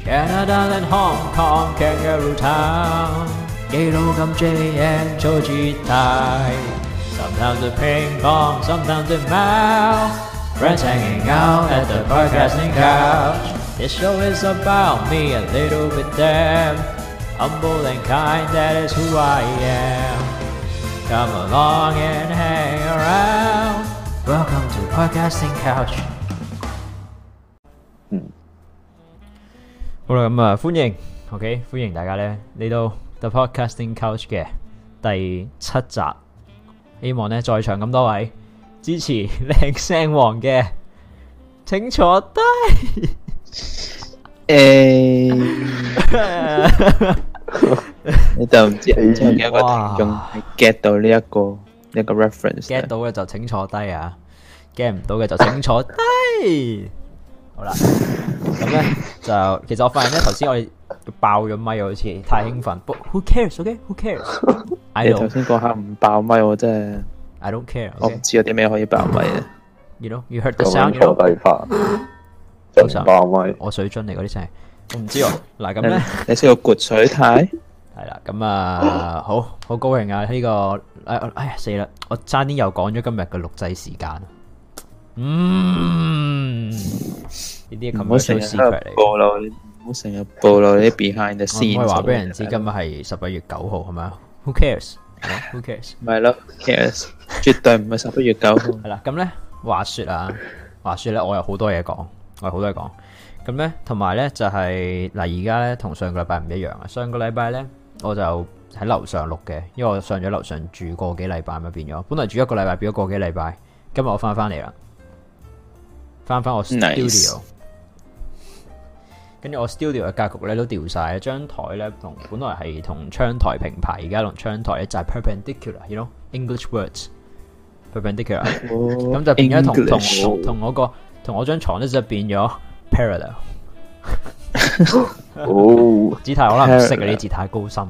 Canada and Hong Kong Kangaroo Town， 記錄咁 JM 做姿態 Sometimes a ping pong, sometimes a mouse Friends hanging out at the podcasting couch This show is about me, a little bit them Humble and kind, that is who I am Come along and hang around Welcome to podcasting couch 好啦，咁啊，歡迎 ，OK， 歡迎大家咧嚟到 The Podcasting Couch 嘅第7集。希望咧在場咁多位支持靚聲王嘅，請坐低。 你就唔知有幾個聽眾 get 到呢一個 reference，get 到嘅就請坐低啊 ，get 唔到嘅就請坐低。好啦，咁咧就其實我發現咧頭先我哋爆咗咪，好似太興奮。But who cares？OK？Who cares？ 你頭先嗰下唔爆咪，我真係 I don't care。 我唔知有啲咩可以爆咪嘅。 You know, you heard the sound。 坐低翻，就爆咪。 我水樽嚟嗰啲聲，我唔知喎。嗱咁咧， 你識個潑水太？ 係啦，咁啊，好高興啊！呢個哎呀死啦，我差啲又講咗今日嘅錄製時間。呢啲咁嘅 secret 嚟， 唔好成日暴露你啲 behind the scenes。 我唔可以話俾人知今日係11月9號係咪啊 ？Who cares？Who cares？ 咪係咯 ，cares， 絕對唔係11月9號。 係啦，咁咧話說咧，我有好多嘢講，咁咧，同埋咧就係嗱，而家咧同上個禮拜唔一樣啊。上個禮拜咧我就喺樓上錄嘅，因為我上咗樓上住個幾禮拜咁變咗，本來住一個禮拜變咗個幾禮拜，今日我翻嚟啦。翻我 studio， 跟住我 studio 嘅格局咧都調晒，張台咧本來係同窗台平排，而家同窗台咧就係 perpendicular，you know English words perpendicular， 咁就變咗同我張床咧就變咗 parallel。字太可能唔識啊，啲字太高深，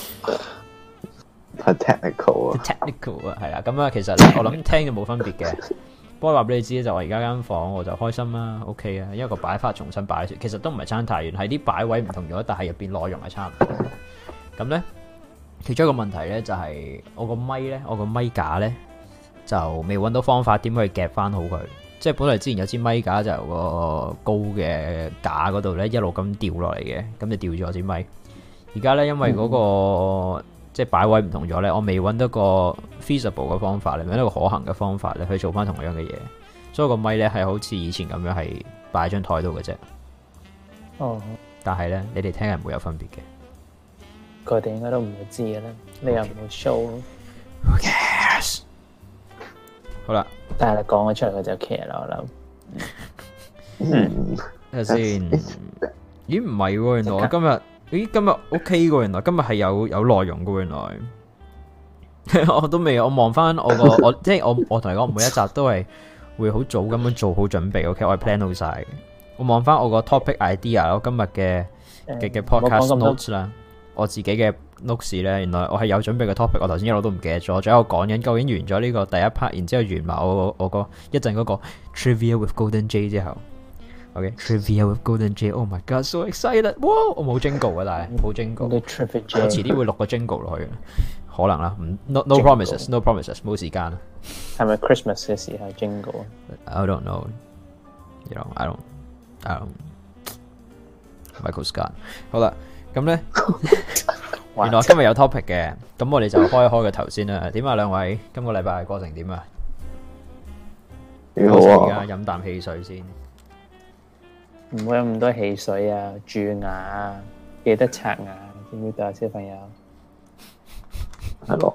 太 technical 啊，係啦，咁啊其實咧我諗聽就冇分別嘅。不過話俾你知就我而家間房我就開心啦 ，OK 啊，因為個擺法重新擺，其實都唔係差太遠，係啲擺位唔同咗，但係入邊內容係差唔多。咁咧，其中一個問題咧就係我個咪架咧就未揾到方法點去夾翻好佢，即係本來之前有支咪架就由個高嘅架嗰度咧一路咁掉落嚟嘅，咁就掉咗支咪。而家咧因為嗰個即係擺位唔同咗咧，我未揾到個 feasible 嘅方法，另外一個可行嘅方法咧去做翻同樣嘅嘢，所以個咪咧係好似以前咁樣係擺喺張台度嘅啫。 哦， 但係咧你哋聽係唔會有分別嘅， 佢哋應該都唔會知嘅咧，你又唔會 show。Who cares？ 好啦， 但係你講咗出嚟佢就 care 啦，我諗。 睇下先，咦唔係喎，原來我今日 OK 喎，原來今日係有內容嘅，原來我都未，我望翻我即係我同你講，每一集都係會好早咁樣做好準備 ，OK， 我係 plan 好晒嘅。我望翻我個 topic idea， 我今日嘅 podcast notes 啦，我自己嘅 notes 咧，原來我係有準備嘅 topic， 我頭先一路都唔記得咗，仲喺度講緊究竟完咗呢個第一 part， 然之後完埋我個一陣嗰個 trivia with Golden J 之後。Okay, trivia with Golden J. Oh my god, so excited! 哇，我冇 jingle 啊，但係冇 jingle。我遲啲會錄個 jingle 落去，可能啦。No promises, no promises， 冇時間。 係咪 Christmas 嘅時候 jingle？ I don't know. You know, I don't. Michael Scott。好啦，咁咧，原來今日有 topic 嘅，咁我哋就開一開個頭先啦。點啊，兩位？今個禮拜過程點啊？ 幾好啊！ 而家飲啖汽水先。 唔好飲咁多汽水啊！蛀牙啊，記得刷牙，知唔知道啊，小朋友？ 係咯，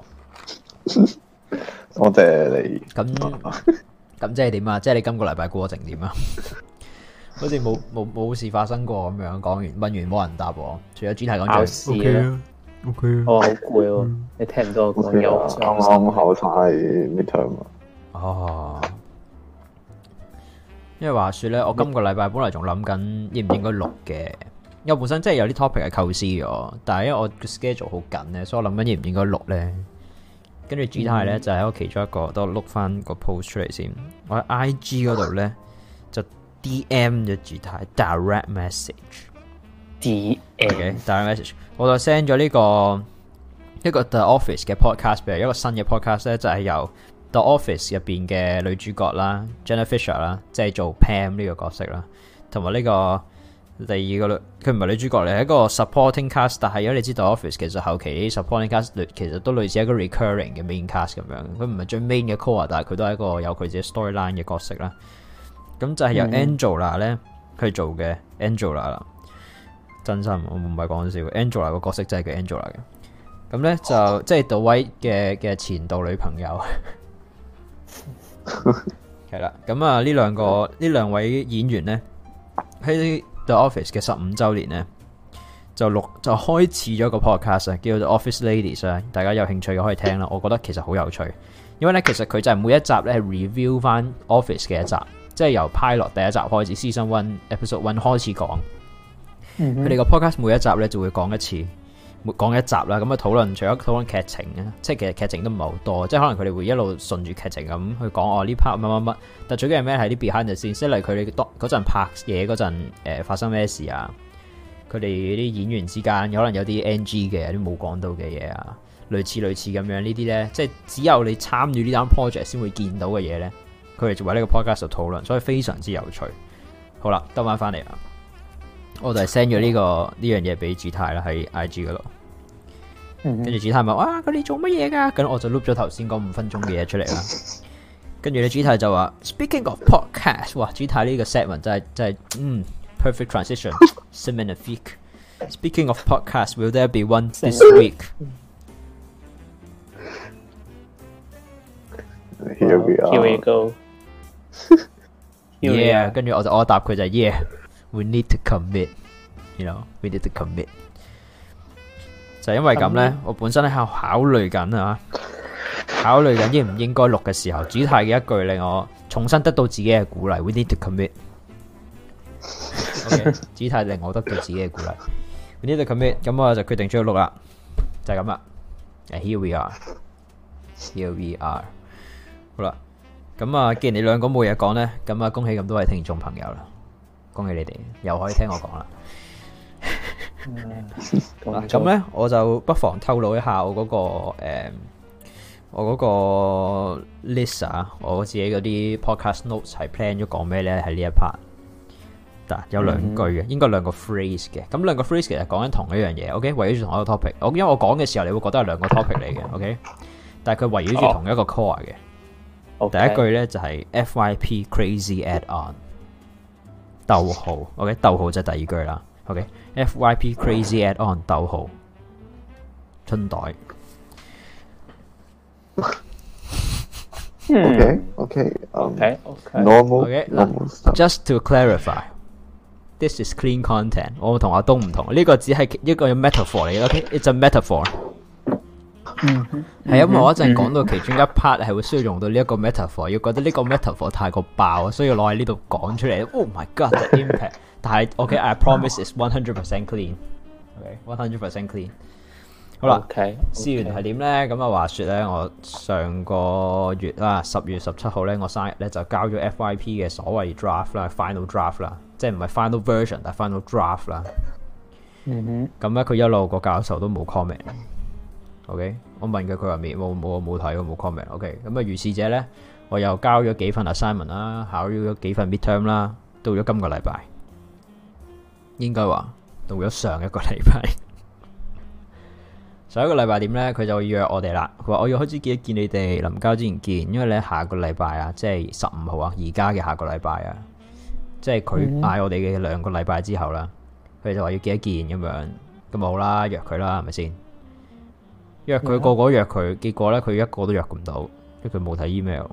多謝你。 咁即係點啊？即係你今個禮拜過程點啊？好似冇事發生過咁樣，講完問完冇人答我，除咗主題講考試啦。OK， 我好攰喎，你聽唔到我講嘢？ 啱啱考晒 midterm 啊。 哦。因為話說咧，我今個禮拜本來仲諗緊應唔應該錄嘅，因為本身真係有啲 topic 係構思咗，但係因為我個 schedule 好緊咧，所以我諗緊應唔應該錄咧。跟住主題咧就喺我其中一個，都碌翻個 post 出嚟先。我喺 IG 嗰度咧就 DM 咗主題 direct message， direct message， 我就 send 咗呢個 The Office 嘅 podcast 俾佢，一個新嘅 podcast 咧就係由 The Office 入邊嘅女主角啦 Jenna Fisher 啦，即係做 Pam 呢個角色啦，同埋呢個第二個佢唔係女主角嚟，係一個 supporting cast， 但係如果你知道 Office 其實後期啲 supporting cast 其實都類似一個 recurring 嘅 main cast 咁樣，佢唔係最 main 嘅 core， 但係佢都係一個有佢自己 storyline 嘅角色啦。咁就係由 Angela 咧去做嘅 Angela 啦，真心我唔係講笑 ，Angela 個角色真係叫 Angela 嘅。咁咧就即係杜威嘅前度女朋友，係啦。咁啊呢兩位演員咧喺 The Office 嘅15週年咧就開始咗個 podcast 叫做 Office Ladies 啊，大家有興趣嘅可以聽啦。我覺得其實好有趣，因為咧其實佢就係每一集咧係 review 翻 Office 嘅一集。即係由 pilot 第一集開始 ，season 1 episode 1開始講。佢哋個 podcast 每一集咧就會講一集啦。咁啊除咗討論劇情啊，即係其實劇情都唔係好多，即係可能佢哋會一路順住劇情咁去講呢 part 乜。但最緊要咩係啲 behind the scenes，即係例如佢哋嗰陣拍嘢嗰陣發生咩事啊？佢哋啲演員之間可能有啲 NG 嘅，有啲冇講到嘅嘢啊，類似咁樣呢啲咧，即係只有你參與呢單 project 先會見到嘅嘢咧。佢哋就喺呢個 podcast 度討論，所以非常之有趣。好啦，兜翻嚟啦，我就係 send 咗呢樣嘢俾子泰啦，喺 IG 嗰度。跟住子泰問：哇，佢哋做乜嘢㗎？咁我就 loop 咗頭先嗰5分鐘嘅嘢出嚟啦。跟住咧，子泰就話 ：Speaking of podcast， 哇，子泰呢個 segment 真係perfect transition， magnifique。Speaking of podcast，will there be one this week？ Here we are. Here we go. Yeah， 跟住我答佢就係 Yeah，we need to commit，we need to commit。就因為咁咧，我本身喺度考慮緊應唔應該錄嘅時候，主泰嘅一句令我重新得到自己嘅鼓勵。We need to commit。OK， 主泰令我得到自己嘅鼓勵。We need to commit， 咁我就決定咗要錄啦，就係咁啦。Here we are。Here we are。好啦，咁啊，既然你兩個冇嘢講咧，咁啊，恭喜咁多位聽眾朋友啦，恭喜你哋又可以聽我講啦。咁咧，我就不妨透露一下我嗰個 list 啊，我自己嗰啲 podcast notes 係 plan 咗講咩咧？喺呢一 part， 有兩句嘅，應該兩個 phrase 嘅。咁兩個 phrase 其實講緊同一樣嘢。OK， 圍繞住同一個 topic。因為我講嘅時候，你會覺得係兩個 topic 嚟嘅。OK， 但係佢圍繞住同一個 core 嘅。第一句咧就係 FYP Crazy Add On， 逗號 ，OK， 逗號就係第二句啦 ，OK，FYP Crazy Add On 逗號春袋。Normal。Just to clarify， this is clean content。我同阿東唔同，呢個只係一個 metaphor 嚟嘅 ，OK，it's a metaphor。係因為我一陣講到其中一 part 係會需要用到呢一個 metaphor， 要覺得呢個 metaphor 太過爆，所以攞喺呢度講出嚟。Oh my god，the impact！ 但係 OK，I promise it's 100% clean。OK，100% clean。好啦，試完係點咧？咁啊，話說咧，我上個月啦，10月17號咧，我生日咧就交咗 FYP 嘅所謂 draft 啦 ，final draft 啦，即係唔係 final version， 但係 final draft 啦。咁咧，佢一路個教授都冇 comment。OK， 我問佢話冇睇，冇 comment。OK， 咁啊，如是者咧，我又交咗幾份 assignment 啦，考咗幾份 midterm 啦，到咗今個禮拜，應該話到咗上一個禮拜。上一個禮拜點咧？佢就約我哋啦。佢話我要開始見你哋，臨交之前見，因為咧下個禮拜啊，即係15號啊，而家嘅下個禮拜啊，即係佢嗌我哋嘅2個禮拜之後啦，佢就話要見一見咁樣，咁好啦，約佢啦，係咪先？約佢個個約佢，結果咧佢一個都約唔到，因為佢冇睇 email。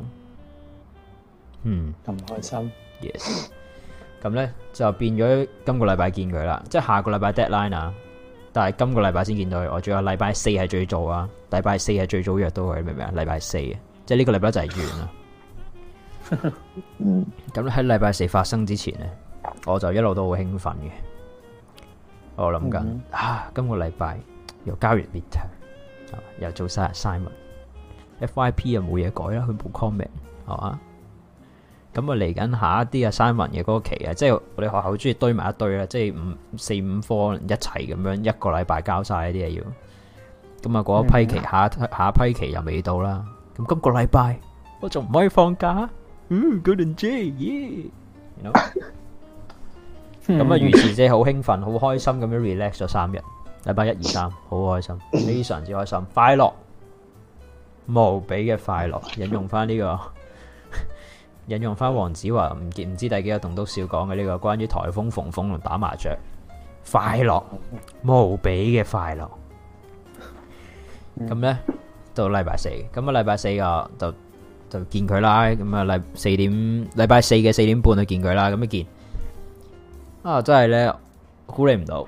咁開心。 Yes。咁咧就變咗今個禮拜見佢啦，即係下個禮拜 deadline 啊，但係今個禮拜先見到佢。我仲有禮拜4係最早啊，禮拜4係最早約到佢，明唔明啊？禮拜4啊，即係呢個禮拜就係完啦。咁喺禮拜4發生之前咧，我就一路都好興奮嘅。我諗緊今個禮拜又交完 midterm。又做晒 assignment，FYP 又冇嘢改啦，佢冇 comment 係嘛？ 咁啊嚟緊下一啲 assignment 嘅嗰個期啊，即係我哋學校好中意堆埋一堆啦，即係4、5科一齊咁樣一個禮拜交晒啲嘢要。咁啊嗰一批期下一批期又未到啦。咁今個禮拜我仲唔可以放假？Golden J，耶！咁啊，於是即係好興奮、好開心咁樣 relax 咗3日。禮拜1、2、3好開心，非常之開心，快樂無比嘅快樂。引用翻黃子華唔知第幾個棟篤笑講嘅呢個關於颱風逢風同打麻雀，快樂無比嘅快樂。咁呢，到禮拜4，咁啊禮拜4啊就見佢啦。咁啊禮拜4嘅4點半去見佢啦。咁一見真係呢，估你唔到。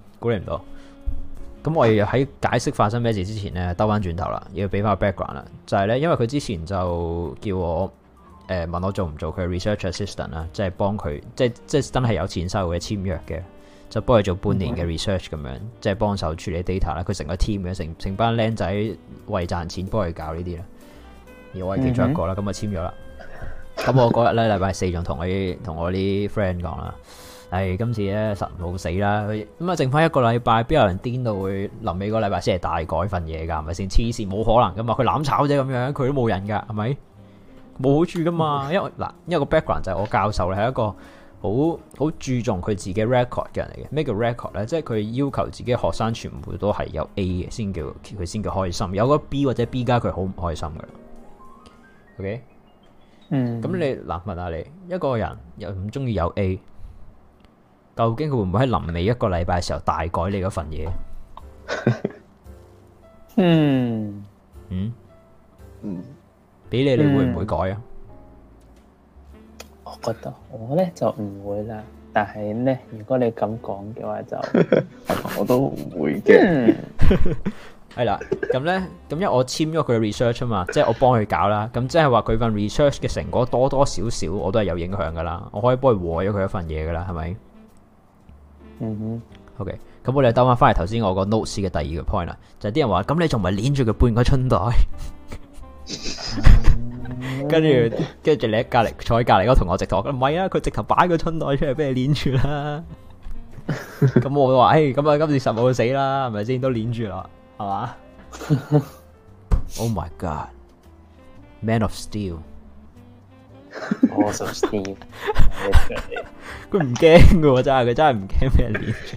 咁我要喺解釋發生咩事之前呢，兜翻轉頭啦，要俾翻個 background 啦。就係呢，因為佢之前就叫我問我做唔做佢 research assistant 啦，即係幫佢，即係真係有錢收嘅簽約嘅，就幫佢做半年嘅 research 咁樣，即係幫手處理 data 啦。佢成個 team 嘅，成班僆仔為賺錢幫佢搞呢啲啦。而我係其中一個啦，咁啊簽咗啦。咁我嗰日咧禮拜4仲同我啲 friend 講啦。今次咧實冇死啦，咁啊剩翻一個禮拜，邊有人癲到會臨尾個禮拜先係大改份嘢㗎？係咪先？黐線，冇可能㗎嘛！佢攬炒啫咁樣，佢都冇人㗎，係咪？冇好處㗎嘛，因為個 background 就係我教授咧係一個好注重佢自己 record 嘅人嚟嘅。咩叫 record 咧？即係佢要求自己學生全部都係有 A 嘅先叫開心，有個 B 或者 B 加佢好唔開心㗎。OK，咁你問下你一個人又唔中意有 A？究竟佢會唔會喺臨尾一個禮拜嘅時候大改你嗰份嘢？俾你會唔會改啊？ 我覺得我咧就唔會啦，但係咧如果你咁講嘅話就我都唔會嘅。 係啦，咁因為我簽咗佢嘅 research 啊嘛，即係我幫佢搞啦，咁即係話佢份 research 嘅成果多多少少我都係有影響噶啦，我可以幫佢和咗佢一份嘢噶啦，係咪？OK， 咁我哋兜翻嚟頭先我個 notes 嘅第二個 point 啦，就係啲人話咁你仲唔係捻住佢半個春袋？跟住你喺隔籬坐喺隔籬嗰個同學直頭唔係啊，佢直頭擺個春袋出嚟俾你捻住啦。咁我都話咁啊，今次實冇死啦，係咪先？都捻住啦，係嘛？Oh my god， Man of Steel， 我就 Steel， 佢唔驚噶，真係佢真係唔驚俾人捻住。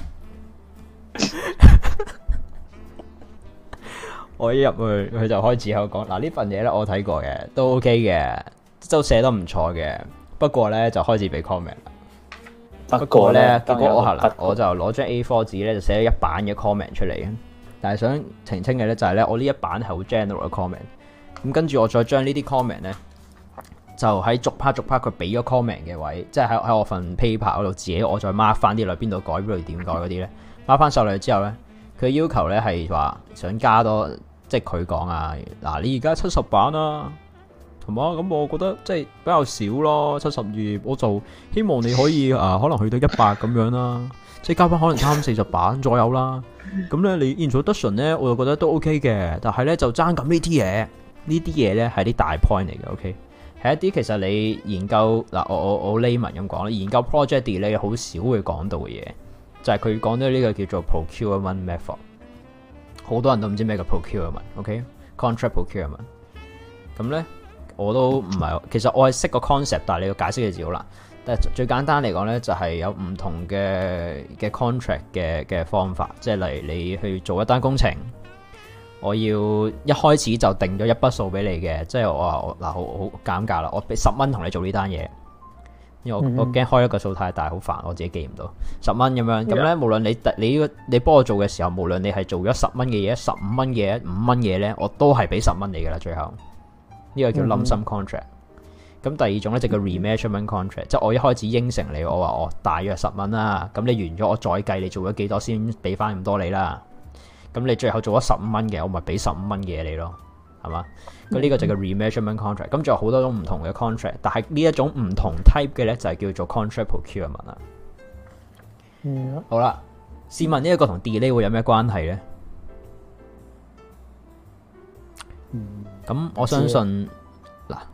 我一入去佢就開始喺度講，嗱呢份嘢咧我睇過嘅，都 OK 嘅，都寫得唔錯嘅。不過咧就開始俾 comment 啦。不過咧結果我就攞張 A4 紙咧就寫咗一版嘅 comment 出嚟嘅。但係想澄清嘅咧就係咧我呢一版係好 general 嘅 comment。咁跟住我再將呢啲 comment 咧就喺逐 part 佢俾咗 comment 嘅位，即係喺我份 paper 嗰度自己我再 mark 翻啲嚟邊度改邊度點改嗰啲咧 mark 翻上嚟之後咧。佢要求咧係話想加多，即係佢講啊，嗱你而家70版啊，同埋咁我覺得即係比較少咯，70頁，我就希望你可以可能去到100咁樣啦，即係加翻可能30-40版左右啦。咁咧你 introduction 咧，我就覺得都 OK 嘅，但係咧就爭咁呢啲嘢，呢啲嘢咧係啲大 point 嚟嘅 ，OK， 係一啲其實你研究嗱我 layman 咁講啦，研究 project delay 好少會講到嘅嘢。就係佢講咗呢個叫做 procurement method， 好多人都唔知咩叫 procurement，OK？contract procurement， 咁咧我都唔係，其實我係識個 concept， 但係你要解釋嘅字好難。但係最簡單嚟講咧，就係有唔同嘅 contract 嘅方法，即係例如你去做一單工程，我要一開始就定咗一筆數俾你嘅，即係我話嗱好減價啦，我俾10蚊同你做呢單嘢。因為我驚開一個數太大，好煩，我自己記唔到10蚊咁樣。咁咧，無論你幫我做嘅時候，無論你係做咗10蚊嘅嘢、15蚊嘅嘢、5蚊嘢咧，我都係俾10蚊你噶啦。最後呢個叫 lump sum contract。咁第二種咧就叫 remeasurement contract， 即係我一開始應承你，我話我大約10蚊啦。咁你完咗，我再計你做咗幾多先俾翻咁多你啦。咁你最後做咗15蚊嘅，我咪俾15蚊嘅你咯，係嘛？咁呢個就叫 remeasurement contract。咁仲有好多種唔同嘅 contract， 但係呢一種唔同 type 嘅咧就係叫做 contract procurement 啦。好啦，試問呢一個同 delay 會有咩關係咧？咁我相信嗱，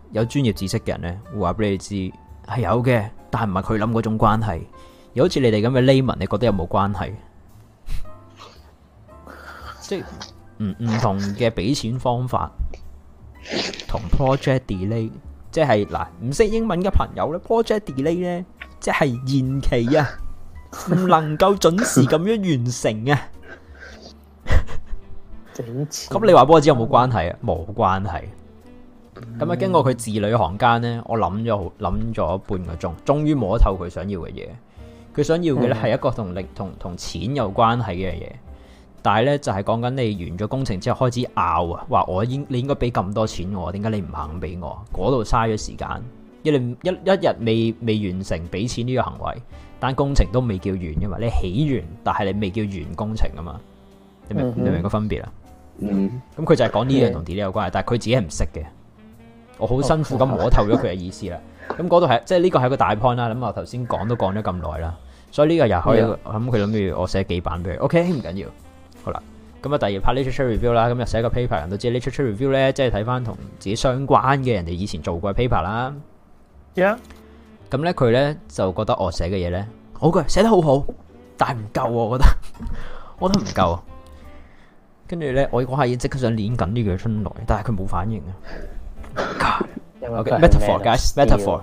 有專業知識嘅人咧，會話俾你知係有嘅，但係唔係佢諗嗰種關係。又好似你哋咁嘅 layman，你覺得有冇關係？即係唔同嘅俾錢方法，同 project delay， 即係嗱唔識英文嘅朋友咧 ，project delay 咧，即係延期啊，唔能夠準時咁樣完成啊。咁你話俾我知有冇關係啊？冇關係。咁啊，經過佢字裏行間咧，我諗咗半個鐘，終於摸透佢想要嘅嘢。佢想要嘅咧係一個同錢有關係嘅嘢，但係咧就係講緊你完咗工程之後開始拗啊，話你應該俾咁多錢我，點解你唔肯俾我？嗰度嘥咗時間，一日未完成俾錢呢個行為，但工程都未叫完嘅嘛，你起完，但係你未叫完工程啊嘛，你明個分別啊？咁佢就係講呢樣同 delay 有關係，但係佢自己係唔識嘅，我好辛苦咁摸透咗佢嘅意思啦。咁嗰度係即係呢個係個大 point 啦。咁我頭先講都講咗咁耐啦，所以呢個又可以咁佢諗住我寫幾版俾佢。OK 唔緊要，好啦。咁啊第二 part literature review 啦，咁又寫個 paper， 人都知 literature review 咧，即係睇翻同自己相關嘅人哋以前做過嘅 paper 啦。咁咧佢咧就覺得我寫嘅嘢咧好嘅，寫得好好，但係唔夠，我覺得唔夠。跟住咧我嗰下已經即刻想練緊呢句出來，但係佢冇反應啊。Okay, metaphor, guys, metaphor.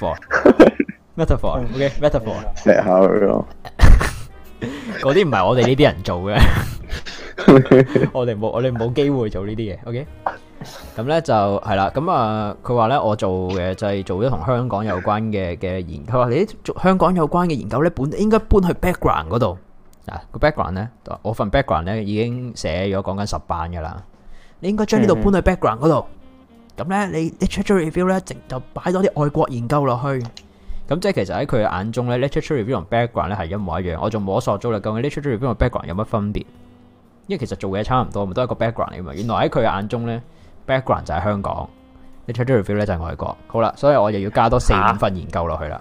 Okay, metaphor. 石口咯， 嗰啲唔係我哋呢啲人做嘅，我哋冇機會做呢啲嘢。OK，咁咧就係啦。咁啊，佢話咧我做嘅就係做咗同香港有關嘅研究。佢話你做香港有關嘅研究咧，應該搬去 background 嗰度。嗱個 background 咧，我份 background 咧已經寫咗講緊10版噶啦。你應該將呢度搬去 background 嗰度。咁咧，你 literature review 咧，就擺多啲外國研究落去。咁即係其實喺佢嘅眼中咧，literature review 同 background 咧係一模一樣。我仲摸索咗啦，究竟 literature review 同 background 有乜分別？因為其實做嘢差唔多，咪都係一個 background 嚟嘛。原來喺佢嘅眼中咧 ，background 就係香港 ，literature review 咧就係外國。好啦，所以我又要加多4-5份研究落去啦。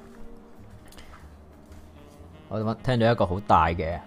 我聽到一個好大嘅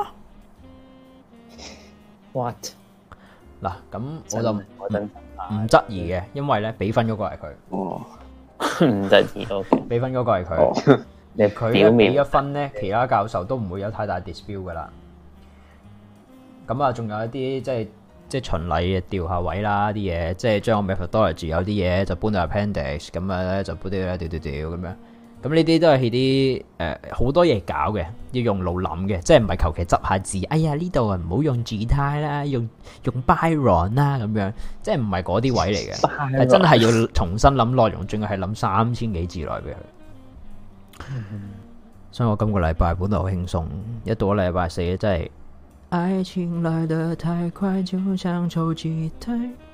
What？ 嗱，咁我就唔質疑嘅，因為咧俾分嗰個係佢。 唔質疑，OK。 俾分嗰個係佢，佢一俾一分咧，其他教授都唔會有太大 dispute 噶啦。咁啊，仲有一啲即係循例調下位啦，啲嘢即係將個 methodology 有啲嘢就搬到 appendix， 咁啊咧就搬啲調咁樣。咁呢啲都係啲好多嘢搞嘅，要用腦諗嘅，即係唔係求其執下字。哎呀呢度啊唔好用字態啦，用 Byron 啦咁樣，即係唔係嗰啲位嚟嘅，係真係要重新諗內容，仲要係諗3000幾字內俾佢。所以我今個禮拜本來好輕鬆，一到咗禮拜4真係愛情來得太快，就像抽吉他。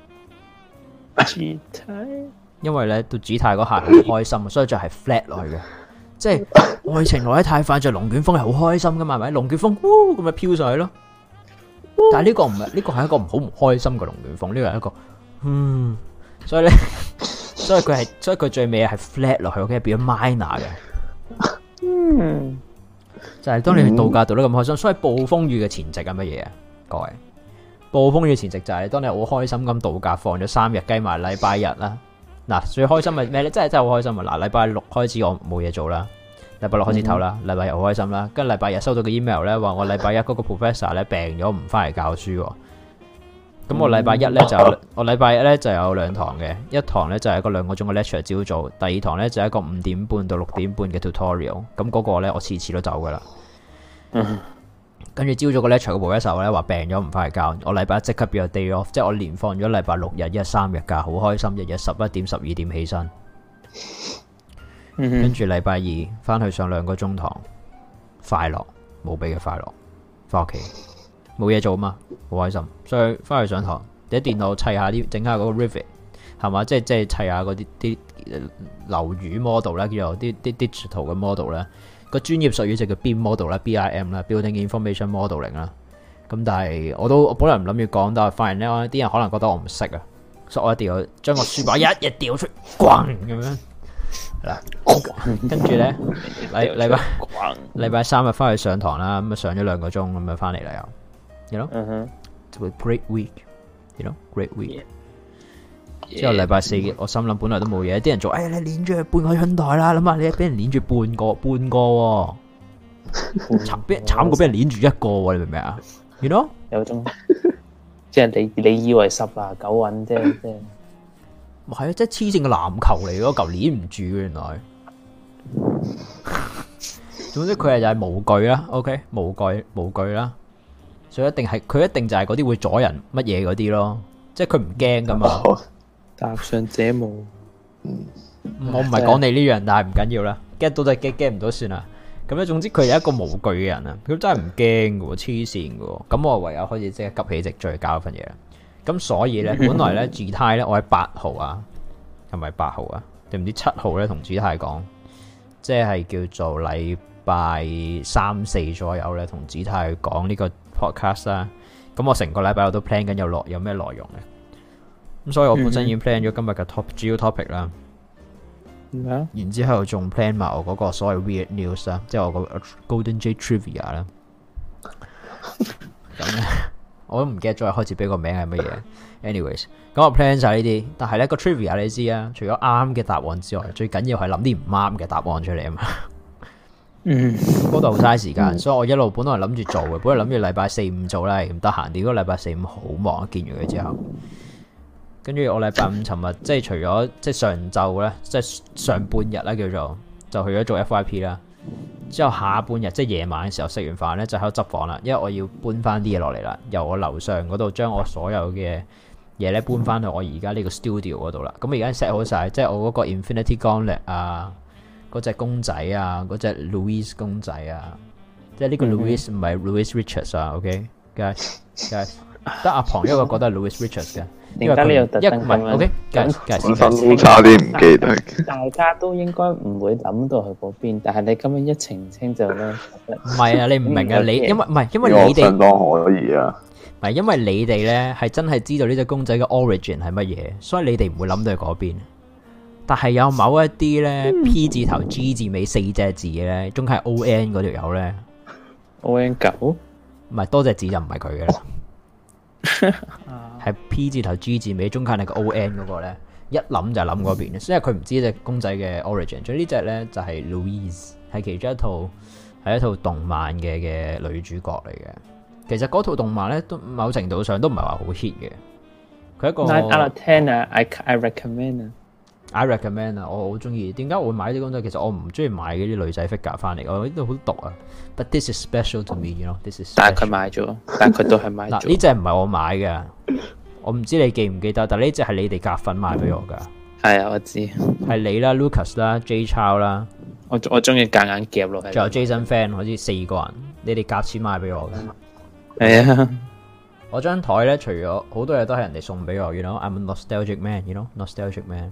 因為咧到主態嗰下好開心，所以就係 flat 落去嘅，即係愛情來得太快就龍捲風係好開心噶嘛，係咪？龍捲風咁咪飄上去咯。但係呢個唔係，呢個係一個好唔開心嘅龍捲風，呢個係一個所以咧，所以佢最尾係 flat 落去，OK 變咗 minor 嘅。就係當你去度假度得咁開心，所以暴風雨嘅前夕係乜嘢啊？各位，暴風雨嘅前夕就係當你好開心咁度假，放咗3日，計埋禮拜日啦。嗱，最開心係咩咧？真係好開心啊！嗱，禮拜6開始我冇嘢做啦，禮拜6開始唞啦，禮拜日好開心啦。跟住禮拜日收到個 email 咧，話我禮拜1嗰個 professor 咧病咗，唔翻嚟教書。咁我禮拜1咧我禮拜1咧就有2堂嘅，一堂咧就係一個2個鐘嘅 lecture 朝早，第2堂咧就係一個5點半到6點半嘅 tutorial。咁嗰個咧我次次都走噶啦。跟住朝早個 lecture 個 professor 咧話病咗唔翻嚟教，我禮拜1即刻變咗 day off， 即係我連放咗禮拜6日3日假，好開心，日日11點12點起身。跟住禮拜2翻去上2個鐘堂，快樂無比嘅快樂，翻屋企冇嘢做啊嘛，好開心，所以翻去上堂，喺電腦砌下啲整下嗰個 Revit 係嘛，即係砌下嗰啲樓宇 model 啦，叫做啲 digital 嘅 model 啦。個專業術語就叫 BIM model 啦 ，BIM 啦 ，Building Information Modeling 啦。咁但係我本來唔諗住講，但係發現咧啲人可能覺得我唔識啊，所以我一定要將個書包一日掉出，咣咁樣係啦。跟住咧禮拜3日翻去上堂啦，咁啊上咗2個鐘，咁啊翻嚟啦又，you know，it's a great week，you know，great week。 之後禮拜四我心諗本來都冇嘢，啲人做，你連住半個春袋啦，諗下你俾人連住半個喎，慘過俾人連住一個喎，你明唔明啊？ You know？ 有種即係你以為10拿9穩啫，即係唔係啊！即係黐線嘅籃球嚟嗰嚿連唔住嘅原來。總之佢就係無懼啦 ，OK， 無懼啦，所以佢一定就係嗰啲會阻人乜嘢嗰啲咯，即係佢唔驚噶嘛。 搭上這霧， 我唔係講你呢樣，但係唔緊要啦 ，get 到就 get 唔到算啦。咁咧，總之佢係一個無懼嘅人啊，佢真係唔驚嘅，黐線嘅。咁我唯有開始即刻急起直追搞份嘢啦。咁所以咧，本來咧 Gtai 咧，我喺8號啊，係咪8號啊？定唔知7號咧？同 Gtai 講，即係叫做禮拜3、4左右咧，同 Gtai 講呢個 podcast 啦。咁我成個禮拜我都 plan 緊有咩內容嘅。咁所以我本身已經 plan 咗今日嘅主要 topic 啦。然之後仲 plan 埋我嗰個所謂 weird news 啦，即係我個 Golden J Trivia 啦。咁咧，我都唔記得咗開始俾個名係乜嘢。Anyways， 咁我 plan 晒呢啲，但係咧個 Trivia 你知啊，除咗啱嘅答案之外，最緊要係諗啲唔啱嘅答案出嚟啊嘛。嗰度好嘥時間，所以我一路本來諗住做嘅，本來諗住禮拜4、5做啦，唔得閒。結果禮拜4、5好忙，見完佢之後。跟住我禮拜5尋日即係除咗即係上晝咧，即係上半日啦叫做，就去咗做 FYP 啦。之後下半日即係夜晚嘅時候食完飯咧，就喺度執房啦，因為我要搬翻啲嘢落嚟啦，由我樓上嗰度將我所有嘅嘢咧搬翻去我而家呢個 studio 嗰度啦。咁而家 set 好晒，即係我嗰個 Infinity Gauntlet 啊，嗰隻公仔啊，嗰隻 Louis 公仔啊，即係呢個 Louis 唔係 Louis Richards 啊 ，OK guys 得阿龐一個覺得係 Louis Richards 嘅。因為佢一唔係 OK，本身都差啲唔記得。 大家都應該唔會諗到去嗰邊，但係你今日一澄清就咧， 唔係啊！你唔明啊！你因為你哋相當可以啊， 唔係因為你哋咧係真係知道呢隻公仔嘅 origin 係乜嘢，所以你哋唔會諗到去嗰邊。但係有某一啲咧 P 字頭 G 字尾4隻字嘅咧，中間係 ON 嗰條友咧 ，ON9 唔係多隻字就唔係佢嘅啦。係 P 字頭 G 字尾中間係個 ON 嗰個咧，一諗就諗嗰邊，因為佢唔知隻公仔嘅 origin。所以呢隻咧就係 Louise， 係其中一套動漫嘅女主角嚟嘅。其實嗰套動漫咧都某程度上都唔係話好 hit 嘅。佢一個 9 out of 10啊 ，I recommend 啊。 I recommend 啊，我好中意。點解我會買啲公仔？其實我唔中意買嗰啲女仔 figure 翻嚟，我呢度好毒啊。But this is special to me，you know this is。但係佢買咗，但係佢都係買咗。嗱，呢隻唔係我買嘅，我唔知你記唔記得，但係呢隻係你哋夾份買俾我噶。係啊，我知。係你啦 ，Lucas 啦 ，J Chow 啦，我中意夾硬夾落去。仲有 Jason Fan，好似4個人，你哋夾錢買俾我嘅。係啊。我張台咧，除咗好多嘢都係人哋送俾我，you know，I'm a nostalgic man，you know，nostalgic man。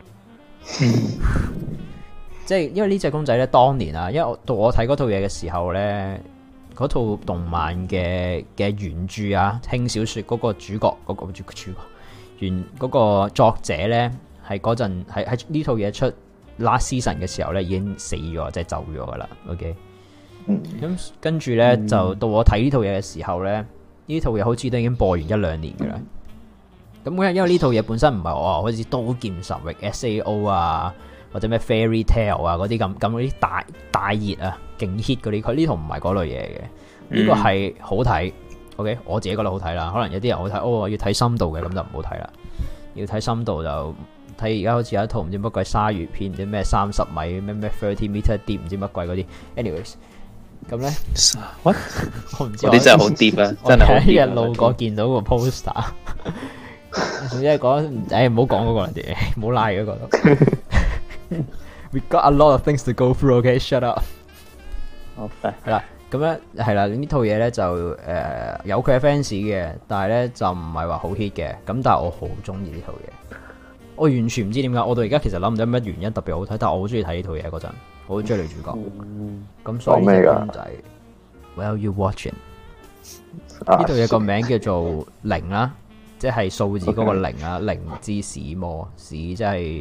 即係因為呢隻公仔咧，當年啊，因為我睇嗰套嘢嘅時候咧，嗰套動漫嘅原著啊，輕小說嗰個主角原嗰個作者咧，係嗰陣喺呢套嘢出 last season 嘅時候咧，已經死咗，即係走咗噶啦。OK，咁跟住咧就到我睇呢套嘢嘅時候咧，呢套嘢好似都已經播完1-2年噶啦。咁因為呢套嘢本身唔係話好似刀劍神域 SAO 啊，或者咩 Fairy Tail 啊嗰啲咁嗰啲大熱啊勁 hit 嗰啲，佢呢套唔係嗰類嘢嘅。呢個係好睇 ，OK， 我自己覺得好睇啦。可能有啲人好睇，我要睇深度嘅，咁就唔好睇啦。要睇深度就睇而家好似有一套唔知乜鬼鯊魚片，唔知咩30米咩 30 meter deep 唔知乜鬼嗰啲。Anyways， 咁咧 what 我唔知嗰啲真係好 deep 啊！真係好 deep 一日路過見到個 poster。總之係講，唔好講嗰個人哋，唔好拉嗰個。We got a lot of things to go through. Okay, shut up。 好， 係啦，咁咧係啦，呢套嘢咧就有佢嘅 fans 嘅，但係咧就唔係話好 hit 嘅。咁但係我好中意呢套嘢，我完全唔知點解，我到而家其實諗唔到乜原因特別好睇，但係我好中意睇呢套嘢嗰陣，我好中意女主角。咁所以呢隻公仔 ，Well you watching？ 呢套嘢個名叫做0啦。即係數字嗰個0啊，靈之使魔，使即係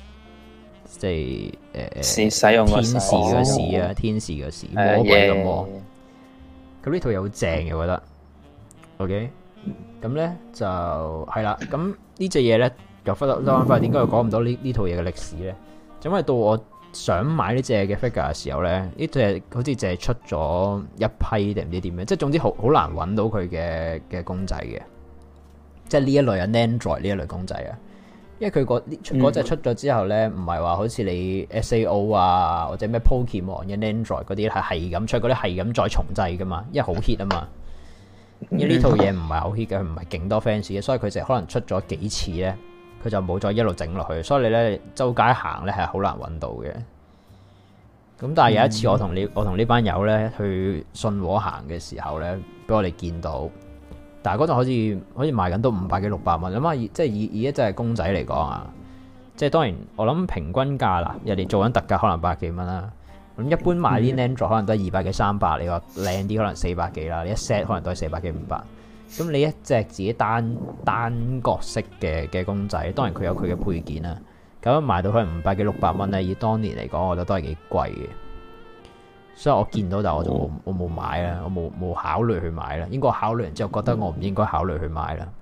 使用天使嘅使啊，天使嘅使，魔鬼嘅魔。咁呢套嘢好正嘅，我覺得。OK，咁咧就係啦。咁呢隻嘢咧， 又忽翻翻，點解又講唔到呢套嘢嘅歷史咧？就因為到我想買呢隻嘅 figure 嘅時候咧，呢隻好似淨係出咗一批定唔知點樣，即係總之好難揾到佢嘅公仔嘅，即係呢一類啊 Nandroid 呢一類公仔啊，因為佢嗰隻出咗之後咧，唔係話好似你 SAO 啊或者咩 Pokemon 嘅 Nandroid 嗰啲係咁出，嗰啲係咁再重製噶嘛，因為好 hit 啊嘛。因為呢套嘢唔係好 hit 嘅，佢唔係勁多 fans 嘅，所以佢就可能出咗幾次咧，佢就冇再一路整落去，所以你咧周街行咧係好難揾到嘅。咁但係有一次我同呢班友咧去信和行嘅時候咧，俾我哋見到，但係嗰陣好似賣緊都500幾600蚊，咁啊即係以一隻公仔嚟講啊，即係當然我諗平均價啦，人哋做緊特價可能100幾蚊啦。咁一般買啲 Nandroid 可能都係200幾300，你話靚啲可能400幾啦，你一 set 可能都係400幾500。咁你一隻自己單角色嘅公仔，當然佢有佢嘅配件啦。咁樣賣到可能500幾600蚊咧，以當年嚟講，我覺得都係幾貴嘅。所以我見到，但係我冇買啦，我冇考慮去買啦。應該我考慮完之後，覺得我唔應該考慮去買啦。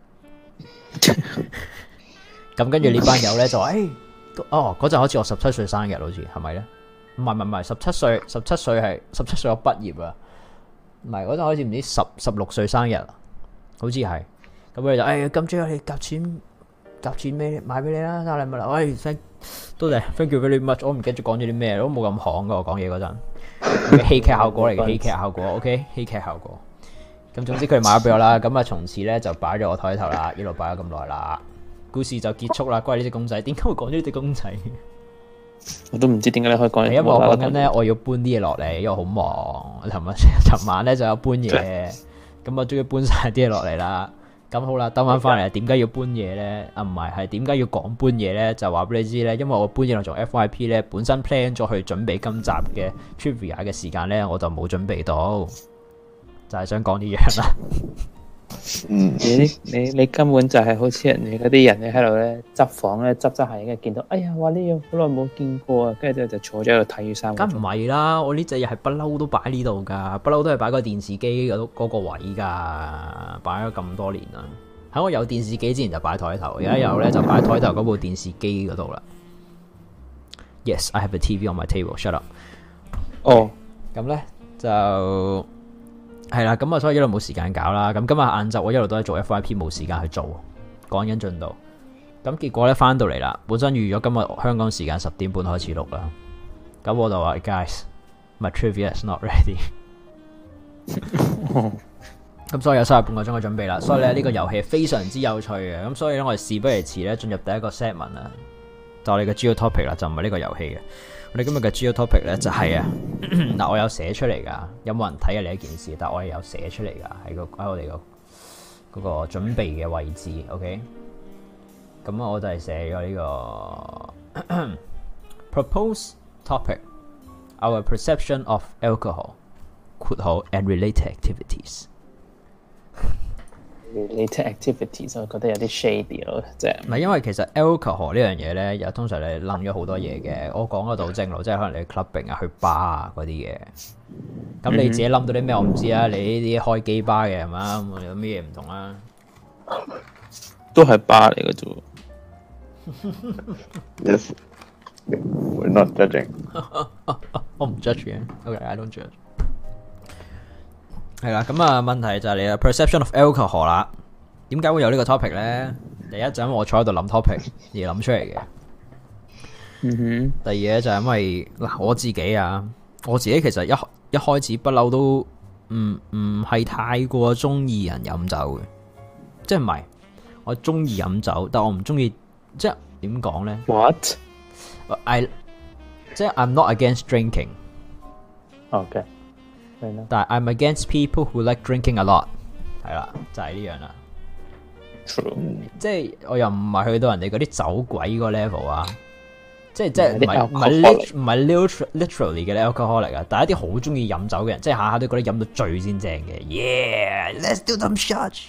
咁跟住呢班友咧就話：嗰陣好似我17歲生日，好似係咪咧？唔係17歲係17歲我畢業啊，唔係嗰陣好似唔知16歲生日，好似係。咁佢就咁最後你夾錢咩買俾你啦，生日禮物啦。喂，多謝 thank you very much。我唔記得咗講咗啲咩，都冇咁行噶。我講嘢嗰陣，戲劇效果嚟嘅，戲劇效果 OK， 戲劇效果。咁總之佢買咗俾我啦，咁啊從此咧就擺咗我台頭啦，一路擺咗咁耐啦。故事就結束啦。關於呢隻公仔，點解會講咗呢隻公仔？ 我都唔知點解你可以講。 因為我講緊咧，我要搬啲嘢落嚟，因為好忙。尋晚咧就有搬嘢，咁我終於搬晒啲嘢落嚟啦。咁好啦，兜翻嚟，點解要搬嘢咧？啊，唔係點解要講搬嘢咧？就話俾你知咧，因為我搬嘢落做 FYP 咧，本身 plan 咗去準備今集嘅 trivia 嘅時間咧，我就冇準備到，就係想講呢樣啦。 你根本就係好似人哋嗰啲人咧喺度咧執房咧執下，跟住見到哎呀，哇呢樣好耐冇見過啊，跟住就坐咗喺度睇衫。梗唔係啦，我呢隻嘢係不嬲都擺呢度噶，不嬲都係擺個電視機嗰個位噶，擺咗咁多年啦。喺我有電視機之前就擺台頭，而家有咧就擺台頭嗰部電視機嗰度啦。Yes, I have a TV on my table. Shut up。哦，咁咧就。係啦，咁啊，所以一路冇時間搞啦。咁今日晏晝我一路都係做 FYP， 冇時間去做，趕緊進度。咁結果咧翻到嚟啦，本身預咗今日香港時間10點半開始錄啦。咁我就話 ，guys，my trivia is not ready。咁所以有35個鐘嘅準備啦。所以咧呢個遊戲非常之有趣嘅。咁所以咧我哋事不宜遲咧，進入第一個 segment 啦。就我哋嘅主要 topic 啦，就唔係呢個遊戲嘅。我哋今日嘅主要 topic 咧就係嗱，我有寫出嚟噶，有冇人睇啊？呢一件事，但係我係有寫出嚟噶，喺我哋嗰個準備嘅位置 ，OK。咁我就係寫咗呢個 proposed topic our perception of alcohol and related activities。 related activities 我覺得有啲 shady 咯，即係唔係因為其實 alcohol 呢樣嘢咧，又通常你諗咗好多嘢嘅。我講嗰度正路，即係可能你 clubbing 啊、去 bar 啊嗰啲嘢。咁你自己諗到啲咩？我唔知啊。你呢啲開機 bar 嘅係嘛？咁有咩嘢唔同啊？ 都係 bar 嚟嘅啫。 Yes, we're not judging。 我唔 judge 嘅。OK，I don't judge。係啦，咁啊，問題就係你嘅 perception of alcohol 啦。點解會有呢個 topic 咧？第一就因為我坐喺度諗 topic 而諗出嚟嘅。第二咧就係因為嗱，我自己其實一開始不嬲都唔係太過中意人飲酒嘅，即係唔係我中意飲酒，但我唔中意，即係點講咧 ？What？ 即係 I'm not against drinking。 OK。 但係 I'm against people who like drinking a lot， 係啦，就係呢樣啦。 True。 即係我又唔係去到人哋嗰啲酒鬼嗰個 level 啊，即係唔係 literally 嘅 alcohol 嚟噶，但係一啲好中意飲酒嘅人，即係下下都覺得飲到醉先正嘅。Yeah，let's do some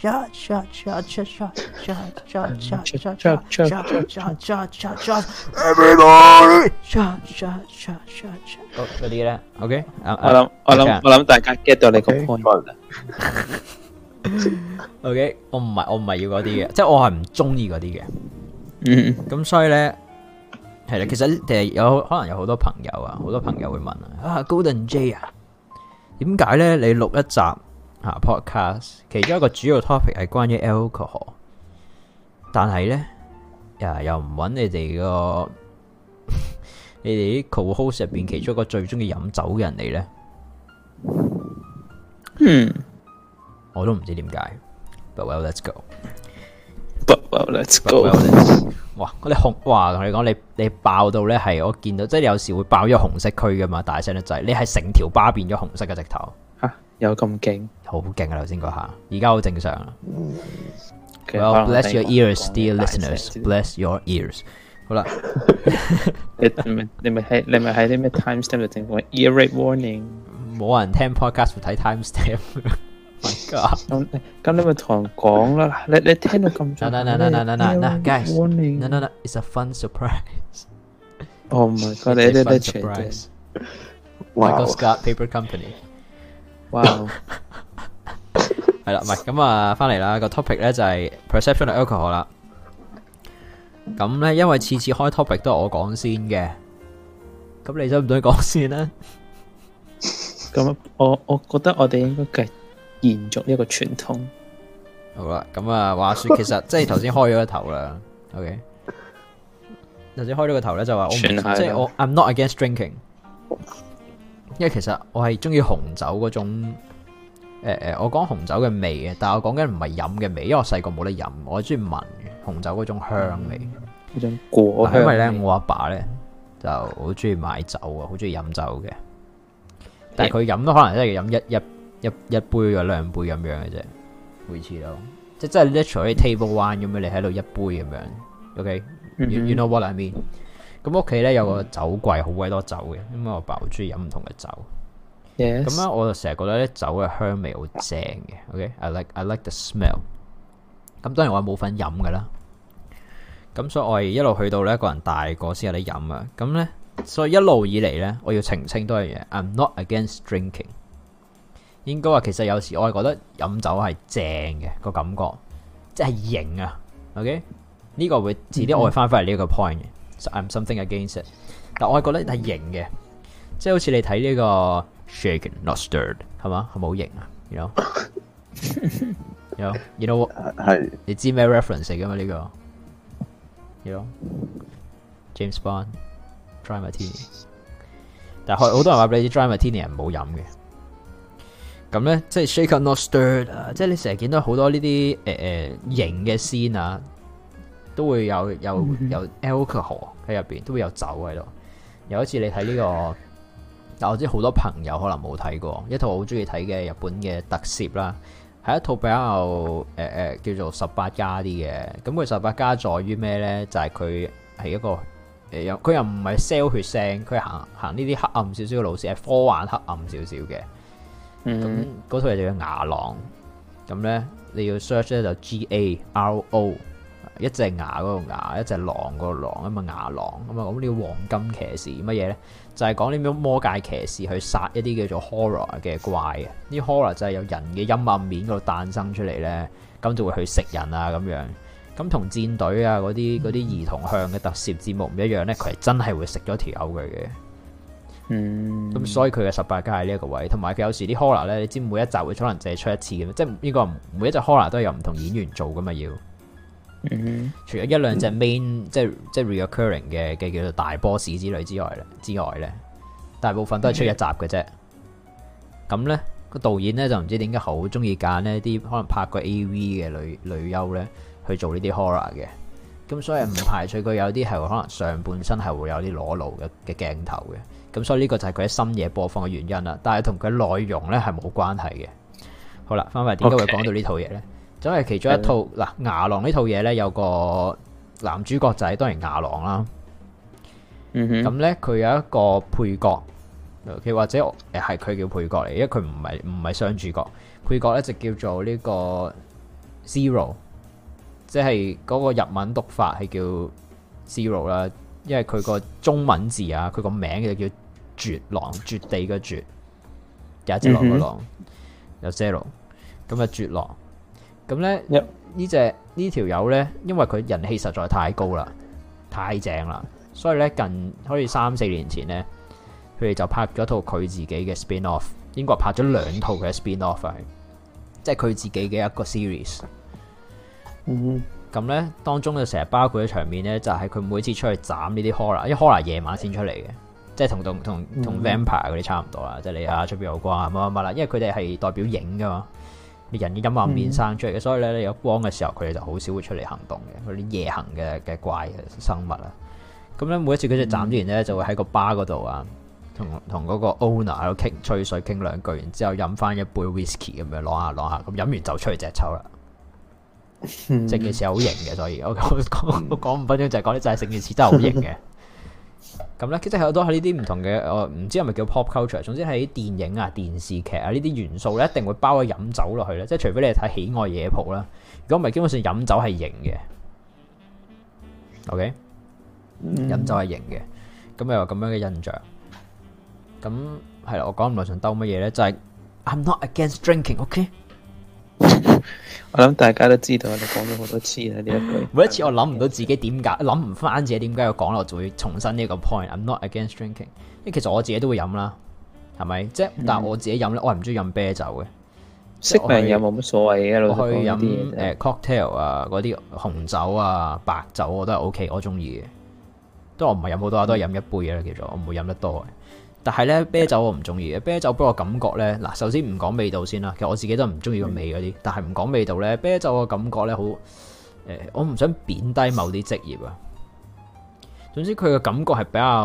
shot。Everybody shot。嗰啲咧 ，OK， 我諗大家 get 到你個 point。 OK， 我唔係要嗰啲嘅，即係我係唔中意嗰啲嘅。 咁所以咧係啦，其實有可能有好多朋友啊，好多朋友會問啊，Golden J 啊，點解咧你錄一集podcast，其中一個主要 topic 係關於 alcohol， 但係咧又唔揾你哋個你哋啲 co-host 入邊其中一個最中意飲酒嘅人嚟咧？我都唔知點解。But well, let's go. But well, let's go. 哇！我哋同你講，你爆到咧係我見到，即係有時會爆咗紅色區噶嘛，大聲得滯。你係成條巴變咗紅色嘅直頭。 吓，有咁勁？ 好勁啊！頭先嗰下，而家好正常啦。Well, bless your ears, dear listeners. Bless your ears. 好啦， 你咪喺啲咩 timestamp 度整個 ear rape warning？ 冇人聽 podcast 會睇 timestamp。 咁你咪同人講啦，你聽到咁早 ，guys， no, it's a fun surprise. Oh my god， 你啲 surprise。Michael Scott Paper Company。 哇！ 係啦，唔係咁啊，翻嚟啦，個 topic 咧就係 perception of alcohol 啦。咁咧，因為次次開 topic 都係我講先嘅，咁你想唔想講先咧？ 咁我覺得我哋應該繼續延續呢個傳統。 好啦，咁啊，話說其實即係頭先開咗個頭啦。OK， 頭先開咗個頭咧就話我即係我 I'm not against drinking， 因為其實我係中意紅酒嗰種我講紅酒嘅味嘅，但係我講緊唔係飲嘅味，因為我細個冇得飲，我係中意聞紅酒嗰種香味， 嗰種果香味。 因為咧我阿爸咧就好中意買酒啊，好中意飲酒嘅，但係佢飲都可能真係飲一杯或兩杯咁樣嘅啫，每次都即係真係 literally table wine 咁樣，你喺度一杯咁樣。OK，you know what I mean？ 咁屋企咧有個酒櫃，好鬼多酒嘅，因為我爸好中意飲唔同嘅酒。咁咧我就成日覺得咧酒嘅香味好正嘅。OK，I like the smell。咁當然我係冇份飲噶啦。咁所以我係一路去到咧一個人大個先有得飲啊。咁咧所以一路以嚟咧，我要澄清多樣嘢。I'm not against drinking。應該話其實有時我係覺得飲酒係正嘅個感覺，即係型啊。OK， 呢個會遲啲我會翻返嚟呢個 point 嘅。So I'm something against it， 但我係覺得係型嘅，即係好似你睇呢個 shaken not stirred 係嘛，係咪好型啊 ？You know 係你知咩 reference 嚟㗎嘛？呢個 You know James Bond Dry Martini， 但係好多人話俾你知 Dry Martini 係唔好飲嘅。咁咧，即係 shaken not stirred 啊！即係你成日見到好多呢啲型嘅 scene 啊，都會有 alcohol 喺入邊，都會有酒喺度。有一次你睇呢個，但我知好多朋友可能冇睇過一套我好中意睇嘅日本嘅特攝啦，係一套比較叫做18+啲嘅。咁佢18+在於咩咧？就係佢係一個佢又唔係 sell 血腥，佢行呢啲黑暗少少嘅路線，係科幻黑暗少少嘅。咁嗰套嘢就叫牙狼，咁咧你要 search 咧就 GARO， 一隻牙嗰個牙，一隻狼嗰個狼，咁啊牙狼，咁啊咁呢個黃金騎士乜嘢咧？就係講呢啲魔界騎士去殺一啲叫做 horror 嘅怪啊！呢 horror 就係有人嘅陰暗面嗰度誕生出嚟咧，咁就會去食人啊咁樣。咁同戰隊啊嗰啲兒童向嘅特攝節目唔一樣咧，佢係真係會食咗條友佢嘅。咁所以佢嘅18+係呢一個位，同埋佢有時啲 horror 咧，你知每一集會可能淨係出一次嘅，即係呢個每一隻 horror 都係有唔同演員做噶嘛要。除咗一兩隻 main 即係 reoccurring 嘅叫做大 boss 之類之外咧，大部分都係出一集嘅啫。咁咧個導演咧就唔知點解好中意揀呢啲可能拍過 AV 嘅女優咧去做呢啲 horror 嘅。咁所以唔排除佢有啲係可能上半身係會有啲裸露嘅鏡頭嘅。咁所以呢個就係佢喺深夜播放嘅原因啦，但係同佢內容咧係冇關係嘅。好啦，翻返嚟點解會講到呢套嘢咧？就係其中一套嗱牙狼呢套嘢咧，有個男主角仔當然牙狼啦。咁咧佢有一個配角，佢或者係佢叫配角嚟，因為佢唔係雙主角。配角咧就叫做呢個 Zero， 即係嗰個日文讀法係叫 Zero 啦，因為佢個中文字啊，佢個名就叫絕狼，絕地嘅絕，有一隻狼個狼，有 zero， 咁啊絕狼，咁咧呢條友咧，因為佢人氣實在太高啦，太正啦，所以咧好似3-4年前咧，佢哋就拍咗套佢自己嘅 spin off， 英國拍咗2套嘅 spin off 係，即係佢自己嘅一個 series。咁咧當中就成日包括嘅場面咧，就係佢每次出去斬呢啲 horror，因為 horror 夜晚先出嚟嘅，即係同 vampire 嗰啲差唔多啦，即係你出邊有光乜乜乜啦，因為佢哋係代表影噶嘛，人嘅陰暗面生出嚟嘅，所以咧你有光嘅時候，佢哋就好少會出嚟行動嘅，嗰啲夜行嘅怪嘅生物啊。咁咧每一次佢哋斬完咧，就會喺個 bar 嗰度啊，同嗰個 owner 喺度吹水傾兩句，然之後飲翻一杯 whisky 咁樣攞下，咁飲完就出去隻抽啦。成件事係好型嘅，所以我講5分鐘就係講啲就係成件事真係好型嘅。咁咧，其實好多喺呢啲唔同嘅，我唔知係咪叫 pop culture， 總之係啲電影啊、電視劇啊呢啲元素咧，一定會包咗飲酒落去咧。即係除非你係睇《喜愛夜蒲》啦，如果唔係，基本上飲酒係型嘅。OK，飲酒係型嘅，咁有咁樣嘅印象。咁係啦，我講唔耐想兜乜嘢咧，就係 I'm not against drinking，OK？ 我諗大家都知道，你講咗好多次啦呢一句。 每一次我諗唔到自己點解，諗唔翻自己點解要講，我就會重申呢個 point。I'm not against drinking， 因為其實我自己都會飲啦，係咪？即係但係我自己飲咧，我係唔中意飲啤酒嘅。 識名飲冇乜所謂嘅， 我去飲cocktail 啊，嗰啲紅酒啊、白酒我都係 OK，我中意嘅。都我唔係飲好多，都係飲一杯嘅啦，叫做我唔會飲得多嘅。但係咧啤酒我唔中意嘅，啤酒俾我感覺咧，嗱首先唔講味道先啦，其實我自己都唔中意個味嗰啲，但係唔講味道咧，啤酒嘅感覺咧好我唔想貶低某啲職業啊。總之佢嘅感覺係比較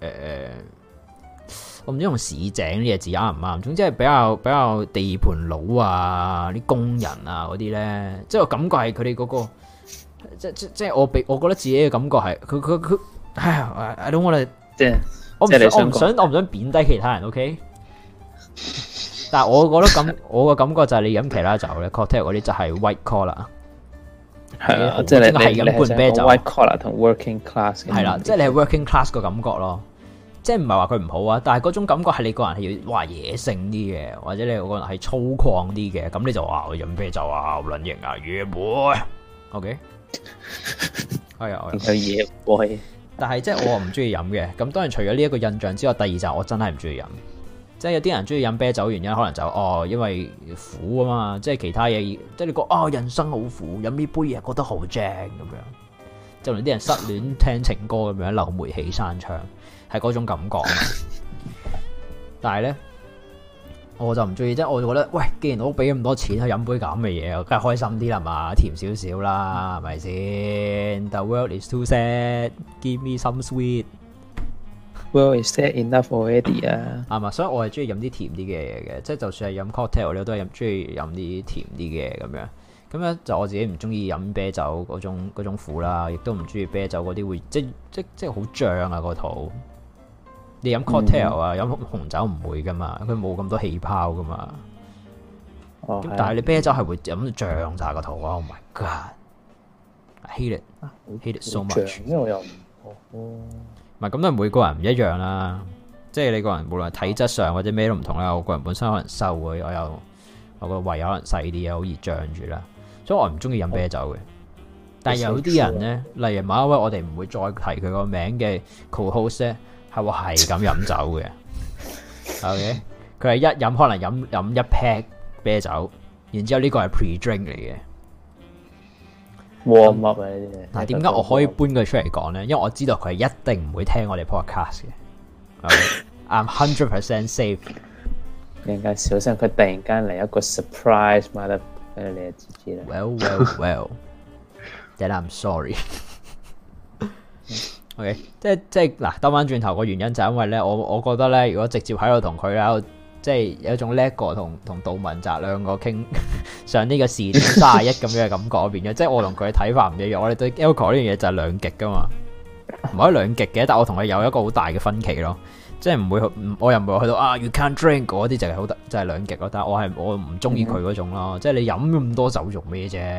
我唔知用市井呢個字啱唔啱，總之係比較地盤佬啊、啲工人啊嗰啲咧，即係我感覺係佢哋嗰個即係我覺得自己嘅感覺係佢I don't want to 即係。我唔想貶低其他人 ，OK？ 但係我覺得我嘅感覺就係你飲其他酒咧 ，cocktail 嗰啲就係 white collar， 係啊，即係你係飲罐啤酒 white collar 同 working class 係啦，即係你係 working class 個感覺咯，即係唔係話佢唔好啊，但係嗰種感覺係你個人係要野性啲嘅，或者你個人係粗獷啲嘅，咁你就話我飲啤酒啊，好撚型啊，野 boy，OK？ 係啊， 有野 boy。 但係即係我唔中意飲嘅，咁當然除咗呢一個印象之外，第二就係我真係唔中意飲。即係有啲人中意飲啤酒原因，可能就因為苦啊嘛，即係其他嘢，即係你講人生好苦，飲呢杯嘢覺得好正咁樣。就連啲人失戀聽情歌咁樣，流煤氣山槍，係嗰種感覺。但係咧，我就唔中意，即係我就覺得，喂，既然我俾咁多錢去飲杯咁嘅嘢，我梗係開心啲啦嘛，甜少少啦，係咪先 ？The world is too sad, give me some sweet. World is sad enough already 啊， 係嘛，所以我係中意飲啲甜啲嘅嘢嘅，即係就算係飲 cocktail 我都係中意飲啲甜啲嘅咁樣。咁樣就我自己唔中意飲啤酒嗰種苦啦，亦都唔中意啤酒嗰啲會即係好脹啊個肚。你飲 cocktail 啊，飲紅酒唔會噶嘛，佢冇咁多氣泡噶嘛。咁但係你啤酒係會飲到脹晒個肚啊 ！Oh my god，I hate it so much。 因為我又唔係咁，都每個人唔一樣啦。即係你個人無論體質上或者咩都唔同啦。我個人本身可能瘦嘅，我個胃可能細啲啊，好易脹住啦。所以我唔中意飲啤酒嘅。但係有啲人咧，例如某一位我哋唔會再提佢個名嘅 co-host 咧，係我係咁飲酒嘅。OK， 佢係一飲可能飲一 pack 啤酒，然之後呢個係 pre-drink 嚟嘅。 warm up 啊呢啲嘢。 嗱，點解我可以搬佢出嚟講咧？因為我知道佢係一定唔會聽我哋 podcast 嘅。OK，I'm 100% safe。 你應該小心佢突然間嚟一個 surprise， 買得俾你就知啦。 Well，then I'm sorry。OK， 即係嗱，兜翻轉頭個原因就係因為咧，我覺得咧，如果直接喺度同佢喺度，即係有一種叻哥同杜汶澤兩個傾上呢個視點31咁樣嘅感覺變咗，即係我同佢嘅睇法唔一樣。我哋對 alcohol 呢樣嘢就係兩極噶嘛，唔可以兩極嘅，但我同佢有一個好大嘅分歧咯，即係唔會，我又唔會去到you can't drink 嗰啲就係好就係兩極咯。但係我唔中意佢嗰種咯，即係你飲咁多酒做咩啫？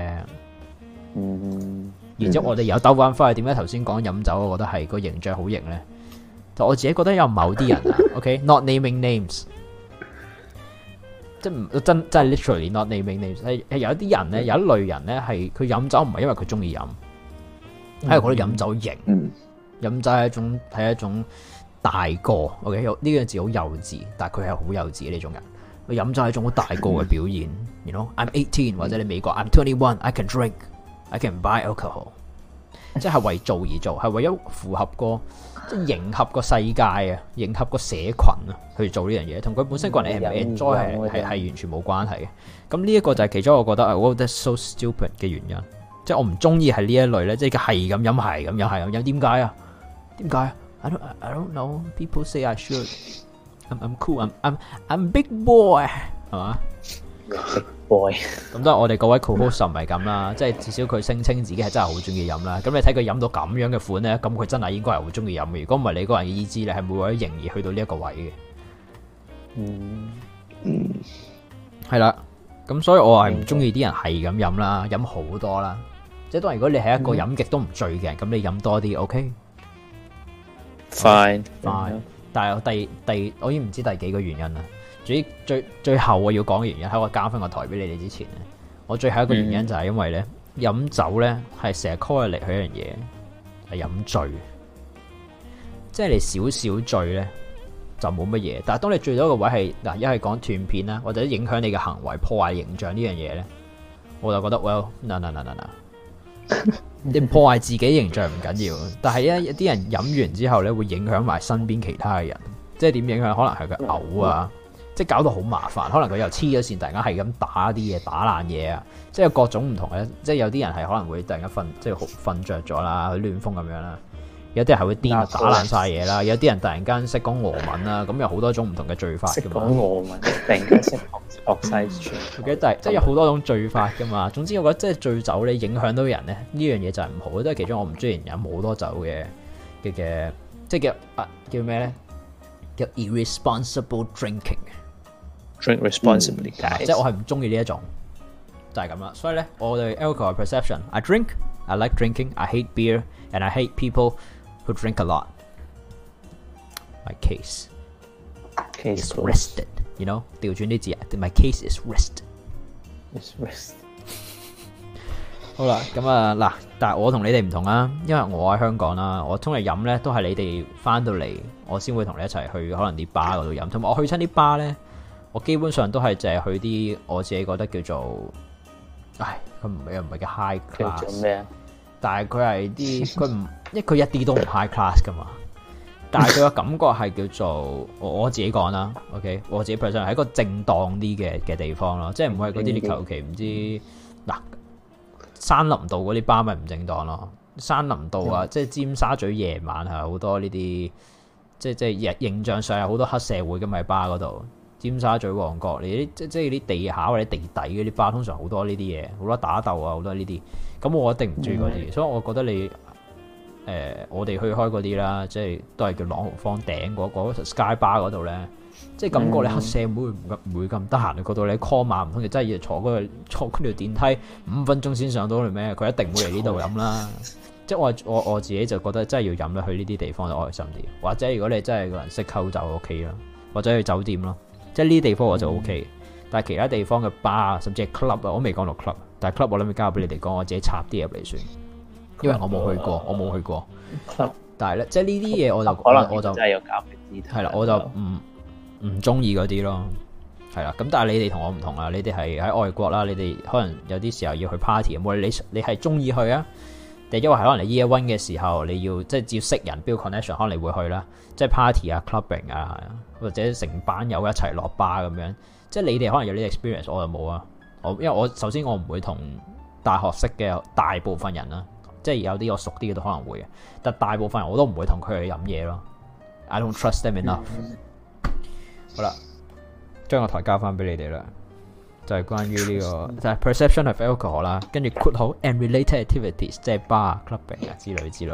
然之後我哋有兜翻翻去，點解頭先講飲酒，我覺得係個形象好型咧？就我自己覺得有某啲人啊，OK，not naming names， 即係真係 literally not naming names 係有一啲人咧，有一類人咧係佢飲酒唔係因為佢中意飲，係覺得飲酒型，飲酒係一種大個 ，OK 呢個字好幼稚，但係佢係好幼稚嘅呢種人。佢飲酒係一種好大個嘅表現，you know I'm 18或者你美國 I'm 21 I can drink I can buy alcohol， 即係為做而做，係為咗符合個即係迎合個世界啊，迎合個社群啊去做呢樣嘢，同佢本身個人係唔 enjoy 係完全冇關係嘅。咁呢一個就係其中我覺得我覺得 so stupid 嘅原因，即係我唔中意係呢一類咧，即係係咁飲係咁飲，點解啊？點解？I don't know. People say I should. I'm cool. I'm big boy. 係嘛 ？Big boy。 咁都係我哋各位 co-host 唔係咁啦，即係至少佢聲稱自己係真係好中意飲啦。咁你睇佢飲到咁樣嘅款咧，咁佢真係應該係好中意飲嘅。如果唔係你個人嘅意志力係唔會為咗營而去到呢一個位嘅。係啦。咁所以我係唔中意啲人係咁飲啦，飲好多啦。即係當然如果你係一個飲極都唔醉嘅人，咁你飲多啲 OK。 Fine， 但係我已經唔知第幾個原因啦。最後我要講嘅原因喺我交翻個台俾你哋之前咧，我最後一個原因就係因為咧飲酒咧係成日 correlate去一樣嘢係飲醉，即係你少少醉咧就冇乜嘢。但係當你醉到一個位係嗱，一係講斷片啦，或者影響你嘅行為、破壞形象呢樣嘢咧，我就覺得 well no。你破壞自己形象唔緊要，但係咧有啲人飲完之後咧會影響埋身邊其他嘅人，即係點影響？可能係佢嘔啊，即係搞到好麻煩。可能佢又黐咗線，突然間係咁打啲嘢，打爛嘢啊，即係有各種唔同嘅。即係有啲人係可能會突然間即係瞓着咗啦，去亂風咁樣啦。有啲人係會癲打爛晒嘢啦，有啲人突然間識講俄文啦，咁有好多種唔同嘅醉法㗎嘛。 識講俄文，突然間識學晒全。即係有好多種醉法㗎嘛。總之我覺得即係醉酒咧影響到人咧，呢樣嘢就係唔好。都係其中我唔中意人飲好多酒嘅，即係叫咩咧？叫 irresponsible drinking。Drink responsibly， 即係我係唔中意呢一種，就係咁啦。所以咧，我對 alcohol perception，I drink，I like drinking，I hate beer，and I hate people who drink a lot. My case is rested. You know， 調轉啲字啊 ，My case is rested. Rest. 好啦，咁啊嗱，但係我同你哋唔同啦，因為我喺香港啦，我通常飲咧都係你哋翻到嚟，我先會同你一齊去可能啲巴嗰度飲，同埋我去親啲巴咧，我基本上都係淨係去啲我自己覺得叫做，佢唔係叫 high class。 叫做咩啊？ 但係佢係啲因為佢一啲都唔 high class 噶嘛，但係佢個感覺係叫做我自己講啦 ，OK， 我自己 personally 係一個正當啲嘅地方咯，即係唔會係嗰啲你求其唔知嗱山林道嗰啲巴咪唔正當咯，山林道啊，即係尖沙咀夜晚係好多呢啲，即係形象上有好多黑社會嘅咪巴嗰度，尖沙咀旺角你啲即係啲地下或者地底嗰啲巴通常好多呢啲嘢，好多打鬥啊，好多呢啲。咁我一定唔中意嗰啲，所以我覺得你我哋去開嗰啲啦，即係都係叫朗豪坊頂嗰 Sky Bar 嗰度咧，即係感覺你黑社會唔會咁得閒去嗰度，你 call 碼唔通你真係要坐嗰條電梯5分鐘先上到嚟咩？佢一定會嚟呢度飲啦。即係我自己就覺得真係要飲啦，去呢啲地方就開心啲。或者如果你真係個人識溝就 OK 啦，或者去酒店咯，即係呢啲地方我就 OK。但係其他地方嘅 bar 甚至係 club 啊，我未講到 club。但係 club 我諗要交俾你哋講，我自己插啲入嚟算，因為我冇去過。但係咧，即係呢啲嘢我就可能我就真係有交俾係啦，我就唔中意嗰啲咯。係啦，咁但係你哋同我唔同啊，你哋係喺外國啦，你哋可能有啲時候要去 party，無論你係中意去啊，定因為係可能你 year one 嘅時候你要即係只要識人 build connection， 可能你會去啦，即係 party 啊 clubbing 啊，或者成班友一齊落巴咁樣，即係你哋可能有呢啲 experience， 我就冇啊。因為我首先我唔會同大學識嘅大部分人啦，即係有啲我熟啲嘅都可能會嘅，但大部分人我都唔會同佢去飲嘢咯。I don't trust them enough。好啦，將個台交翻俾你哋啦，就係關於呢個就係 perception of alcohol 啦，跟住括號 and related activities， 即係 bar、clubbing 啊之類之類。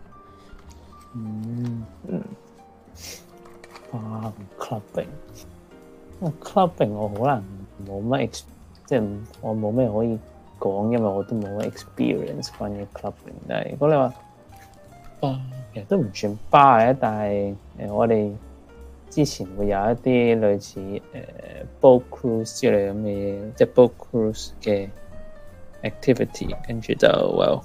clubbing 我可能冇乜即係我冇咩可以講，因為我都冇乜 experience 關於 clubbing。但係如果你話其實都唔算 bar 嘅，但係我哋之前會有一啲類似boat cruise 之類咁嘅嘢，即係 boat cruise 嘅 activity， 跟住就 well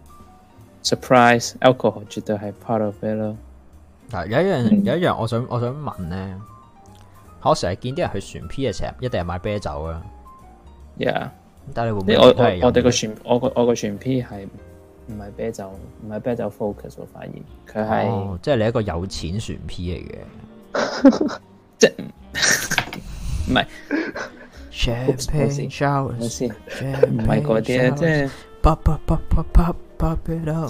surprise alcohol 絕對係 part of it 咯。 有一樣我想問咧，我成日見啲人去船 P 嘅時候，一定係買啤酒啊。 Yeah， 但係你會唔會我哋個船我個船 P 係唔係啤酒 focus？ 我發現佢係即係你一個有錢船 P 嚟嘅， 即係唔係 champagne showers， 唔係嗰啲咧，即係 pop it up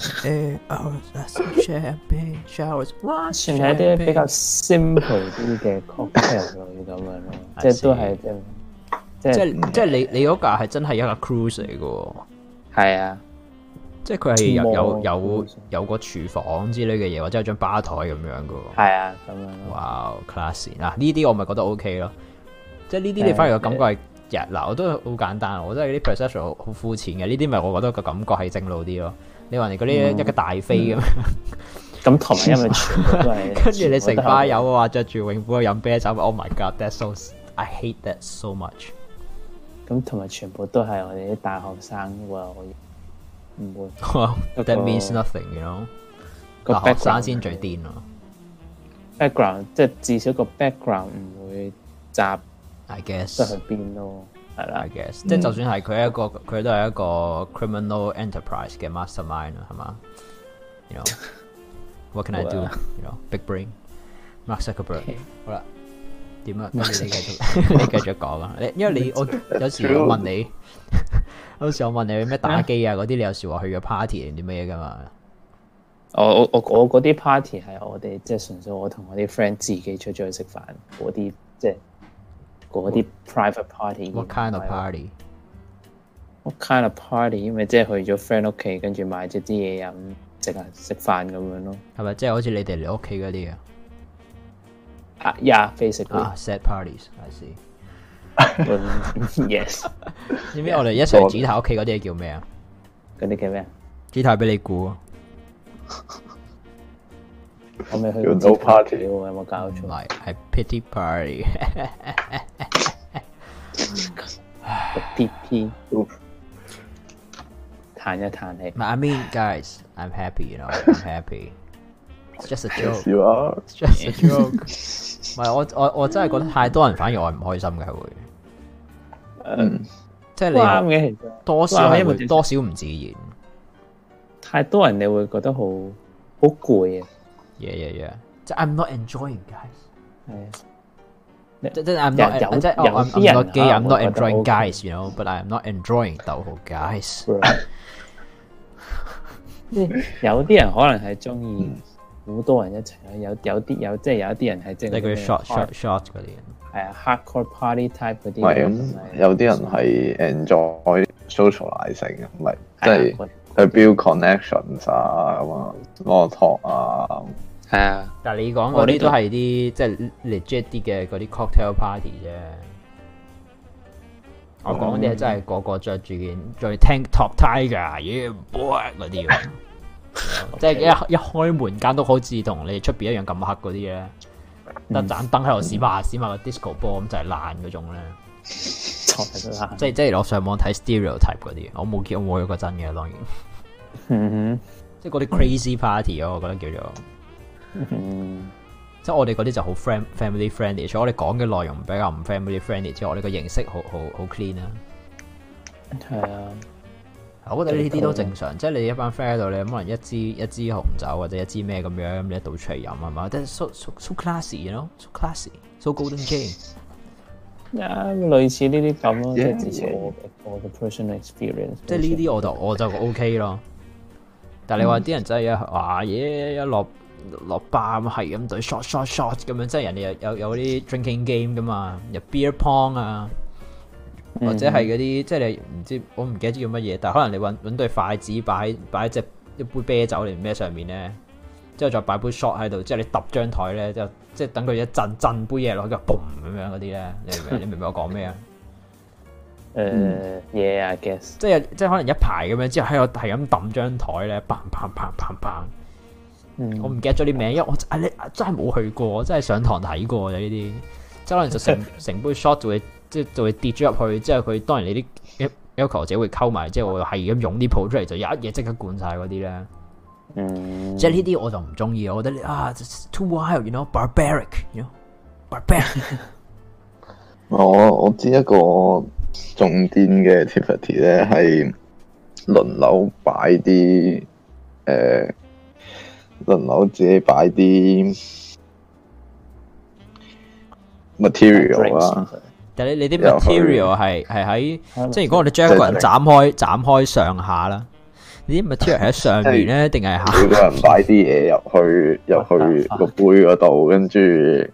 champagne showers， 算係一啲比較 simple 啲嘅 cocktail 類咁樣咯，即係都係即係你嗰架係真係一個 cruise 嚟嘅， 係啊， 即係佢係有個廚房之類嘅嘢，或者有張吧台咁樣嘅， 係啊咁樣咯。 哇 classy 嗱呢啲我咪覺得 OK 咯，即係呢啲你反而個感覺係嗱我都好簡單，我覺得啲 perception 好膚淺嘅，呢啲咪我覺得個感覺係正路啲咯。你話你嗰啲一個大飛咁樣， 咁同埋因為全部都係跟住你成班友嘅話着住泳褲去飲啤酒 ，Oh my god，that's so I hate that so much。 咁同埋全部都係我哋啲大學生喎，唔會。 That means nothing，you know。個學生先最癲咯。 background 即係至少個 background 唔會雜 ，I guess 得去邊咯，係啦。 I guess 即係就算係佢都係一個 criminal enterprise 嘅 mastermind 啦，係嘛 ？You know what can I do？ You know big brain，Mark Zuckerberg。好啦。點啊？你繼續講啊！因為我有時我問你，咩打機啊嗰啲，你有時話去咗 party 定啲咩噶嘛？ 我嗰啲 party 係我哋即係純粹我同我啲 friend 自己出咗去食飯嗰啲，即係嗰啲 private party。 What kind of party？ What kind of party？ 因為即係去咗 friend 屋企，跟住買咗啲嘢飲，淨係食飯咁樣咯。 係咪即係好似你哋嚟屋企嗰啲啊？ Yeah, basically. Sad parties, I see. Yes. 知唔知我哋一齊指頭屋企嗰啲叫咩啊？ 嗰啲叫咩？ 指頭俾你估啊！ 我未去過 no party 喎，有冇搞錯？ 唔係，係 pity party。 個 PP 彈一彈氣。 I mean, guys, I'm happy, you know, I'm happy.It's just a joke. Yes, you are. It's just a joke. 唔係我真係覺得太多人反而我係唔開心嘅會。即係你啱嘅，其實多少係會多少唔自然。 太多人你會覺得好攰啊。 Yeah. 即係 I'm not enjoying, guys. 係啊。 即係 I'm not 即係I'm not gay, I'm not enjoying guys, you know, but I'm not enjoying 逗號 guys。 有啲人可能係中意。好多人一齊啦，有啲人係即係嗰啲 short 嗰啲人， 係啊 hardcore party type 嗰啲。 唔係咁，有啲人係 enjoy socializing 嘅，唔係即係去 build connections 啊咁啊 small talk 啊。 係啊， 但係你講嗰啲都係啲即係 legit 啲嘅嗰啲 cocktail party 啫。我講啲係真係個個着住件最 tank top tiger yeah boy 嗰啲。即係一開門間都好似同你出邊一樣咁黑嗰啲咧，得盞燈喺度閃下個 disco 波咁就係爛嗰種咧，即係我上網睇 stereotype 嗰啲，我冇見過有個真嘅當然，即係嗰啲 crazy party 咯，我覺得叫做，即係我哋嗰啲就好 family friendly，除咗我哋講嘅內容比較唔 family friendly 之外，我哋個形式好 clean 啊， 係啊。 我覺得呢啲都正常，即係你一班 friend 喺度，你可能一支紅酒或者一支咩咁樣，咁你一倒出嚟飲係嘛？即係 so classy，you know，so classy，so golden Jane。 類似呢啲咁咯，即係至少我嘅 personal experience。 即係呢啲我就 OK 咯。但係你話啲人真係一落吧咁係咁對 shot 咁樣，即係人哋有啲 drinking game 噶嘛，有 beer pong 啊。或者係嗰啲，即係你唔知，我唔記得叫乜嘢，但係可能你揾對筷子擺一杯啤酒嚟咩上面咧，之後再擺杯 shot 喺度，之後你揼張台咧，即係等佢一震杯嘢落去，嘣咁樣嗰啲咧，你明唔明我講咩啊 ？Yeah, I guess。 即係可能一排咁樣，之後喺度係咁揼張台咧，砰， 我唔記得咗啲名，因為我你真係冇去過，我真係上堂睇過嘅呢啲，即係可能就成杯 shot 就會跌咗入去，之後佢當然你啲要求者會溝埋，即係我係咁湧啲泡出嚟，就有一嘢即刻灌晒嗰啲咧。即係呢啲我就唔中意，我覺得too wild，you know，barbaric，you know，barbaric。 我知一個重癲嘅 activity 咧，係輪流擺啲輪流自己擺啲 material 啦。 但係你啲 material 係喺，即係如果我哋將一個人斬開上下啦，你啲 material 係喺上面咧，定係下？每個人擺啲嘢入去個杯嗰度，跟住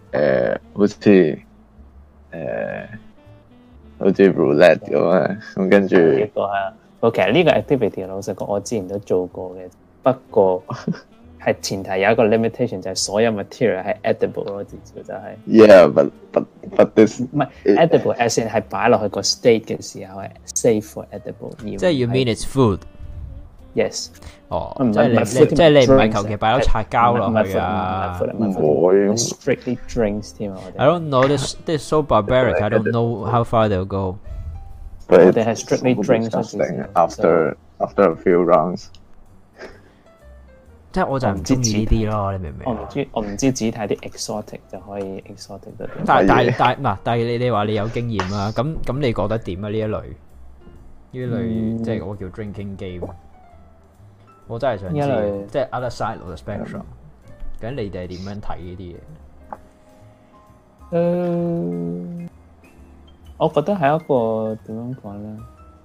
好似 roulette 咁啊，咁跟住呢個係，我其實呢個 activity 老實講，我之前都做過嘅，不過係前提有一個 limitation，就係所有 material 係 edible 咯，至少就係。 Yeah，but this 唔係 edible，as in 係擺落去個 state 嘅時候係 safe for edible。 即係 you mean it's food？Yes。哦，即係你唔係求其擺咗擦膠落去啊？ 唔會 strictly drinks 添啊！我哋 I don't know this is so barbaric. I don't know how far they'll go. 我哋係 strictly drinks after a few rounds。 即係我就唔中意呢啲咯，你明唔明？ 我唔知只睇啲 exotic 就可以 exotic 得。 但係你話你有經驗啦，咁你覺得點啊？呢一類即係我叫 drinking game。我真係想知，即係 other side of the spectrum。究竟你哋係點樣睇呢啲嘢？ 我覺得係一個點樣講咧，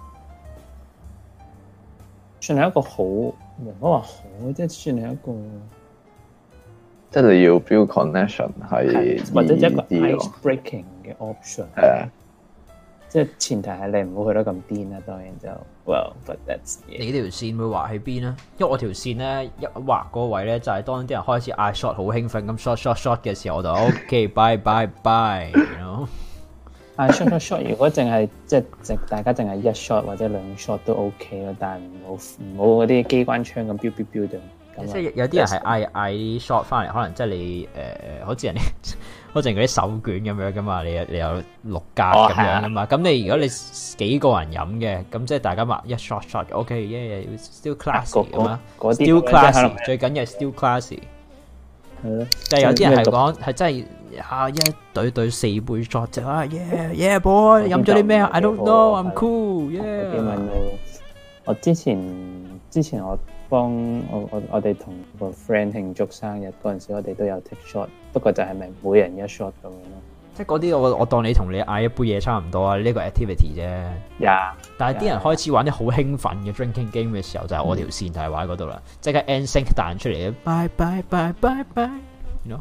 算係一個好，唔好話好，即係算係一個， 即係你要 build connection 係或者一個 ice breaking 嘅 option。係即係前提係你唔好去得咁癲啦，當然就 well，but that's it。 你條線會畫喺邊咧？因為我條線咧一畫嗰位咧，就係當啲人開始嗌 shot 好興奮咁 shot 嘅時候，我就 OK bye bye bye，you know。 嗌 shot，如果淨係即係大家淨係一 shot 或者兩 shot 都 OK 咯，但係唔好嗰啲機關槍咁飆就。 即係有啲人係嗌 shot 翻嚟，可能即係你好似人哋好似嗰啲手卷咁樣噶嘛，你有6格咁樣噶嘛。咁你如果你幾個人飲嘅，咁即係大家話一 shot OK，still classy 咁啊，still classy，最緊要係 still classy。 係咯， 但係有啲人係講係真係一隊4杯 shot 就yeah boy 飲咗啲咩 I don't know I'm cool yeah。 我之前我幫我哋同個 friend 慶祝生日嗰陣時，我哋都有 take shot， 不過就係咪每人一 shot 咁樣咯？即係嗰啲我當你同你嗌一杯嘢差唔多啊，呢個 activity 啫。但係啲人開始玩啲好興奮嘅 drinking game 嘅時候，就係我條線就係玩嗰度啦，即刻 NSYNC 彈出嚟 bye bye bye bye bye，you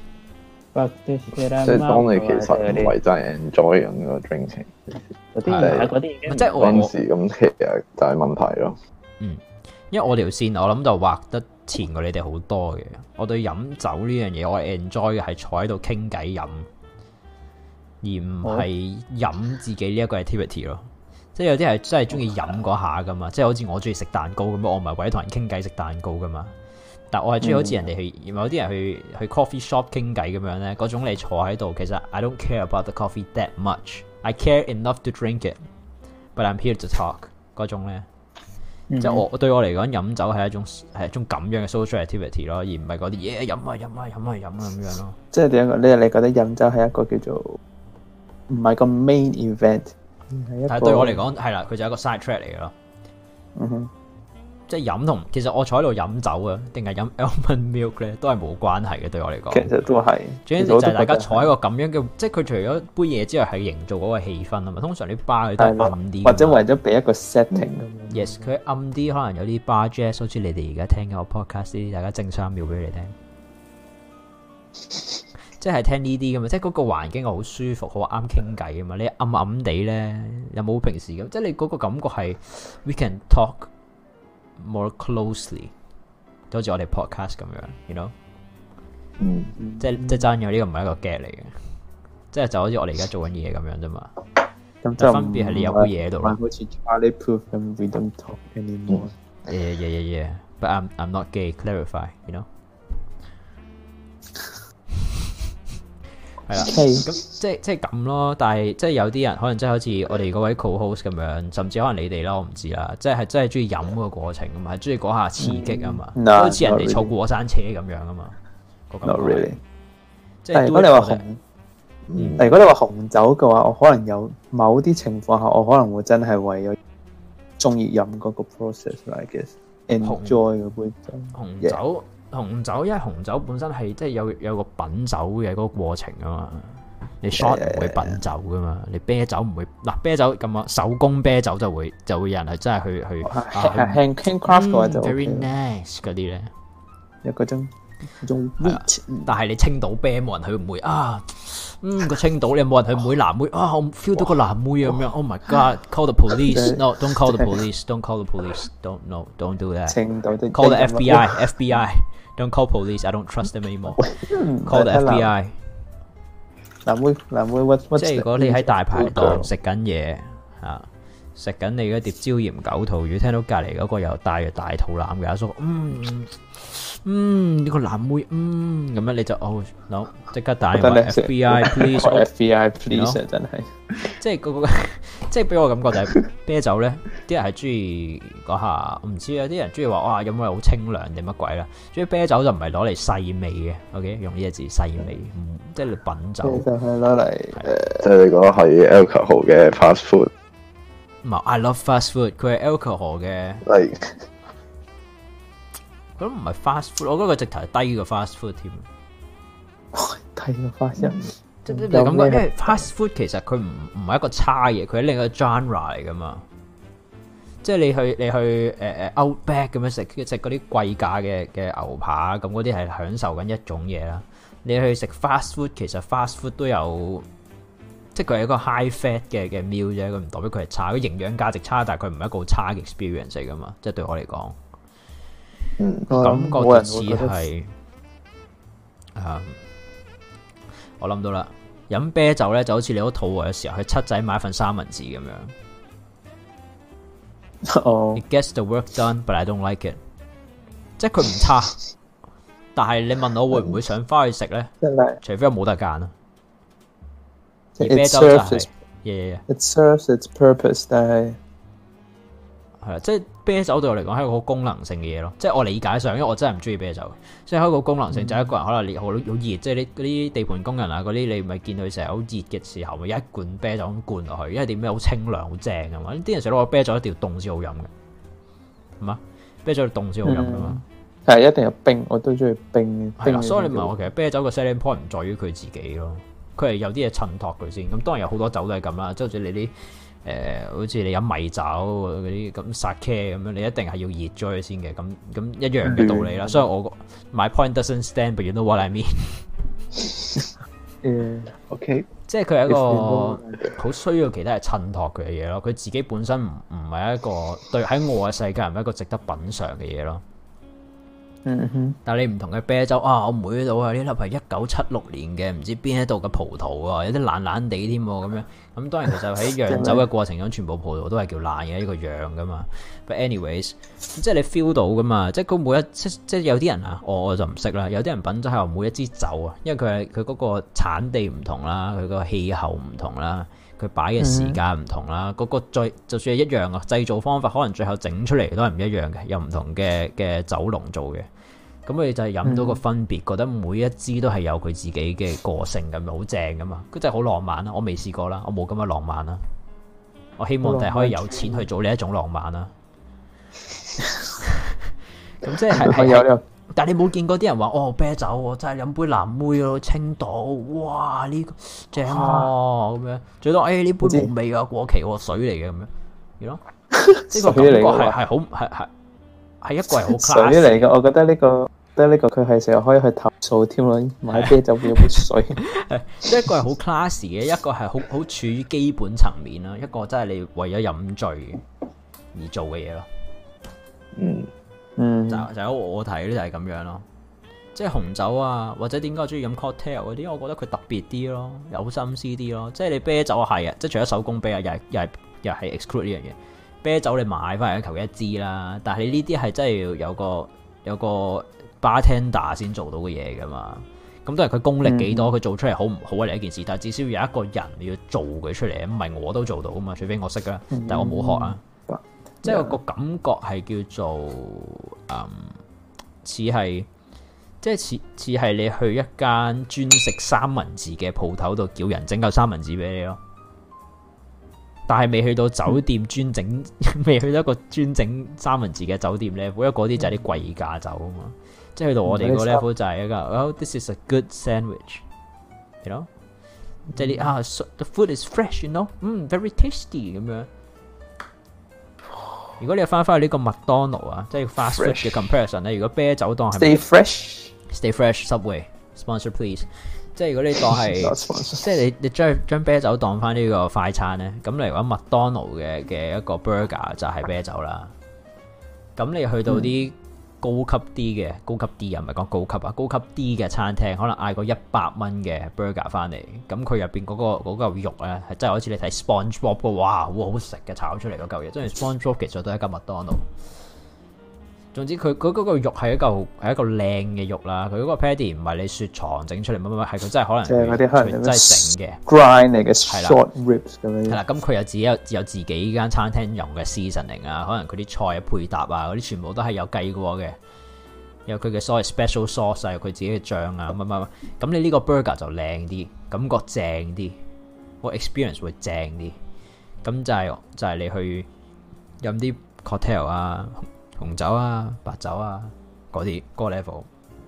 know。 即係當你其實唔係真係 enjoy 緊個 drinking， 嗰啲即係嗰陣時咁，其實就係問題咯。 因為我條線我諗就畫得前過你哋好多嘅。我對飲酒呢樣嘢我係 enjoy 嘅係坐喺度傾偈飲，而唔係飲自己呢一個 activity 咯。即係有啲係真係中意飲嗰下噶嘛，即係好似我中意食蛋糕咁樣，我唔係為咗同人傾偈食蛋糕噶嘛。但我係中意好似人哋去有啲人去 coffee shop 傾偈咁樣咧，嗰種你坐喺度，其實 I don't care about the coffee that much. I care enough to drink it, but I'm here to talk 嗰種咧。即係我對我嚟講，飲酒係一種咁樣嘅 social activity 咯，而唔係嗰啲嘢飲啊咁樣咯。 即係點樣？你覺得飲酒係一個叫做唔係個 main event， 但係對我嚟講係啦，佢就係一個 side track 嚟嘅咯。即係飲同其實我坐喺度飲酒啊，定係飲 almond milk 咧，都係冇關係嘅。對我嚟講， 其實都係。 最緊要就係大家坐喺個咁樣嘅，即係佢除咗杯嘢之外，係營造嗰個氣氛啊嘛。通常啲 bar 佢都係暗啲， 或者為咗俾一個 setting 咁樣。 Yes， 佢暗啲，可能有啲 bar jazz， 好似你哋而家聽嘅個 podcast 啲，大家整3秒俾你聽。即係聽呢啲噶嘛，即係嗰個環境好舒服，好啱傾偈啊嘛。你暗暗地咧，有冇平時咁？即係你嗰個感覺係 we can talk more closely， 就好似我哋 podcast 咁樣 ，you know， 即係真嘅，呢個唔係一個 get 嚟嘅，即係就好似我哋而家做緊嘢咁樣啫嘛。咁就分別係你有杯嘢喺度咯。 好似 Charlie Puth 咁 ，we don't talk anymore。 Yeah，but I'm not gay. Clarify，you know。 係啦，咁即係咁咯。但係即係有啲人可能即係好似我哋嗰位 co-host 咁樣，甚至可能你哋啦，我唔知啦。即係真係中意飲個過程啊嘛，係中意嗰下刺激啊嘛，好似人哋坐過山車咁樣啊嘛。 Not really。 但係如果你話紅酒嘅話，我可能有某啲情況下，我可能會真係為咗中意飲嗰個 process，I guess，enjoy 嗰杯酒。 紅酒，因為紅酒本身係即係有個品酒嘅嗰個過程啊嘛。你 shot 唔會品酒噶嘛，你啤酒唔會嗱，啤酒咁啊，手工啤酒就會有人係真係去 handcraft 嘅話就 very nice 嗰啲咧， 有嗰種 wheat， 但係你青島啤冇人去唔會啊，個青島你有冇人去唔會藍妹啊，我 feel 到個藍妹咁樣 ，Oh my God，call the police，no，don't call the police，don't call the police，don't do that， 青島的 call the FBI，don't call police，I don't trust them anymore，call the FBI。 藍妹， 即係如果你喺大排檔食緊嘢嚇，食緊你嗰碟椒鹽九肚魚，聽到隔離嗰個又帶住大肚腩嘅阿叔，呢個藍妹，咁樣你就no，即刻打電話 FBI please，FBI please， 真係， 即係個即係俾我感覺就係啤酒咧，啲人係中意嗰下，我唔知啊，啲人中意話哇飲落好清涼定乜鬼啦，中意啤酒就唔係攞嚟細味嘅 ，OK， 用呢個字細味，即係你品酒就係攞嚟即係你講係 alcohol 嘅 fast food。 唔係 I love fast food， 佢係 alcohol 嘅。佢都唔係 fast food， 我覺得佢直頭係低過 fast food 添。 低過 fast food， 即係你感覺，因為 fast food 其實佢唔係一個差嘢，佢係另一個 genre 嚟噶嘛。即係你去Outback 咁樣食嗰啲貴價嘅牛扒，咁嗰啲係享受緊一種嘢啦。你去食 fast food， 其實 fast food 都有，即係佢係一個 high fat 嘅 meal 啫，佢唔代表佢係差，佢營養價值差，但係佢唔係一個好差嘅 experience 嚟噶嘛。即係對我嚟講。感覺就似係，我諗到啦，飲啤酒咧就好似你好肚餓嘅時候去七仔買份三文治咁樣。It gets the work done, but I don't like it。即係佢唔差，但係你問我會唔會想翻去食咧？除非我冇得揀啦。而啤酒就係 ，it serves its purpose， 但係。 係啦，即係啤酒對我嚟講係一個好功能性嘅嘢咯，即係我理解上，因為我真係唔中意啤酒，即係一個功能性就係一個人可能好熱，即係你嗰啲地盤工人啊嗰啲，你咪見佢成日好熱嘅時候，咪一罐啤酒咁灌落去，因為點咩好清涼好正噶嘛，啲人成日攞個啤酒一定要凍先好飲嘅，係嘛？啤酒要凍先好飲噶嘛， 係一定有冰，我都中意冰。 係啦，所以你問我其實啤酒個 selling point 唔在於佢自己咯，佢係有啲嘢襯托佢先，咁當然有好多酒都係咁啦，即係好似你啲。好似你飲米酒嗰啲咁 sake 咁樣，你一定係要熱咗佢先嘅，咁一樣嘅道理啦。所以我 my point doesn't stand，but you know what I mean。 OK， 即係佢係一個好需要其他人襯托佢嘅嘢咯。佢自己本身唔係一個對喺我嘅世界唔係一個值得品嚐嘅嘢咯。但係你唔同嘅啤酒啊，我妹到啊，呢粒係1976年嘅，唔知邊一度嘅葡萄啊，有啲爛爛地添咁樣。咁當然其實喺釀酒嘅過程中，全部葡萄都係叫爛嘅一個樣噶嘛。But anyways， 即係你 feel 到噶嘛，即係佢每一即係有啲人啊，我就唔識啦。有啲人品酒係話每一支酒啊，因為佢嗰個產地唔同啦，佢個氣候唔同啦，佢擺嘅時間唔同啦，嗰個就算係一樣啊，製造方法可能最後整出嚟都係唔一樣嘅，有唔同嘅酒農做嘅。咁佢就係飲到個分別，覺得每一支都係有佢自己嘅個性咁，好正噶嘛！佢真係好浪漫啦，我未試過啦，我冇咁嘅浪漫啦。我希望就係可以有錢去做呢一種浪漫啦。咁即係，但係你冇見過啲人話哦啤酒，我真係飲杯藍妹咯，青島，哇呢個正咁樣，最多呢杯冇味噶，過期喎，水嚟嘅咁樣，係咯？呢個感覺係好係一個係好 class 水嚟嘅，我覺得呢個佢係成日可以去投訴添咯，買啤酒變咗杯水。 一個係好 class 嘅，一個係好處於基本層面啦，一個真係你為咗飲醉而做嘅嘢咯。就我睇咧就係咁樣咯，即係紅酒啊，或者點解我中意飲 cocktail 嗰啲，我覺得佢特別啲咯，有心思啲咯。即係你啤酒係啊，即係除咗手工啤啊，又係 exclude 呢樣嘢。啤酒你買翻嚟求一支啦，但係你呢啲係真係要有個 bartender 先做到嘅嘢噶嘛。 咁當然佢功力幾多，佢做出嚟好唔好係另一件事，但係至少有一個人要做佢出嚟，唔係我都做到啊嘛，除非我識啦，但係我冇學啊。即係個感覺係叫做似係，即係似係你去一間專食三文治嘅鋪頭度叫人整嚿三文治俾你咯。但係未去到酒店專整，未去到一個專整三文治嘅酒店 level，因為嗰啲就係啲貴價酒啊嘛。即係去到我哋個 level 就係一個，this is a good sandwich，you know，即係啲the food is fresh，you know，very tasty 咁樣。如果你翻去呢個麥當勞啊，即係 fast food 嘅 comparison 咧，如果啤酒檔係 stay fresh Subway sponsor please， 即係如果你當係即係你將啤酒當翻呢個快餐咧，咁例如講麥當勞嘅一個 burger 就係啤酒啦。咁你去到啲高級啲啊，唔係講高級啊，高級啲嘅餐廳，可能嗌個100蚊嘅 burger 翻嚟，咁佢入邊嗰嚿肉咧，係真係好似你睇 SpongeBob 嘅，哇，好好食嘅炒出嚟嗰嚿嘢，即係 SpongeBob 其實都係一間麥當勞。總之佢嗰個肉係一個靚嘅肉啦，佢嗰個 patty 唔係你雪藏整出嚟乜，係佢真係可能佢真係整嘅 grind 嚟嘅 short ribs 咁樣。 係啦，咁佢有自己間餐廳用嘅 seasoning 啊，可能佢啲菜配搭啊，嗰啲全部都係有計過嘅，有佢嘅所謂 special sauce 啊，有佢自己嘅醬啊，乜，咁你呢個 burger 就靚啲，感覺正啲，個 experience 會正啲，咁就係你去飲啲 cocktail 啊。紅酒啊、白酒啊嗰啲嗰個 level，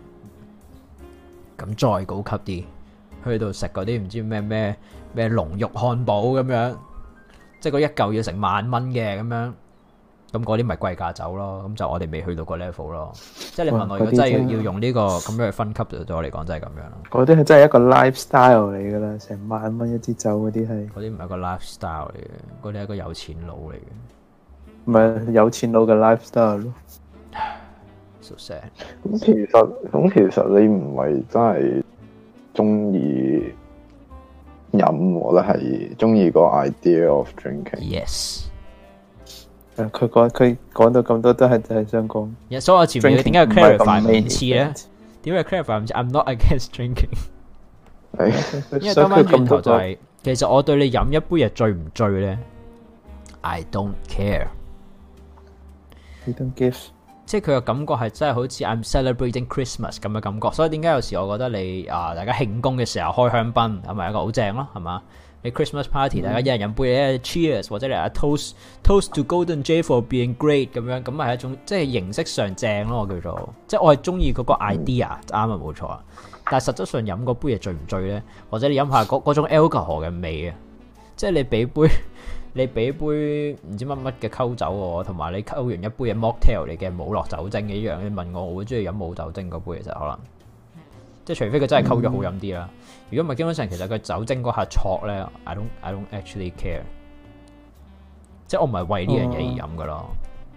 咁再高級啲，去到食嗰啲唔知咩龍肉漢堡咁樣，即係嗰一嚿要成萬蚊嘅咁樣，咁嗰啲咪貴價酒咯，咁就我哋未去到個 level 咯。即係你問我，如果真係要用呢個咁樣去分級，就對我嚟講真係咁樣咯。嗰啲係真係一個 lifestyle 嚟噶啦，成萬蚊一支酒嗰啲係。嗰啲唔係一個 lifestyle 嚟嘅，嗰啲係一個有錢佬嚟嘅。唔係有錢佬嘅 lifestyle 咯。So sad。 咁其實你唔係真係中意飲，我覺得係中意個 idea of drinking。Yes。佢講到咁多都係想講。所以我前面點解要 clarify 唔似咧？點解 clarify 唔似 ？I'm not against drinking。因為兜翻轉頭就係，其實我對你飲一杯嘢醉唔醉咧 ？I don't care。You don't give。即係佢嘅感覺係真係好似 I'm celebrating Christmas 咁嘅感覺，所以點解有時我覺得你大家慶功嘅時候開香檳係咪一個好正咯？係嘛？你 Christmas party 大家一人飲杯cheers 或者你toast to Golden Jay for being great 咁樣，咁係一種即係形式上正咯，我叫做即係我係中意嗰個 idea 啱啊，冇錯啊。但係實質上飲嗰杯嘢醉唔醉咧？或者你飲下嗰種 alcohol 嘅味啊？即係你俾杯唔知乜嘅溝酒喎，同埋你溝完一杯嘅 mocktail 嚟嘅冇落酒精嘅一樣，你問我會中意飲冇酒精嗰杯，其實可能即係除非佢真係溝咗好飲啲啦。如果唔係，基本上其實佢酒精嗰下挫咧 I don't actually care， 即係我唔係為呢樣嘢而飲噶咯。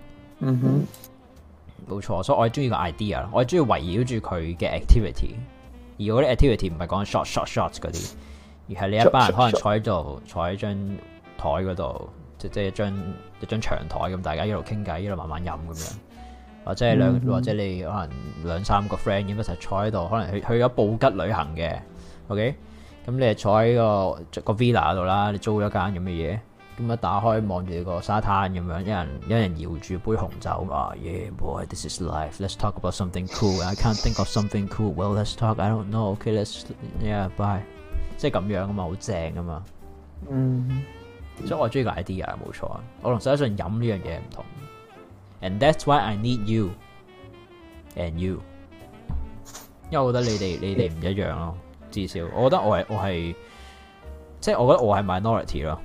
冇錯，所以我係中意個 idea， 我係中意圍繞住佢嘅 activity， 而嗰啲 activity 唔係講 shot 嗰啲，而係你一班人可能坐喺度，坐喺張台嗰度，即係一張長台咁，大家一路傾偈，一路慢慢飲咁樣，或者係或者你可能2-3個 friend 咁一齊坐喺度，可能去咗布吉旅行嘅 ，OK， 咁你係坐喺個 villa 度啦，你租咗間咁嘅嘢，咁一打開望住個沙灘咁樣，一人搖住杯紅酒啊 ，Yeah boy, this is life. Let's talk about something cool. I can't think of something cool. Well, let's talk. I don't know. Okay, let's yeah, bye. 即係咁樣啊嘛，好正啊嘛。所以我中意個 idea 冇錯啊，我同實際上飲呢樣嘢唔同 ，and that's why I need you and you， 因為我覺得你哋唔一樣咯，至少我覺得我係即係我覺得我係 minority 咯。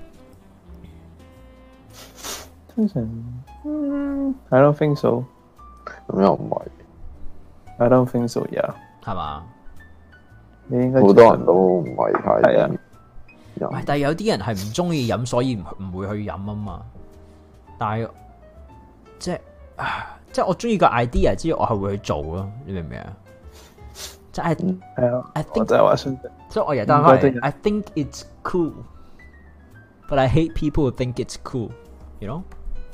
通常I don't think so， 咁又唔係 I don't think so， yeah， 係嘛？ 你應該好多人都唔係太係啊。 但係有啲人係唔中意飲，所以唔會去飲啊嘛。但係即係我中意個 idea 之後，我係會去做咯。你明唔明啊？即係係啊，我就係話信，所以我又單翻嚟。I think it's cool, but I hate people who think it's cool. You know？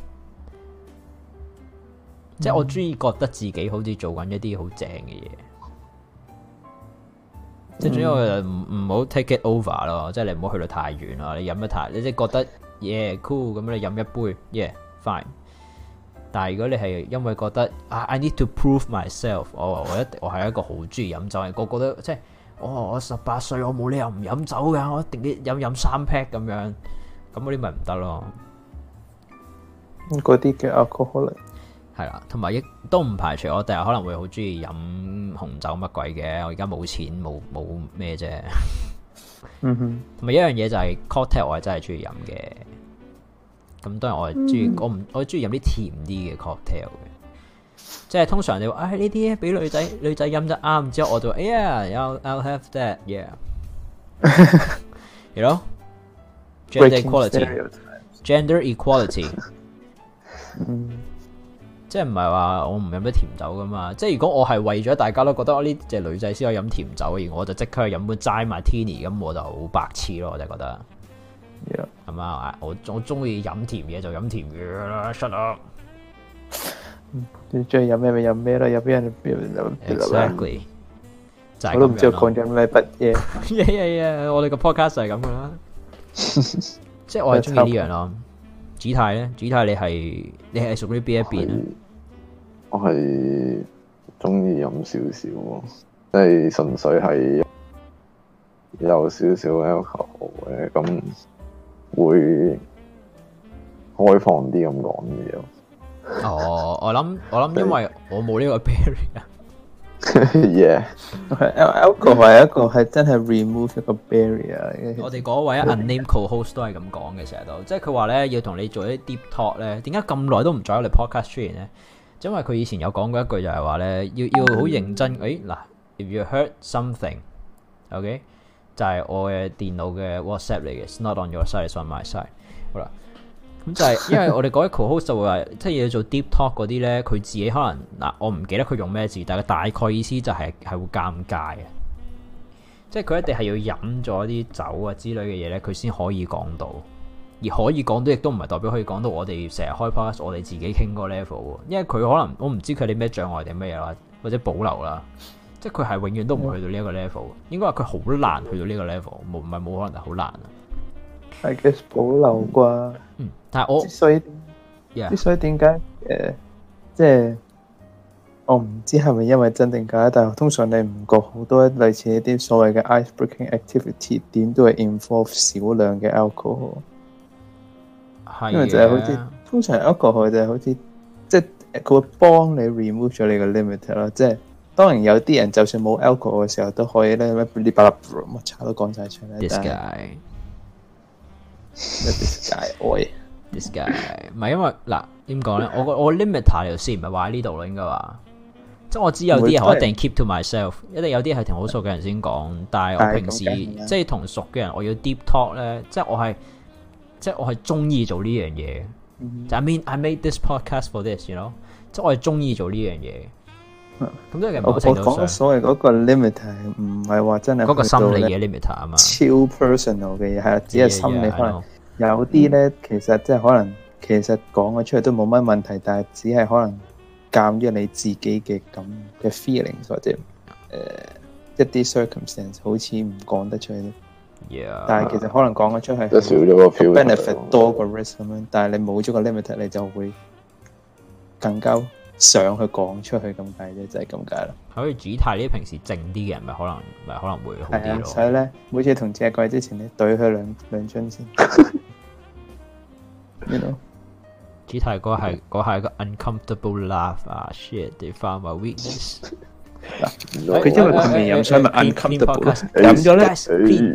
即係我中意覺得自己好似做緊一啲好正嘅嘢。 即係總之我就唔好 take it over 咯，即係你唔好去到太遠啦。你飲得太，你即係覺得 yeah cool 咁，你飲一杯 yeah fine。但係如果你係因為覺得I need to prove myself， 我係一個好中意飲酒嘅，我覺得即係我18歲我冇理由唔飲酒㗎，我一定要飲3 pack 咁樣，咁嗰啲咪唔得咯。 嗰啲嘅 alcoholic 係啦，同埋亦都唔排除我第日可能會好中意飲紅酒乜鬼嘅，我而家冇錢冇咩啫。 嗯哼， 同埋一樣嘢就係 cocktail 我係真係中意飲嘅。咁當然我係中意我中意飲啲甜啲嘅 cocktail 嘅，即係通常你話呢啲俾女仔飲得啱，之後我就I'll have that yeah you know gender equality 即係唔係話我唔飲得甜酒噶嘛？即係如果我係為咗大家都覺得呢隻女仔先可以飲甜酒，而我就即刻去飲杯齋 Martini， 咁我就好白痴咯，我就覺得。係嘛？我中意飲甜嘢就飲甜嘢啦 ，shut up。 你中意飲咩咪飲咩咯，有邊人 exactly 就係咁樣咯。 我都唔知我講緊咩乜嘢。我哋個 podcast 就係咁噶啦。即係我係中意呢樣咯。子泰咧，子泰你係屬於邊一邊咧？ 我係中意飲少少，即係純粹係有少少 alcohol 嘅，咁會開放啲咁講嘢咯。 哦，我諗，因為我冇呢個 barrier。 Yeah， alcohol 係一個係真係 remove 一個 barrier。 我哋嗰位 unnamed co-host 都係咁講嘅，成日都即係佢話咧要同你做一啲 deep talk 咧，點解咁耐都唔再喺我哋 podcast 出現咧？因為佢以前有講過一句就係話咧，要好認真。嗱，if you heard something，OK，就係我嘅電腦嘅 WhatsApp 嚟嘅 ，it's not on your side，it's on my side。好啦。咁就係因為我哋嗰位 co-host 就會話，即係要做 deep talk 嗰啲咧，佢自己可能我唔記得佢用咩字，但係大概意思就係會尷尬嘅，即係佢一定係要飲咗啲酒啊之類嘅嘢咧，佢先可以講到，而可以講到亦都唔係代表可以講到我哋成日開 podcast 我哋自己傾嗰個 level， 因為佢可能我唔知佢哋咩障礙定咩嘢啦，或者保留啦，即係佢係永遠都唔會去到呢一個 level， 應該話佢好難去到呢個 level， 唔係冇可能，係好難啊。 I guess 保留啩， 但係我所以點解即係我唔知係咪因為真定假，但係通常你唔覺好多類似一啲所謂嘅 ice-breaking activity 點都係 involve 少量嘅 alcohol，因為就係好似通常 alcohol 就係好似即係佢會幫你 remove 咗你個 limit 咯，即係當然有啲人就算冇 alcohol 嘅時候都可以咧，乜巴拉乜茶都講晒出嚟。 This guy 唔係因為嗱點講咧？我 limiter 條線唔係話喺呢度咯，應該話即係我知有啲人我一定 keep to myself， 一定有啲係同好熟嘅人先講，但係我平時即係同熟嘅人，我要 deep talk 咧，即係我係中意做呢樣嘢。就 I made this podcast for this，you know， 即係我係中意做呢樣嘢。咁即係某程度上，我講所謂嗰個 limiter 唔係話真係嗰個心理嘅 limiter 啊嘛， 超 personal 嘅嘢係只係心理可能。有啲咧，其實即係可能，其實講咗出嚟都冇乜問題，但係只係可能鑑於你自己嘅咁嘅 feelings 或者一啲 circumstance 好似唔講得出嚟。但係其實可能講咗出去少咗個 benefit 多過 risk 咁樣，但係你冇咗個 limit， 你就會更加想去講出去咁解啫，就係咁解啦。 好似主泰呢啲平時靜啲嘅人，咪可能會好啲咯。 所以咧，每次同隻鬼之前，你對佢兩樽先。You know？ 主泰嗰係一個 uncomfortable laugh 啊 ！shit，they found my weakness。 佢因為佢未飲，所以咪 uncomfortable。飲咗咧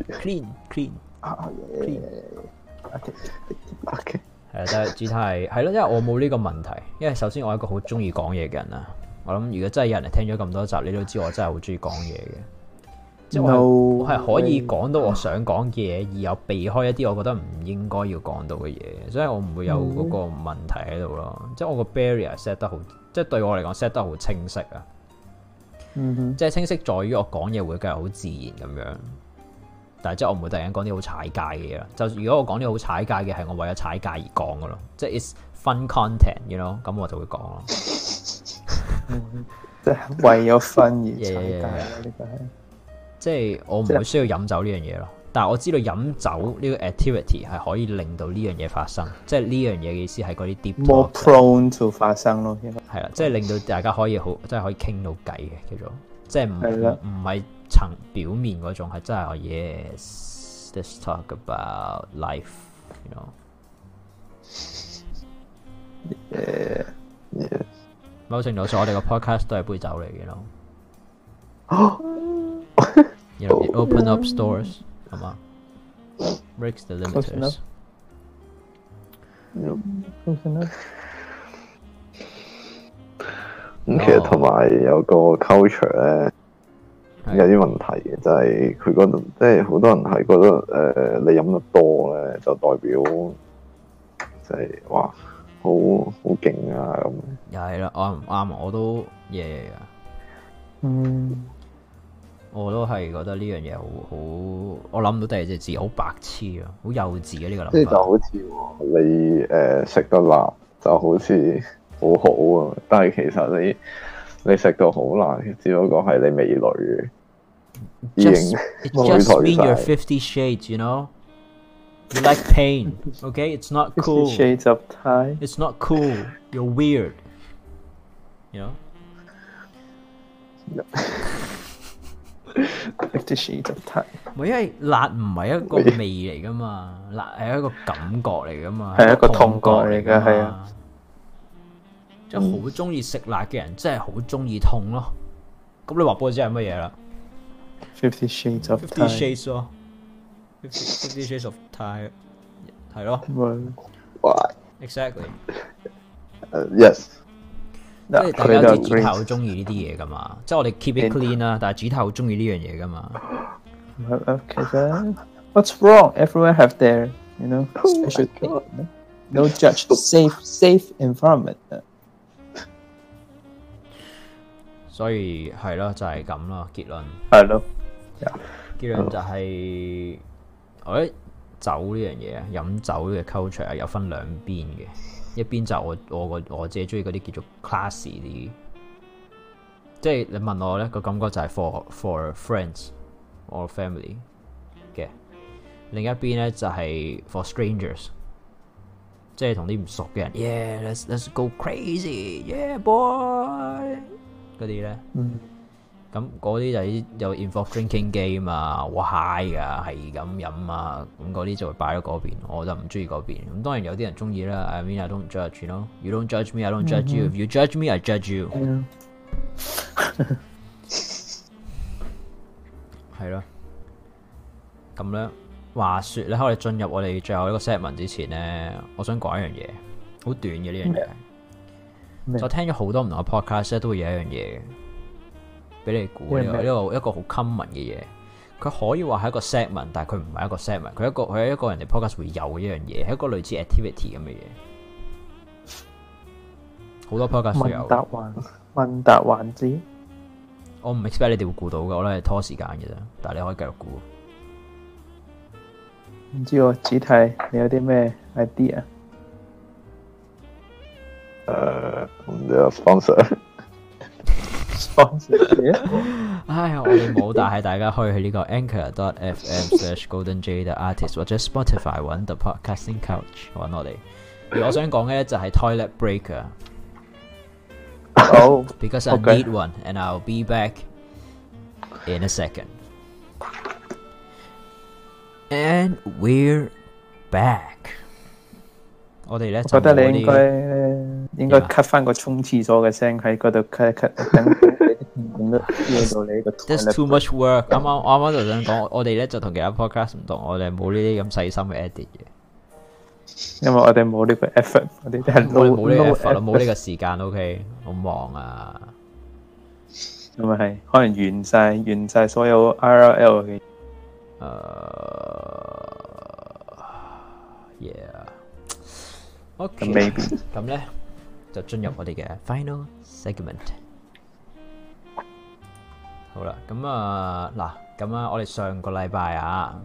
，clean。OK。係，但係主泰係咯，因為我冇呢個問題。因為首先我係一個好中意講嘢嘅人啊。我諗如果真係有人聽咗咁多集，你都知我真係好中意講嘢嘅。即係我係可以講到我想講嘅嘢，而又避開一啲我覺得唔應該要講到嘅嘢，所以我唔會有嗰個問題喺度咯。即係我個 barrier set 得好，即係對我嚟講 set 得好清晰啊。即係清晰在於我講嘢會繼續好自然咁樣，但係即係我唔會突然間講啲好踩界嘅嘢啦。就如果我講啲好踩界嘅係我為咗踩界而講嘅咯，即係 it's fun content，you know， 咁我就會講咯。即係為咗 fun 而踩界咯，呢個係。 即係我唔會需要飲酒呢樣嘢咯。但係我知道飲酒呢個 activity 係可以令到呢樣嘢發生，即係呢樣嘢嘅意思係嗰啲 deep talk more prone to 發生咯， 係啦，即係令到大家可以好，即係可以傾到偈嘅叫做，即係唔係層表面嗰種，係真係 yes，let's talk about life，you know。某程度上，我哋個 podcast 都係杯酒嚟嘅咯。You know, it open up stores，係嘛 ？Breaks the limiters。 咁其實同埋有個 culture 咧，有啲問題嘅，就係佢嗰度，即係好多人係覺得你飲得多咧，就代表即係哇好勁啊咁。 又係啦，啱唔啱？我都嘢噶。我都係覺得呢樣嘢好，我諗到第二隻字好白痴啊，好幼稚嘅呢個諗法。即係就好似你食得辣就好似好好啊，但係其實你食到好辣，只不過係你味蕾已經冇咗 mean you're 50 shades, you know? You like pain, okay? It's not cool. 50 shades of Thai. It's not cool. You're weird. You know? 50 shades of Thai。 因為辣唔係一個味嚟噶嘛，辣係一個感覺嚟噶嘛， 係一個痛覺嚟噶，係啊。 即係好中意食辣嘅人，真係好中意痛咯。咁你話俾我知係乜嘢啦 ？50 shades of Thai。 50 shades 咯，50 shades of Thai 係咯。 Why? Exactly. Yes. 即係大家知主太好中意呢啲嘢噶嘛，即係我哋 keep it clean 啦，但係主太好中意呢樣嘢噶嘛。 其實 what's wrong? Everyone have their, you know, special thing. No judge. Safe environment. 所以係咯，就係咁咯。結論係咯， 結論就係我覺得酒呢樣嘢啊，飲酒嘅 culture 係有分兩邊嘅。一邊就我自己中意嗰啲叫做 classy 啲，即係你問我咧個感覺就係 for friends or family 嘅。另一邊咧就係 for strangers， 即係同啲唔熟嘅人 ，yeah，let's go crazy，yeah boy 嗰啲咧。咁嗰啲就係有 involve drinking game 啊，好 high 噶，係咁飲啊，咁嗰啲就會擺喺嗰邊，我就唔中意嗰邊。咁當然有啲人中意啦。I mean I don't judge，you know，you don't judge me，I don't judge you。If you judge me，I judge you。係咯。咁咧，話說咧，喺我哋進入我哋最後一個 segment 之前咧，我想講一樣嘢，好短嘅呢樣嘢。我聽咗好多唔同嘅 podcast 都會有一樣嘢。俾你估呢個一個好 common 嘅嘢，佢可以話係一個 segment， 但係佢唔係一個 segment， 佢係一個人哋 podcast 會有嘅一樣嘢，係一個類似 activity 咁嘅嘢。好多 podcast 都有。 問答環節， 我唔 expect 你哋會估到嘅，我都係拖時間嘅啫。但係你可以繼續估。 唔知喎，子泰，你有啲咩 idea？ The sponsor。 唉，我哋冇，但係大家可以去呢個 anchor.fm/goldenjaytheartist 或者 Spotify 揾 The Podcasting Couch 揾我哋。而我想講嘅咧就係 toilet break 啊。 Oh, because I need one, and I'll be back in a second. And we're back. 我哋咧， 我覺得你應該 cut 翻個沖廁所嘅聲喺嗰度 cut 等咁都聽到你個。 That's too much work。啱啱就想講，我哋咧就同其他 podcast 唔同，我哋冇呢啲咁細心嘅 edit 嘅。 因為我哋冇呢個 effort， 我哋都係冇呢個 effort， 冇呢個時間。OK， 好忙啊。 咁啊係，可能完晒所有 RL 嘅。 OK， 咁咧就進入我哋嘅 final segment。好啦，咁啊嗱，咁啊，我哋上個禮拜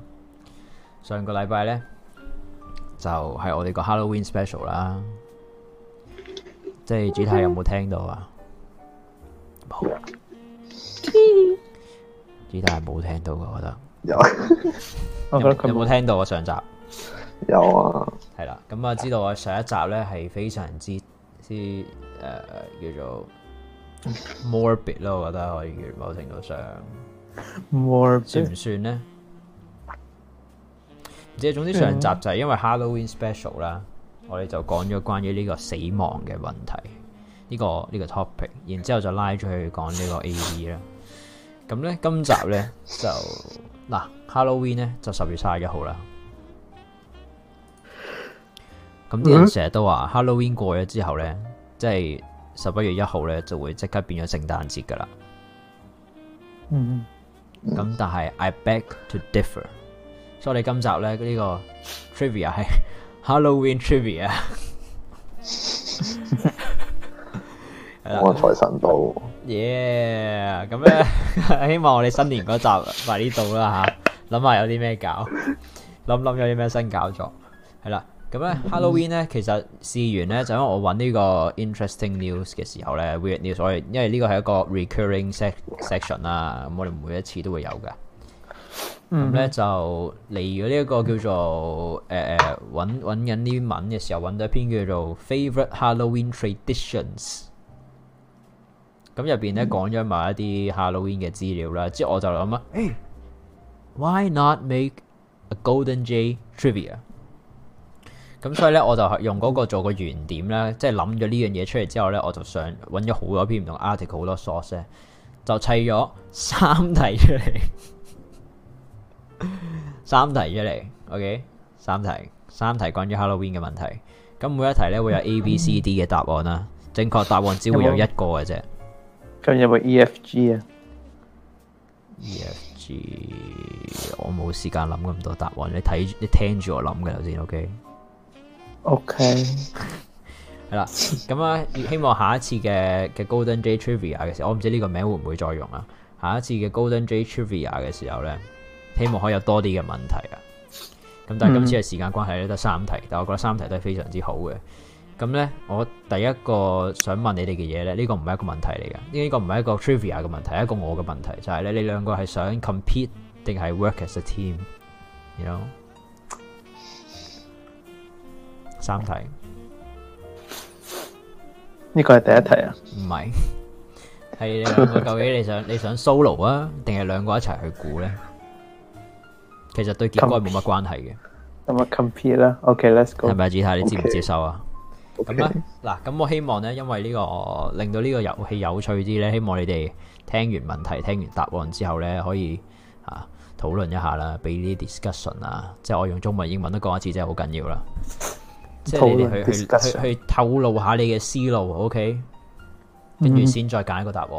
咧就係我哋個 Halloween special 啦。即係主題有冇聽到啊？冇。 Gtai係冇聽到嘅，我覺得有。 我覺得佢有冇聽到啊？上集有啊。 係啦，咁啊知道我上一集咧係非常之叫做 morbid 咯，我覺得可以叫某程度上 morbid 算唔算咧？即係總之上集就係因為 Halloween special 啦，我哋就講咗關於呢個死亡嘅問題，呢個 topic， 然之後就拉咗去講呢個 AV 啦。咁咧今集咧就嗱 Halloween 咧就10月31號啦。咁啲人成日都話 Halloween 過咗之後咧，即係11月1號咧就會即刻變咗聖誕節噶啦。咁但係 I beg to differ。所以我哋今集咧呢個 trivia 係 Halloween trivia， 我財神到 ，yeah！ 咁咧希望我哋新年嗰集快啲到啦吓，諗下有啲咩搞，諗有啲咩新搞作，係啦。咁咧 Halloween 咧其實試完咧就因為我揾呢個 interesting news 嘅時候咧 weird news， 所以因為呢個係一個 recurring section 啦，咁我哋每一次都會有㗎。咁咧就嚟咗呢一個叫做揾緊啲文嘅時候，揾到一篇叫做 Favorite Halloween Traditions。咁入邊咧講咗埋一啲 Halloween 嘅資料啦，之後我就諗啊，Why not make a Golden J Trivia？ 咁所以咧我就用嗰個做個原點啦，即係諗咗呢樣嘢出嚟之後咧，我就想揾咗好多篇唔同 article 好多 source 咧，就砌咗3題出嚟。3題出嚟 ，OK， 3題關於 Halloween 嘅問題。咁每一題咧會有 A、B、C、D 嘅答案啦，正確答案只會有一個嘅啫。 咁有冇 E、F、G 啊 ？E、F、G 我冇時間諗咁多答案，你聽住我諗嘅頭先 ，OK？OK， 係啦，咁啊，希望下一次嘅 Golden J Trivia 嘅時候，我唔知呢個名會唔會再用啊。下一次嘅 Golden J Trivia 嘅時候咧。希望可以有多啲嘅問題啊！咁但係今次嘅時間關係咧，得3題，但我覺得3題都係非常之好嘅。咁咧，我第一個想問你哋嘅嘢咧，呢個唔係一個問題嚟嘅，呢個唔係一個 trivia 嘅問題，係一個我嘅問題，就係咧，你兩個係想 compete 定係 work as a team？You know？ 3題，呢個係第一題啊？ 唔係，係你兩個究竟你想 solo 啊，定係兩個一齊去估咧？其實對結果冇乜關係嘅。 咁啊 compete 啦 ，OK，let's go。 係咪Gtai你接唔接受啊？咁咧 Okay. 嗱，咁我希望咧，因為呢個令到呢個遊戲有趣啲咧，希望你哋聽完問題、聽完答案之後咧，可以討論一下啦，俾啲 discussion 啊，即係我用中文、英文都講一次，真係好緊要啦。即係你哋去透露下你嘅思路 ，OK？ 跟住先再揀一個答案。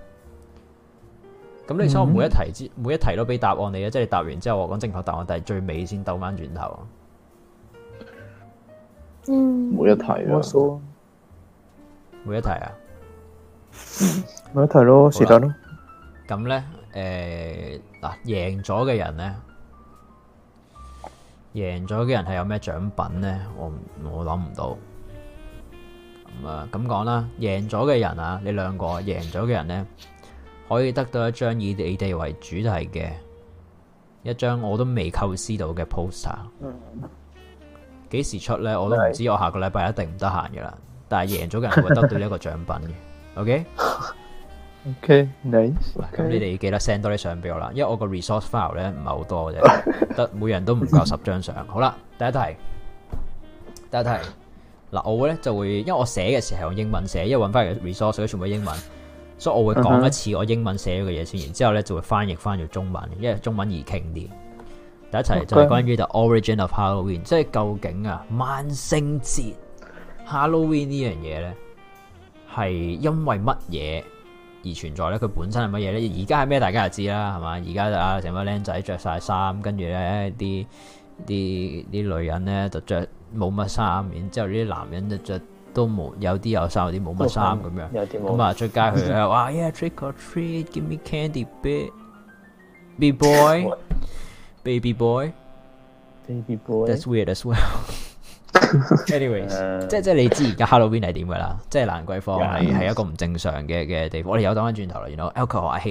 咁你想我每一題都俾答案你嘅，即係你答完之後我講正確答案，但係最尾先兜翻轉頭。 每一題咯， 每一題啊， 每一題咯，是但咯。 咁咧，嗱，贏咗嘅人係有咩獎品咧？我諗唔到。咁啊，咁講啦，贏咗嘅人啊，你兩個贏咗嘅人咧，可以得到一張以你哋為主題嘅一張我都未構思到嘅 poster。幾時出咧？我都唔知。我下個禮拜一定唔得閒嘅啦。但係贏咗嘅人會得到呢一個獎品嘅。OK，nice。咁你哋記得 send 多啲相俾我啦，因為我個 resource file 咧唔係好多嘅啫，得每人都唔夠10張相。好啦，第一題。嗱，我咧就會，因為我寫嘅時候係用英文寫，因為揾翻嚟嘅 resource 都全部英文，所以我會講一次我英文寫咗嘅嘢先，然之後咧就會翻譯翻做中文，因為中文易傾啲。第一題就係關於 the origin of Halloween， 即係究竟啊萬聖節 Halloween 呢樣嘢咧係因為乜嘢而存在咧？佢本身係乜嘢咧？而家係咩？大家就知啦，係嘛？而家就成班僆仔着晒衫，跟住咧啲女人咧就着冇乜衫，然之後啲男人就着都冇，有啲有衫，有啲冇乜衫咁樣。咁啊出街去咧，哇 yeah trick or treat, give me candy, baby boy。Baby boy, that's weird as well. Anyways， 即係你知而家 Halloween 係點噶啦？即係蘭桂坊係一個唔正常嘅地方。我哋有講翻轉頭啦，you know alcohol I hate it。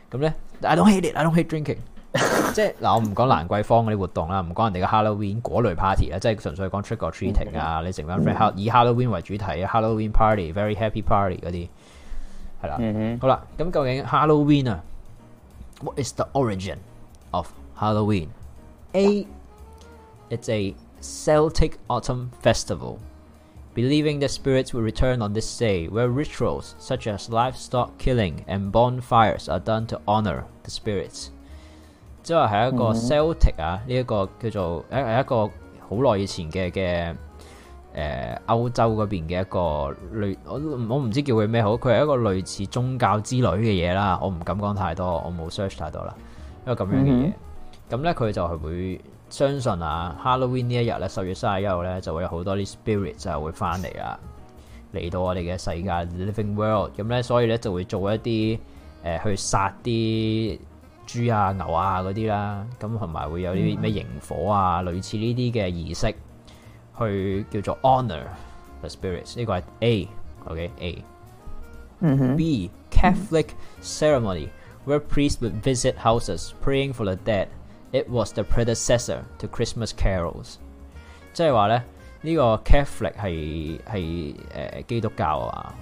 咁咧 I don't hate drinking 即係嗱，我唔講蘭桂坊嗰啲活動啦，唔講人哋嘅 Halloween 嗰類 party 啦，即係純粹講 trick or treating 啊，你成班 friend 以 Halloween 為主題嘅 Halloween party very happy party 嗰啲係啦。好啦，咁究竟 Halloween 啊 What is the origin of Halloween? A. It's a Celtic autumn festival, believing the spirits will return on this day, where rituals such as livestock killing and bonfires are done to honor the spirits. 即係係一個 Celtic 啊，呢一個叫做係一個好耐以前嘅歐洲嗰邊嘅一個類，我唔知叫佢咩好，佢係一個類似宗教之類嘅嘢啦，我唔敢講太多，我冇 search 太多啦，一個咁樣嘅嘢。咁咧佢就係會相信啊 Halloween 呢一日咧10月31號咧就會有好多啲 spirit 就會翻嚟啊，嚟到我哋嘅世界 living world。咁咧所以咧就會做一啲去殺啲豬啊牛啊嗰啲啦，咁同埋會有啲咩營火啊，類似呢啲嘅儀式。去叫做 honor the spirits， 呢個係 A，OK A。B Catholic ceremony where priests would visit houses praying for the dead. It was the predecessor to Christmas carols。即係話咧，呢個 Catholic 係基督教啊，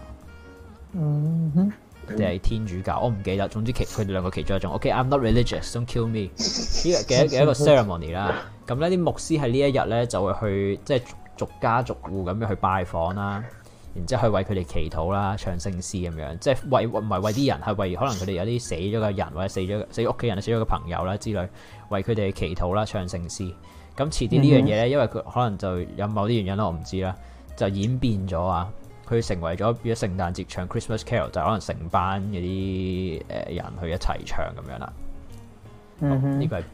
定係天主教？我唔記得。總之佢哋兩個其中一種。OK，I'm not religious，don't kill me。呢個嘅一個 ceremony 啦。咁呢啲牧師喺呢一日咧就會去即係逐家逐戶咁樣去拜訪啦，然之後去為佢哋祈禱啦，唱聖詩咁樣，即係唔係為啲人，係為可能佢哋有啲死咗嘅人或者死屋企人、死咗嘅朋友啦之類，為佢哋祈禱啦，唱聖詩。咁遲啲呢樣嘢咧，因為佢可能就有某啲原因啦，我唔知啦，就演變咗啊，佢成為咗變咗聖誕節唱 Christmas Carol， 就可能成班嗰啲人去一齊唱咁樣啦。呢個係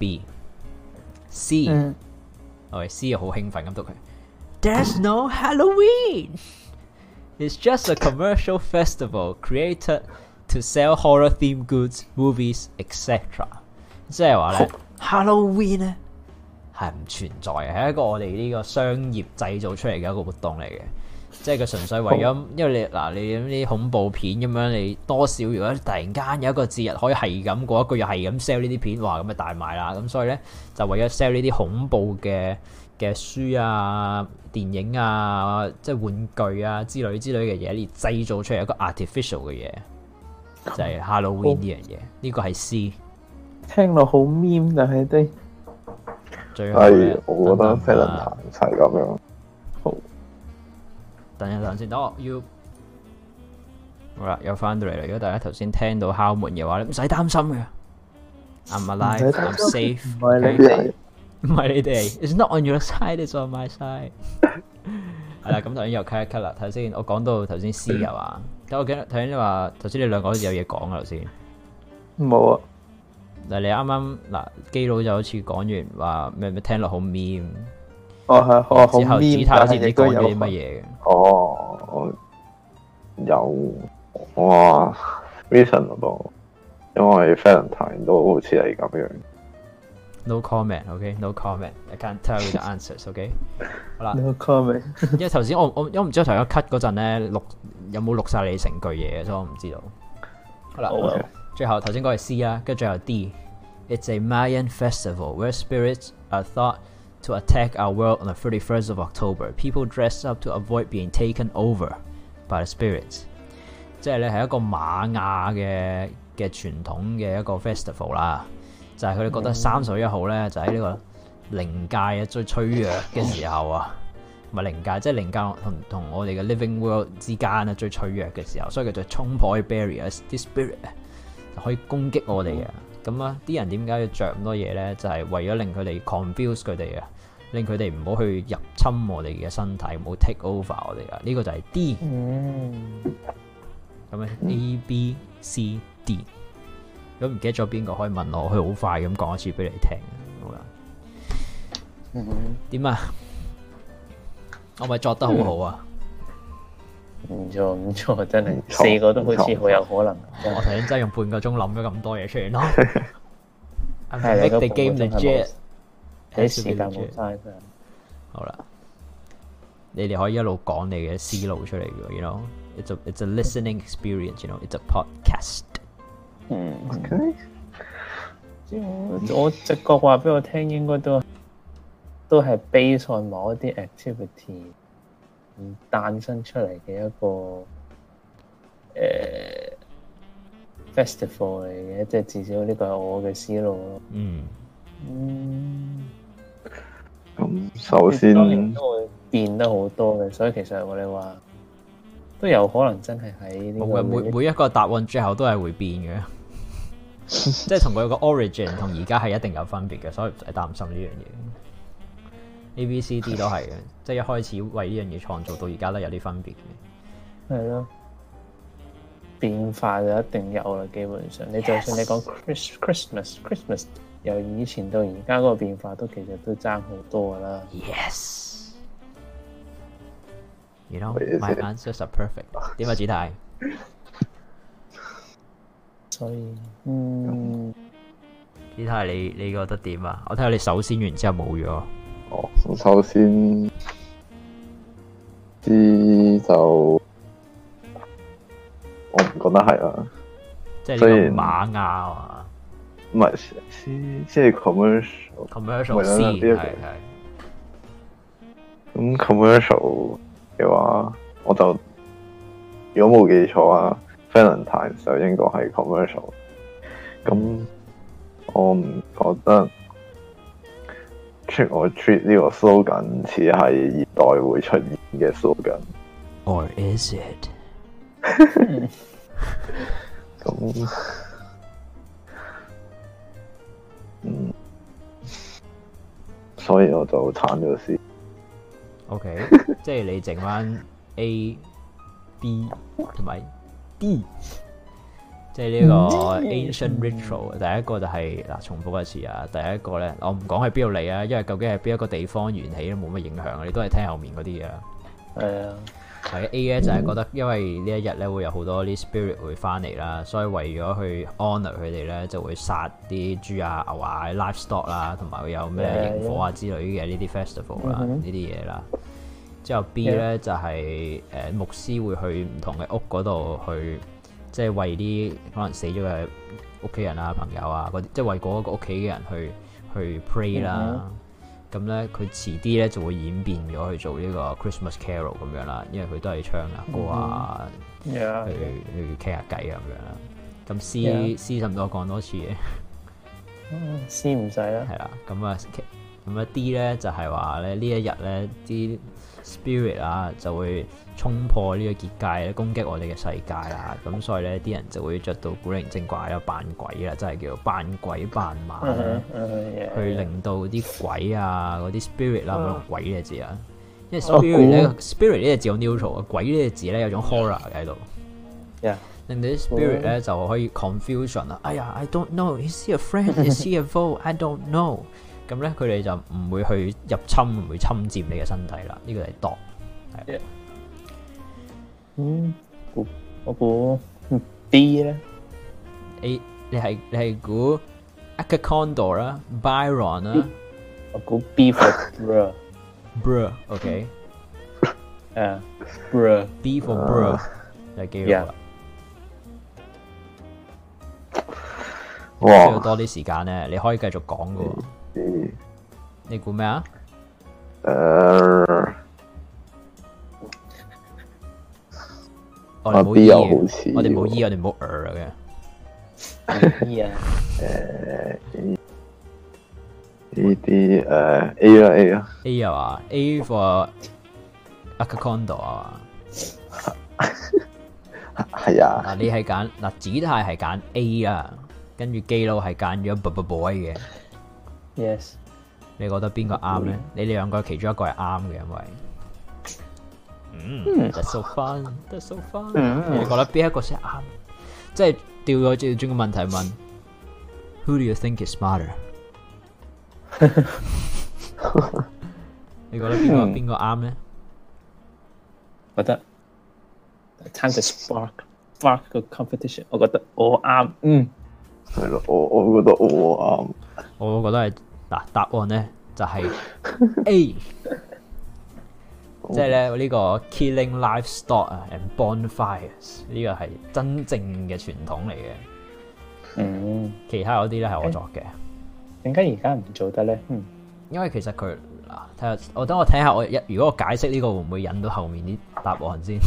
B。C，C 又好興奮咁讀佢。There's no Halloween. It's just a commercial festival created to sell horror-themed goods, movies, etc. 即係話咧 ，Halloween 咧係唔存在嘅，係一個我哋呢個商業製造出嚟嘅一個活動嚟嘅。即係佢純粹為咗，因為你啲恐怖片咁樣，你多少如果突然間有一個節日可以係咁過一個月係咁 sell 呢啲片，哇咁就大賣啦。咁所以咧就為咗 sell 呢啲恐怖嘅書啊、電影啊、即係玩具啊之類嘅嘢，而製造出嚟一個 artificial 嘅嘢，就係 Halloween 呢樣嘢。呢個係 C。 聽落好 meme， 但係啲最後我覺得 Valentine 係咁樣。好。 等一陣先，等我要好啦，又翻到嚟啦。如果大家頭先聽到敲門嘅話，你唔使擔心嘅。I'm alive, I'm safe。唔係你哋，It's not on your side, it's on my side。係啦，咁頭先又 cut 一 cut 啦。頭先我講到頭先 C 係嘛？咁我記得頭先你話頭先你兩個好似有嘢講啊，頭先。 冇啊。 嗱，你啱啱嗱基佬就好似講完話咩聽落好 meme。 哦係，我好 meme， 之後 Gtai 好似唔知講咗啲乜嘢嘅。 哦，有哇 reasonable， 因為 Valentine 都好似係咁樣。 No comment, OK? No comment. I can't tell you the answers, OK? 好啦。 No comment。 因為頭先我唔知我頭先 cut 嗰陣咧有冇錄晒你成句嘢，所以我唔知道。好啦， Okay. 最後頭先講係 C 啦，跟住最後 D。It's a Mayan festival where spirits are thought to attack our world on the 31st of October. People dress up to avoid being taken over by the spirits. 即係咧係一個瑪雅嘅傳統嘅一個 festival 啦。就係佢哋覺得31號咧，就喺呢個靈界嘅最脆弱嘅時候啊，唔係靈界，即係靈界同我哋嘅 living world 之間啊最脆弱嘅時候，所以佢就衝破啲 barriers， 啲 spirit 就可以攻擊我哋嘅。咁啊，啲人點解要着咁多嘢咧？就係為咗令佢哋 confuse 佢哋啊，令佢哋唔好去入侵我哋嘅身體，唔好 take over 我哋啊。呢個就係 D。咁啊 A B C D。如果唔記得咗邊個可以問我，佢好快咁講一次俾你聽。好啦，點啊？我咪作得好好啊？ 唔錯，真係4個都好似好有可能。 我頭先真係用半個鐘諗咗咁多嘢出嚟咯。Make the game legit， 啲時間冇嘥真。 好啦，你哋可以一路講你嘅思路出嚟嘅，you know，it's a listening experience，you know，it's a podcast。 OK。 我直覺話俾我聽，應該都係 base on 某一啲 activity 誕生出嚟嘅一個festival 嚟嘅，即係至少呢個係我嘅思路咯。 咁首先當然都會變得好多嘅，所以其實我哋話都有可能真係喺呢個每一個答案最後都係會變嘅。即係同佢個 origin 同而家係一定有分別嘅，所以唔使擔心呢樣嘢。A、B、C、D 都係嘅，即係一開始為呢樣嘢創造到而家都有啲分別嘅。 係咯，變化就一定有啦。基本上，你就算你講 Christmas， 由以前到而家嗰個變化都其實都爭好多噶啦。 Yes， you know my answers are perfect。點啊，子泰？ 所以， 子泰你覺得點啊？我睇下你首先完之後冇咗。 首先知就我唔覺得係啦， 即係呢個馬亞啊， 唔係即係 commercial 先係。 咁 commercial 嘅話，我就如果冇記錯啊 ，Valentine 就應該係 commercial。咁我唔覺得 trick or treat 呢個 slogan 似係現代會出現嘅 slogan。Or is it？ 咁所以我就鏟咗先。 OK， 即係你剩翻 A、B 同埋 D， 即係呢個 ancient ritual。第一個就係嗱，重複一次啊。第一個咧，我唔講係邊度嚟啊，因為究竟係邊一個地方緣起都冇乜影響，你都係聽後面嗰啲嘢啦。係啊。係 A 咧就係覺得，因為呢一日咧會有好多啲 spirit 會翻嚟啦，所以為咗去 honour 佢哋咧，就會殺啲豬啊、牛啊、livestock 啦，同埋會有咩營火啊之類嘅呢啲 festival 啦，呢啲嘢啦。之後 B 咧就係牧師會去唔同嘅屋嗰度去，即係為啲可能死咗嘅屋企人啊、朋友啊嗰啲，即係為嗰個屋企嘅人去 pray 啦。咁咧，佢遲啲咧就會演變咗去做呢個 Christmas Carol 咁樣啦，因為佢都係唱啊歌啊，去傾下偈咁樣啦。咁 C 使唔使我講多次嘅 ？C 唔使啦。 係啦，咁啊 D 咧就係話咧呢一日咧啲 spirit 啊就會衝破呢個結界咧，攻擊我哋嘅世界啦。咁所以咧啲人就會着到古靈精怪啦，扮鬼啦，真係叫做扮鬼扮馬啦，去令到啲鬼啊嗰啲 spirit 啦，唔用鬼呢個字啊，因為 spirit 咧 spirit 呢個字好 neutral 啊，鬼呢個字咧有種 horror 喺度，令到啲 spirit 咧就可以 confusion 啊。哎呀 ，I don't know，is he a friend？is he a foe？I don't know。咁咧佢哋就唔會去入侵，唔會侵佔你嘅身體啦。呢個係度，係。 我估 B 咧 ，A 你係估 Akakondo 啦 ，Byron 啦， 我估 B for bro，OK， B for bro 就記住啦。需要多啲時間咧，你可以繼續講噶。你估咩啊？我哋冇 E 嘅，我哋冇 E， 我哋冇嘅。 E 啊呢啲A 啦 A 啦 A 啊嘛 A for Akakondo 啊嘛。 係啊。 嗱，你係揀嗱，子泰係揀 A 啊，跟住基佬係揀咗 boy 嘅。 Yes。 你覺得邊個啱咧？你哋兩個其中一個係啱嘅，因為，that's so fun，that's so fun。你覺得邊一個先啱？即係調轉個問題問 ，Who do you think is smarter？ 你覺得邊個啱咧？ 覺得 time to spark 個 competition， 我覺得我啱。 係咯，我覺得我啱。 我覺得係。嗱，答案咧就係 A， 即係咧呢個 killing livestock 啊 and bonfires 呢個係真正嘅傳統嚟嘅。 其他嗰啲咧係我作嘅。 點解而家唔做得咧？ 因為其實佢睇下，等我睇下如果我解釋呢個會唔會引到後面啲答案先。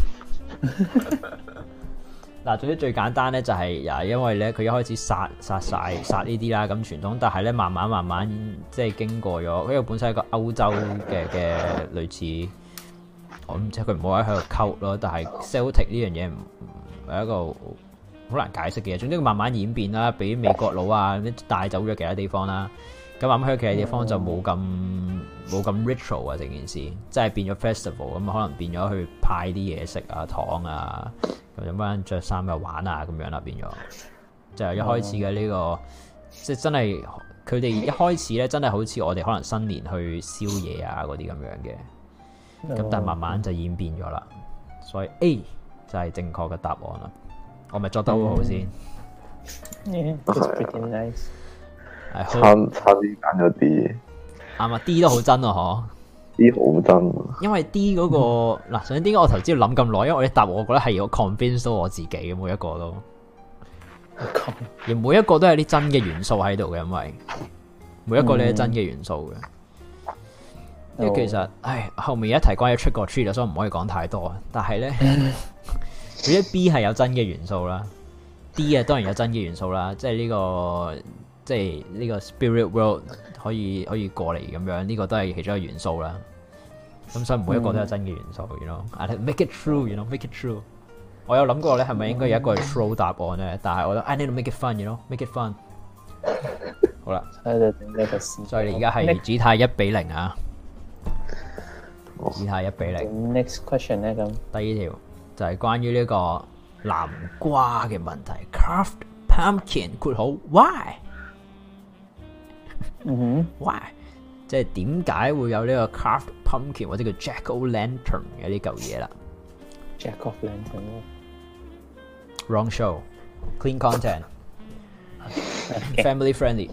嗱，總之最簡單咧就係因為咧佢一開始殺呢啲啦，咁傳統，但係咧慢慢即係經過咗，因為本身係一個歐洲嘅類似，我唔知佢唔好喺度溝咯，但係 Celtic 呢樣嘢唔係一個好難解釋嘅嘢。總之佢慢慢演變啦，俾美國佬啊帶走咗其他地方啦，咁慢慢去其他地方就冇咁 ritual 啊，成件事即係變咗 festival，咁可能變咗去派啲嘢食啊、糖啊。咁有班着衫又玩啊，咁樣啦，變咗就係一開始嘅呢個，即係真係佢哋一開始咧，真係好似我哋可能新年去宵夜啊嗰啲咁樣嘅，咁但係慢慢就演變咗啦，所以 A 就係正確嘅答案啦。我咪作得好好先 ，It's pretty nice。 差啲揀咗 D， 啱啊 ，D 都好真啊，嗬。 D 好真， 因為 D 嗰個嗱，首先點解我頭先要諗咁耐？因為我啲答案我覺得係要 convince 到我自己嘅，每一個都，而每一個都係啲真嘅元素喺度嘅，因為每一個都係真嘅元素嘅。因為其實，後面一提關於 trick or treat，所以唔可以講太多。但係咧，佢啲 B 係有真嘅元素啦 ，D 啊當然有真嘅元素啦，即係呢個。即係呢個 spirit world 可以過嚟咁樣，呢個都係其中一個元素啦。咁所以每一個都有真嘅元素，you know，make it true，you know，make it true。我有諗過咧，係咪應該有一個係 true 答案咧？但係我覺得 I need to make it fun，you know，make it fun。好啦，所以你而家係指態1-0啊，指態1-0。 Next question 咧咁， 第二條就係關於呢個南瓜嘅問題 ，carved pumpkin 括號 why？why？ 即係點解會有呢個 carved pumpkin 或者叫 jack o' lantern 嘅呢嚿嘢啦 ？Jack o' lantern wrong show clean content family friendly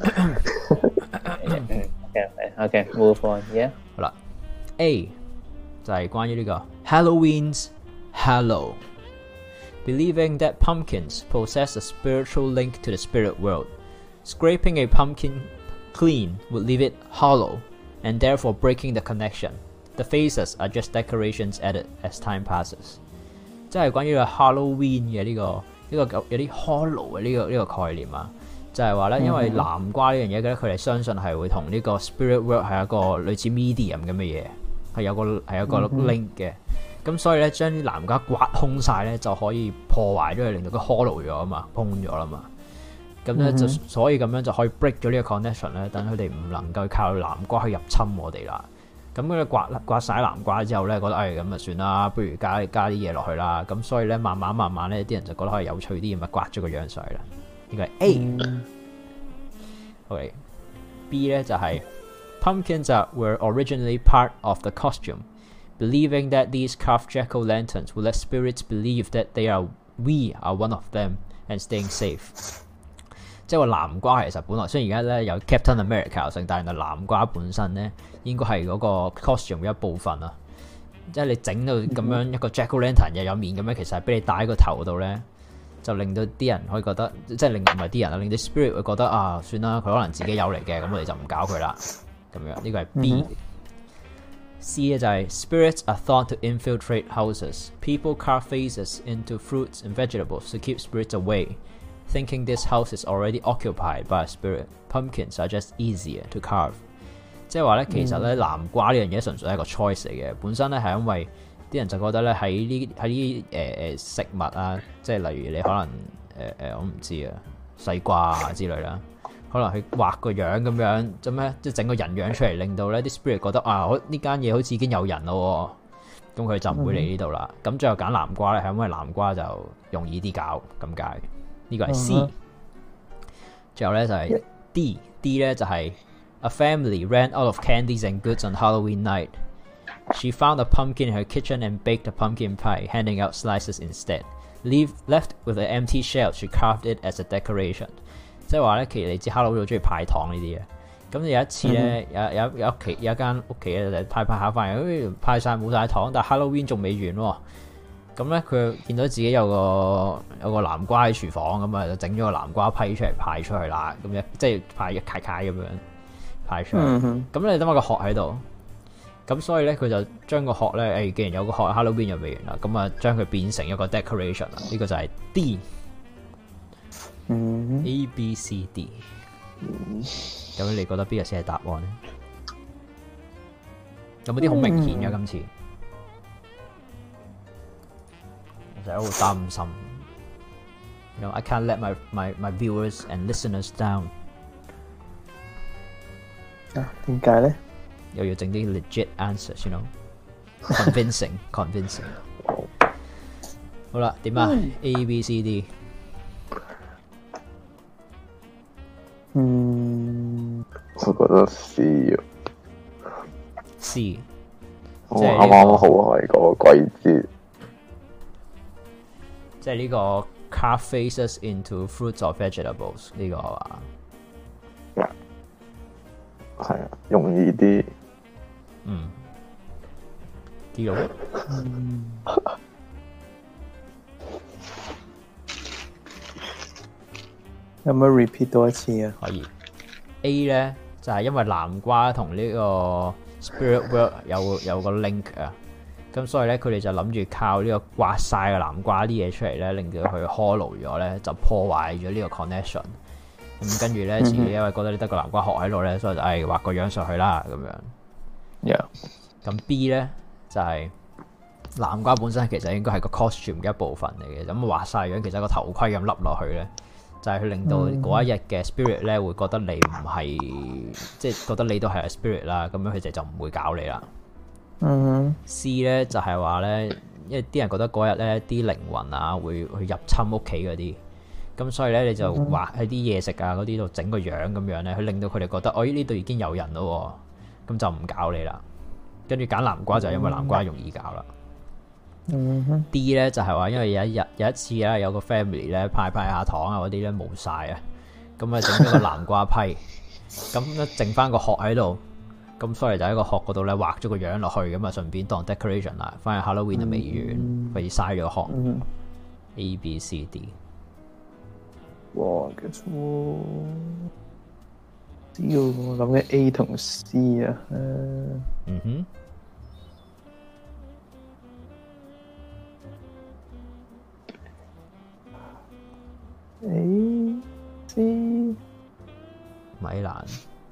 okay move on yeah 好啦 A 就係關於呢個 Halloween's Hallow believing that pumpkins possess a spiritual link to the spirit world scraping a pumpkin clean would leave it hollow and therefore breaking the connection. The faces are just decorations added as time passes. 即係關於個 Halloween 嘅呢個有啲 hollow 嘅呢個概念啊，就係話咧，因為南瓜呢樣嘢咧，佢哋相信係會同呢個 spirit world 係一個類似 medium 咁嘅嘢，係有個 link 嘅。咁所以咧，將啲南瓜刮空晒咧，就可以破壞咗佢，令到佢 hollow 咗啊嘛，崩咗啦嘛。咁咧就所以咁樣就可以 break 咗呢個 connection 咧，等佢哋唔能夠靠南瓜去入侵我哋啦。咁佢刮晒南瓜之後咧，覺得咁啊算啦，不如加啲嘢落去啦。咁所以咧慢慢咧，啲人就覺得可以有趣啲，咁啊刮咗個樣上去啦。呢個係 A。OK，B 咧就係 pumpkins were originally part of the costume, believing that these carved jack-o'-lanterns will let spirits believe that we are one of them and staying safe。即係話南瓜其實本來雖然而家咧有 Captain America 但係南瓜本身咧應該係嗰個 costume 嘅一部分啊！即係你整到咁樣一個 Jack-o'-lantern 又有面咁樣，其實係俾你戴喺個頭度咧，就令到啲人可以覺得，即係令唔係啲人啊，令啲 spirit 會覺得啊，算啦，佢可能自己有嚟嘅，咁我哋就唔搞佢啦。咁樣呢個係 B。C 咧就係 spirits are thought to infiltrate houses. People carve faces into fruits and vegetables to keep spirits away.Thinking this house is already occupied by a spirit, pumpkins are just easier to carve。即係話咧，其實咧南瓜呢樣嘢純粹係一個 choice 嚟嘅，本身咧係因為啲人就覺得咧喺啲食物啊，即係例如你可能我唔知啊西瓜啊之類啦，可能去畫個樣咁樣，做咩即係整個人樣出嚟，令到咧啲 spirit 覺得啊，呢間嘢好似已經有人咯，咁佢就唔會嚟呢度啦。咁最後揀南瓜咧，係因為南瓜就容易啲搞咁解。呢個係 C， 最後咧就係 D 咧就係 A family ran out of candies and goods on Halloween night. She found a pumpkin in her kitchen and baked a pumpkin pie, handing out slices instead. Left with an empty shell, she carved it as a decoration. 即係話咧，其實你知 Halloween 好中意派糖呢啲嘅。咁有一次咧，有一間屋企咧，派下翻嚟，派晒冇晒糖，但係 Halloween 仲未完喎。 咁咧佢見到自己有個南瓜喺廚房，咁啊就整咗個南瓜批出嚟派出去啦，咁樣即係派一塊塊咁樣派出去。咁你等下個殼喺度，咁所以咧佢就將個殼咧，既然有個殼 Halloween 又未完啦，咁啊將佢變成一個 decoration 啦。呢個就係 D。A B C D。咁你覺得邊個先係答案咧？有冇啲好明顯嘅今次？我成日好擔心。I can't let my viewers and listeners down。 點解咧？ 又要整啲 legit answers，you know，convincing。好啦，點啊？A B C D。 我覺得 C 啊。 C。 我啱啱好係個季節。 即係呢個 carve faces into fruits or vegetables 呢個係嘛？ 係啊，容易啲。 D 咯。 有冇 repeat 多一次啊？ 可以。A 咧就係因為南瓜同呢個 spirit world 有個 link 啊。咁所以咧，佢哋就諗住靠呢個刮晒嘅南瓜啲嘢出嚟咧，令到佢 hollow 咗咧，就破壞咗呢個 connection。咁跟住咧，自己因為覺得你得個南瓜殼喺度咧，所以就畫個樣上去啦，咁樣。咁 B 咧就係南瓜本身其實應該係個 costume 嘅一部分嚟嘅，咁畫晒樣其實個頭盔咁笠落去咧，就係去令到嗰一日嘅 spirit 咧會覺得你唔係，即係覺得你都係 spirit 啦，咁樣佢哋就唔會搞你啦。C 咧就係話咧，因為啲人覺得嗰日咧啲靈魂啊會去入侵屋企嗰啲，咁所以咧你就畫喺啲嘢食啊嗰啲度整個樣咁樣咧，去令到佢哋覺得哦呢度已經有人咯，咁就唔搞你啦。跟住揀南瓜就係因為南瓜容易搞啦。D 咧就係話因為有一次咧有個 family 咧派下糖啊嗰啲咧冇晒啊，咁啊整咗個南瓜批，咁咧剩翻個殼喺度。咁所以就喺個殼嗰度咧畫咗個樣落去，咁啊順便當 decoration 啦。反而 Halloween 就未完，費事嘥咗個殼。A B C D。 哇，其實只要我諗嘅 A 同 C 啊。A C。 米蘭。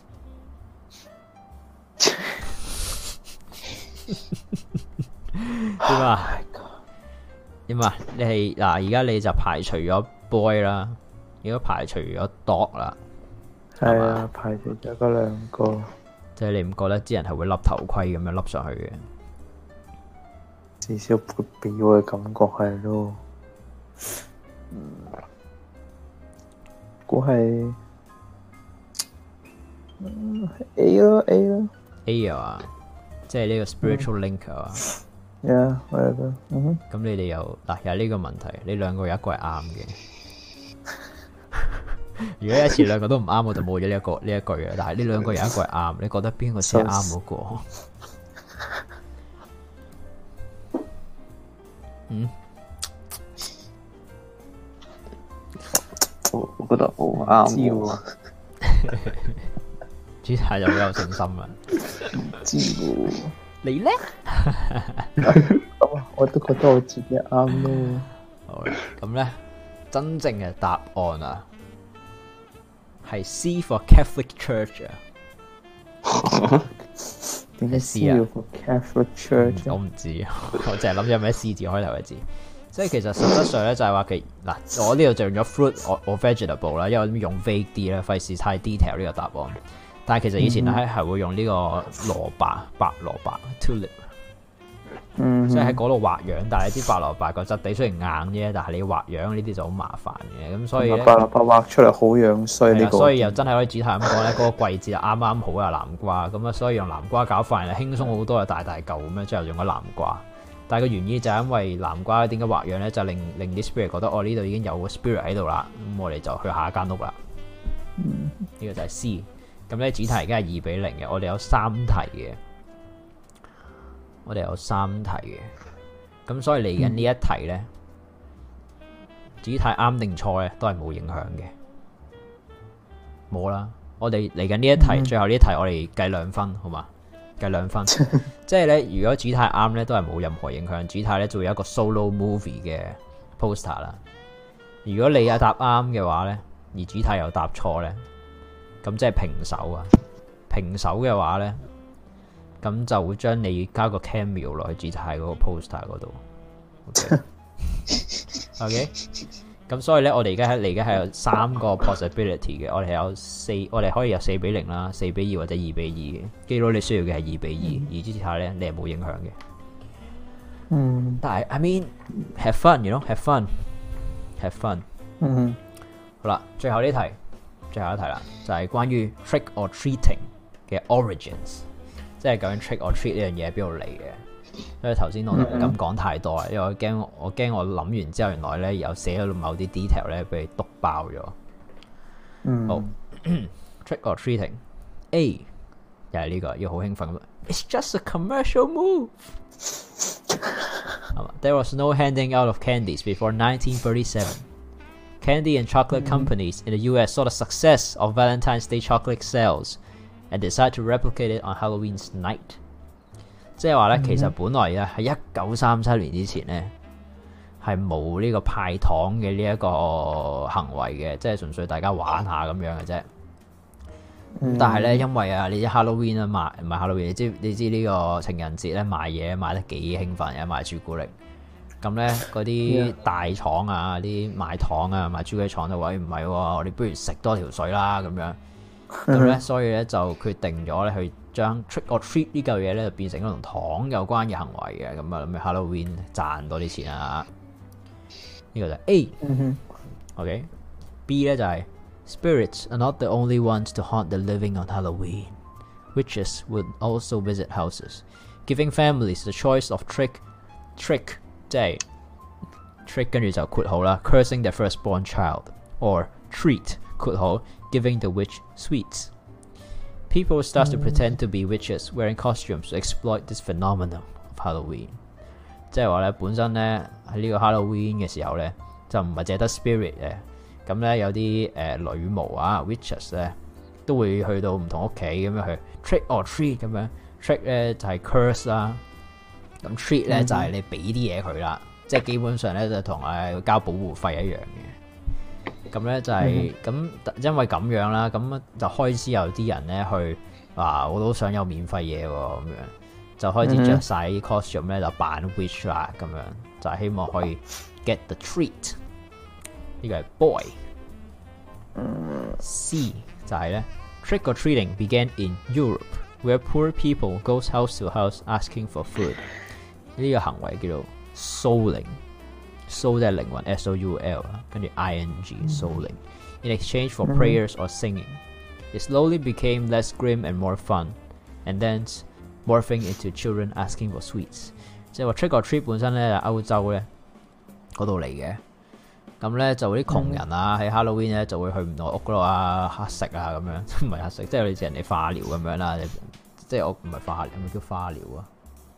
點啊？點啊？你係嗱，而家你就排除咗 boy 啦，如果排除咗 dog 啦， 係啊，排除咗嗰兩個。 即係你唔覺得啲人係會笠頭盔咁樣笠上去嘅？ 至少會俾我嘅感覺係咯。估係 A 咯 A 啊，即係呢個 spiritual link 啊。 whatever。 咁你哋又嗱有呢個問題，你兩個有一個係啱嘅。如果一次兩個都唔啱，我就冇咗呢一句嘅。但係呢兩個有一個係啱，你覺得邊個先係啱嗰個？ 我覺得好啱喎。 主題就好有信心啊！ 知喎。 你咧？ 我都覺得我自己啱咯。 好啦，咁咧真正嘅答案啊，係 C for Catholic Church 啊。 點解 C 要 for Catholic Church？ 我唔知，我淨係諗住有咩 C 字開頭嘅字。即係其實實質上咧就係話嗱，我呢度就用咗 fruit or vegetable 啦，因為我用 vague 啲啦，費事太 detail 呢個答案。但係其實以前咧係會用呢個蘿蔔、白蘿蔔 tulip，所以喺嗰度畫樣。但係啲白蘿蔔個質地雖然硬啫，但係你要畫樣呢啲就好麻煩嘅。咁所以白蘿蔔畫出嚟好樣衰呢個。 所以又真係可以指題咁講咧，嗰個季節就啱啱好啊南瓜咁啊，所以用南瓜搞飯輕鬆好多，又大嚿咁樣，之後用咗南瓜。但係個原意就係因為南瓜點解畫樣咧，就令啲 spirit 覺得呢度已經有個 spirit 喺度啦，咁我哋就去下一間屋啦。呢個就係 C。咁咧，主題而家係2-0嘅，我哋有3題嘅， 咁所以嚟緊呢一題咧，主題啱定錯咧都係冇影響嘅，冇啦。我哋嚟緊呢一題，最後呢一題我哋計2分，好嘛？計2分，即係咧，如果主題啱咧，都係冇任何影響。主題咧就會有一個 solo movie 嘅 poster 啦。如果你有答啱嘅話咧，而主題又答錯咧，咁即係平手啊！平手嘅話咧，咁就會將你加個 cameo 落去主題嗰個 poster 嗰度。OK， 咁所以咧，我哋而家係有3個 possibility 嘅，我哋可以有4-0啦、4-2或者2-2嘅。基佬你需要嘅係2-2，而主題咧你係冇影響嘅。但係 I mean have fun，you know，have fun。好啦，最後一題啦，就係關於 trick or treating 嘅 origins， 即係究竟 trick or treat 呢樣嘢喺邊度嚟嘅？所以頭先我唔敢講太多啊，因為我驚我諗完之後，原來咧有寫咗某啲 detail 咧俾你篤爆咗。好，trick or treating A 又係呢個要好興奮。It's just a commercial move. There was no handing out of candies before 1937. Candy and chocolate companies in the U.S. saw the success of Valentine's Day chocolate sales and decided to replicate it on Halloween's night. 即係話咧，其實本來咧喺1937年之前咧係冇呢個派糖嘅呢一個行為嘅，即係純粹大家玩下咁樣嘅啫。但係咧，因為啊，你知 Halloween 啊賣唔係 Halloween， 你知呢個情人節咧賣嘢賣得幾興奮嘅，賣朱古力。咁咧嗰啲大廠啊，啲賣糖啊，賣朱古力廠就話唔係喎，我哋不如食多條水啦咁樣。咁咧，所以咧就決定咗咧去將 trick or treat 呢嚿嘢咧就變成一個同糖有關嘅行為嘅。咁啊諗住 Halloween 賺多啲錢啊！呢個就係 A。OK。B 咧就係 Spirits are not the only ones to haunt the living on Halloween. Witches would also visit houses, giving families the choice of trick 即係 trick 跟住就括號啦 ，cursing their firstborn child or treat 括號 giving the witch sweets. People start to pretend to be witches, wearing costumes to exploit this phenomenon of Halloween. 即係話咧，本身咧喺呢個 Halloween 嘅時候咧，就唔係淨係得 spirit 嘅，咁咧有啲女巫啊 witches 咧都會去到唔同屋企咁樣去 trick or treat 咁樣 trick 咧就係 curse 啦。咁 treat 咧就係你俾啲嘢佢啦，即係基本上咧就同交保護費一樣嘅。咁咧就係咁，因為咁樣啦，咁就開始有啲人咧去話我都想有免費嘢喎，咁樣就開始着晒啲 costume 咧就扮 witch 啦，咁樣就係希望可以 get the treat。呢個係 boy。C 就係咧 trick or treating began in Europe，where poor people goes house to house asking for food。呢個行為叫做 souling，soul 即係靈魂 S-O-U-L 啦，跟住 I-N-G souling。In exchange for prayers or singing, it slowly became less grim and more fun, and then morphing into children asking for sweets。即係話 trick or treat 本身咧，歐洲咧嗰度嚟嘅。咁咧就啲窮人啊，喺 Halloween 咧就會去唔同屋嗰度啊乞食啊咁樣，唔係乞食，即係好似人哋化療咁樣啦。即係我唔係化療，係咪叫化療啊？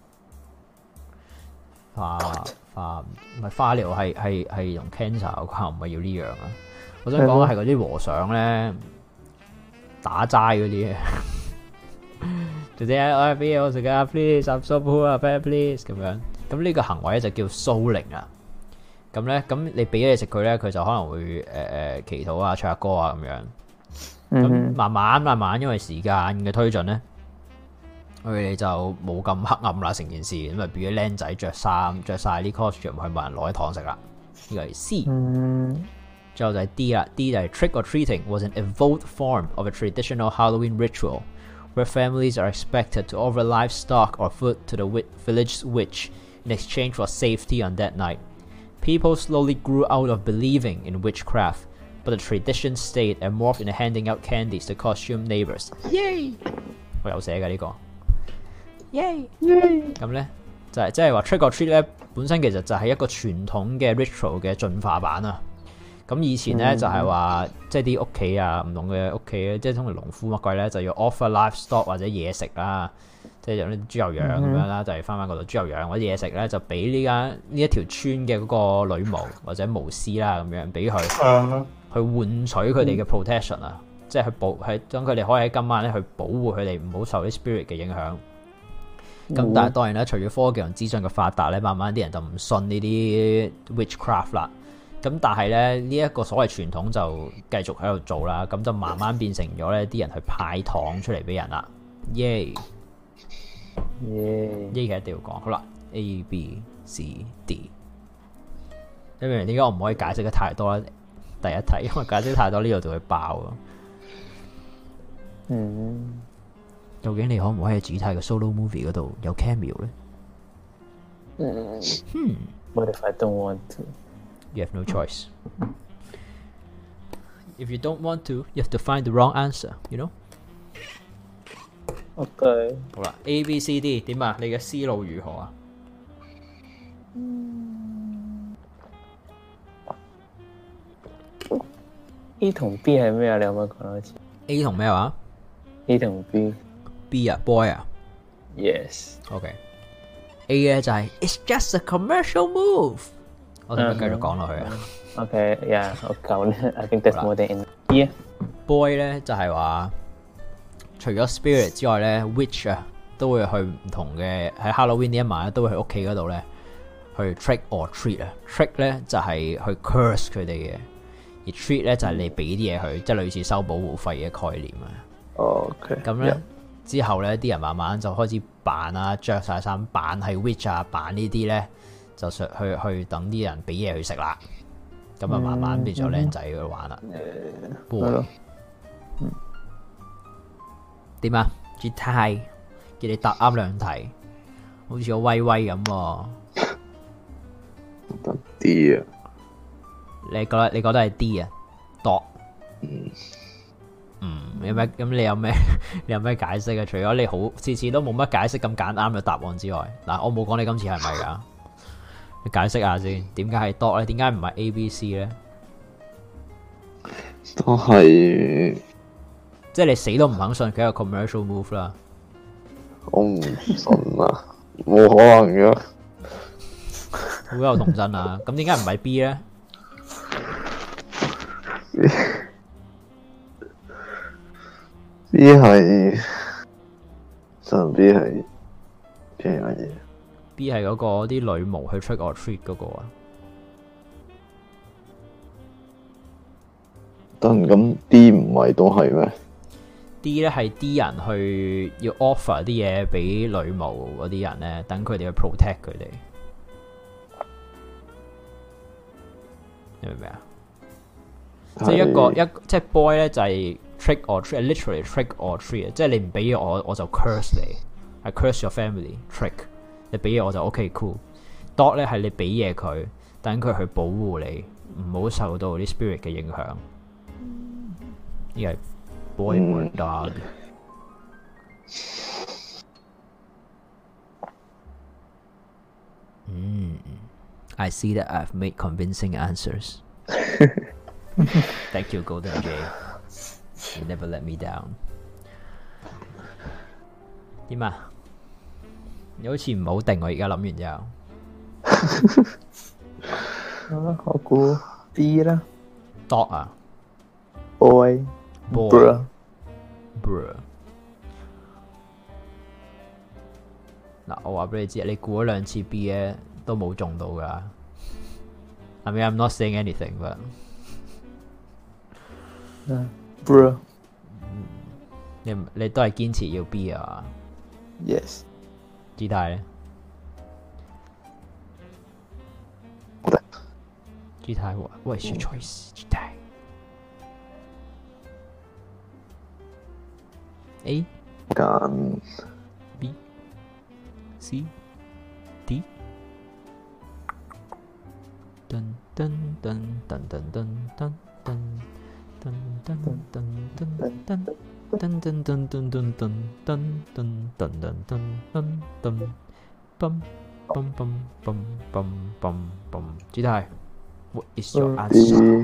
化唔係化療，係用 cancer 有關，唔係要呢樣啊！我想講係嗰啲和尚咧打齋嗰啲，就啲我俾我食啊 ，please，I'm so poor，please 咁樣。咁呢個行為咧就叫 souling 啊。咁咧，咁你俾咗嘢食佢咧，佢就可能會祈禱啊、唱下歌啊咁樣。咁慢慢，因為時間嘅推進咧，佢哋就冇咁黑暗啦，成件事咁啊，變咗僆仔着晒啲 costume 去問人攞啲糖食啦。呢個係 C。最後就係 D 啦 ，D 就係 trick or treating was an evolved form of a traditional Halloween ritual where families are expected to offer livestock or food to the village witch in exchange for safety on that night. People slowly grew out of believing in witchcraft, but the tradition stayed and morphed into handing out candies to costume neighbors. Yay！ 我有寫嘅呢個。Yay！ 咁咧就係即係話 trick or treat 咧，本身其實就係一個傳統嘅 ritual 嘅進化版啊。咁以前咧就係話，即係啲屋企啊，唔同嘅屋企咧，即係通常農夫乜鬼咧，就要 offer livestock 或者嘢食啦， 即係有啲豬牛羊咁樣啦，就係翻嗰度豬牛羊或者嘢食咧，就俾呢一條村嘅嗰個女巫或者巫師啦咁樣，俾佢去換取佢哋嘅 protection 啊，即係去將佢哋可以喺今晚咧去保護佢哋唔好受啲 spirit 嘅影響。咁但係當然啦，隨住科技同資訊嘅發達咧，慢慢啲人就唔信呢啲 witchcraft 啦。咁但係咧呢一個所謂傳統就繼續喺度做啦，咁就慢慢變成咗咧啲人去派糖出嚟俾人啦。耶！呢個一定要講。好啦 ，A B C D。你明唔明點解我唔可以解釋得太多咧？第一題，因為解釋太多呢度就會爆啊。究竟你可唔可以喺主題嘅 solo movie 嗰度有 cameo 咧 ？What if I don't want to? You have no choice. If you don't want to, you have to find the wrong answer. You know? OK。 好啦 ，A、B、C、D 點啊？你嘅思路如何啊 ？A 同 B 係咩啊？你可唔可以講多次 ？A 同咩話 ？A 同 B。B 啊 ，boy 啊。 Yes。OK。A 咧就係 It's just a commercial move。我哋咪繼續講落去啊。 OK，yeah， 我夠咧。I think that's more than enough。 Boy 咧就係話，除咗 spirit 之外咧 ，witch 啊都會去唔同嘅喺 Halloween 呢一晚咧，都會去屋企嗰度咧去 trick or treat 啊。trick 咧就係去 curse 佢哋嘅，而 treat 咧就係你俾啲嘢佢，即係類似收保護費嘅概念啊。 OK。 咁咧之後咧，啲人慢慢就開始扮啊，着晒衫扮係 witch 啊，扮呢啲咧。就去等啲人俾嘢佢食啦，咁啊慢慢變咗靚仔去玩啦。點啊？G 太叫你答啱兩題，好似個威威咁喎。 得 D 啊？ 你覺得係 D 啊？度有咩？咁你有咩解釋啊？除咗你好次次都冇乜解釋咁揀啱嘅答案之外，嗱我冇講你今次係咪㗎？你解釋下先，點解係 dot 咧？點解唔係 A、B、C 咧？ 都係， 即係你死都唔肯信佢係個 commercial move 啦。 我唔信啊，冇可能嘅。 好有童真啊！咁點解唔係 B 咧 ？B 係，上 B 係邊樣嘢 ？B 係嗰個啲女巫去 trick or treat 嗰個啊。 咁 D 唔係都係咩 ？D 咧係啲人去要 offer 啲嘢俾女巫嗰啲人咧，等佢哋去 protect 佢哋。你明唔明啊？即係即係 boy 咧就係 trick or treat，literally trick or treat， 即係你唔俾嘢我就 curse 你，係 curse your family。trick 你俾嘢我就 OK cool。dot 咧係你俾嘢佢，等佢去保護你，唔好受到啲 spirit 嘅影響。呢個係 boy or dog。I see that I've made convincing answers. Thank you, Golden J. You never let me down. 點啊？你好似唔好定，我而家諗完之後。 我估 B 啦。 Dog 啊 Boy。 Bruh。嗱，我話俾你知，你估咗兩次 B 咧，都冇中到噶。I mean, I'm not saying anything, but Bruh。 你都係堅持要 B 啊 ？Yes。 姿態咧？姿態，What is your choice？ 姿態 A 揀 B C D。噔噔噔噔噔噔噔噔噔噔噔噔噔。噔噔噔噔噔噔噔噔噔噔噔噔嘣嘣嘣嘣嘣嘣嘣，主題 What is your answer？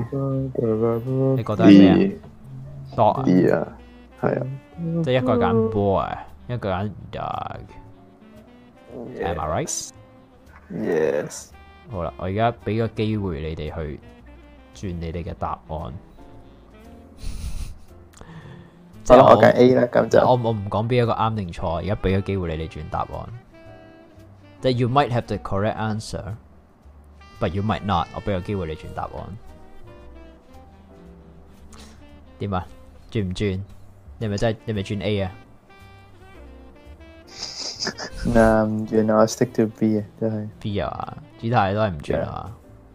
你覺得係咩啊？dog 啊？係啊， 即係一個揀 boy， 一個揀 Doug。Am I right? Yes。 好啦，我而家俾個機會你哋去轉你哋嘅答案。 即係我揀 A 啦，咁就我唔講邊一個啱定錯，而家俾個機會你哋轉答案。即係 you might have the correct answer，but you might not。我俾個機會你轉答案。點啊？轉唔轉？你咪轉 A 啊？ 唔轉啊，我 stick to B 啊，都係 B 啊，主題都係唔轉啊。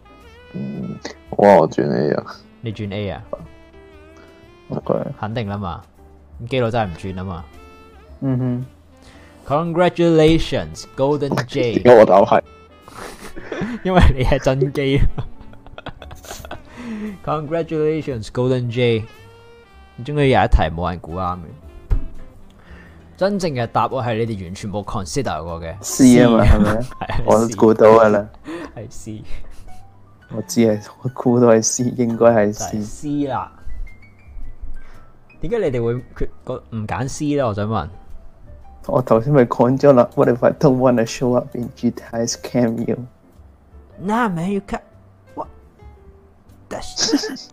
我轉 A 啊。 你轉 A 啊？ Okay. 肯定啦嘛。咁基佬真係唔轉啊嘛。Congratulations, Golden J。 點解我答係？ 因為你係真機。Congratulations, Golden J。終於有一題冇人估啱嘅。真正嘅答案係你哋完全冇 consider 過嘅 C 啊嘛，係咪？我都估到噶啦， 係 C。 我知係，我估到係 C， 應該係 C 啦。點解你哋會唔揀 C 咧？我想問。 我頭先咪講咗啦。What if I don't want to show up in Gtai's cameo? Nah, man, you can't. What? That's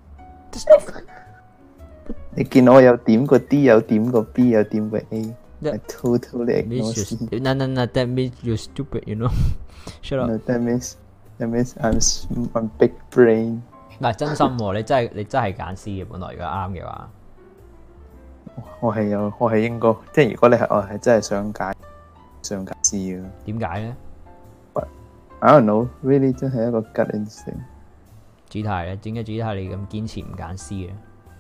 你見我有點個 D， 有點個 B， 有點個 A。I totally ignore C. No, that means you're stupid, you know. Shut up. No, that means I'm big brain. 嗱，真心喎，你真係揀 C 嘅，本來如果啱嘅話。 我係應該，即係如果你係我係真係想揀 C 嘅。 點解咧 I don't know, really 真係一個 gut instinct。 主題咧，點解主題你咁堅持唔揀 C 嘅？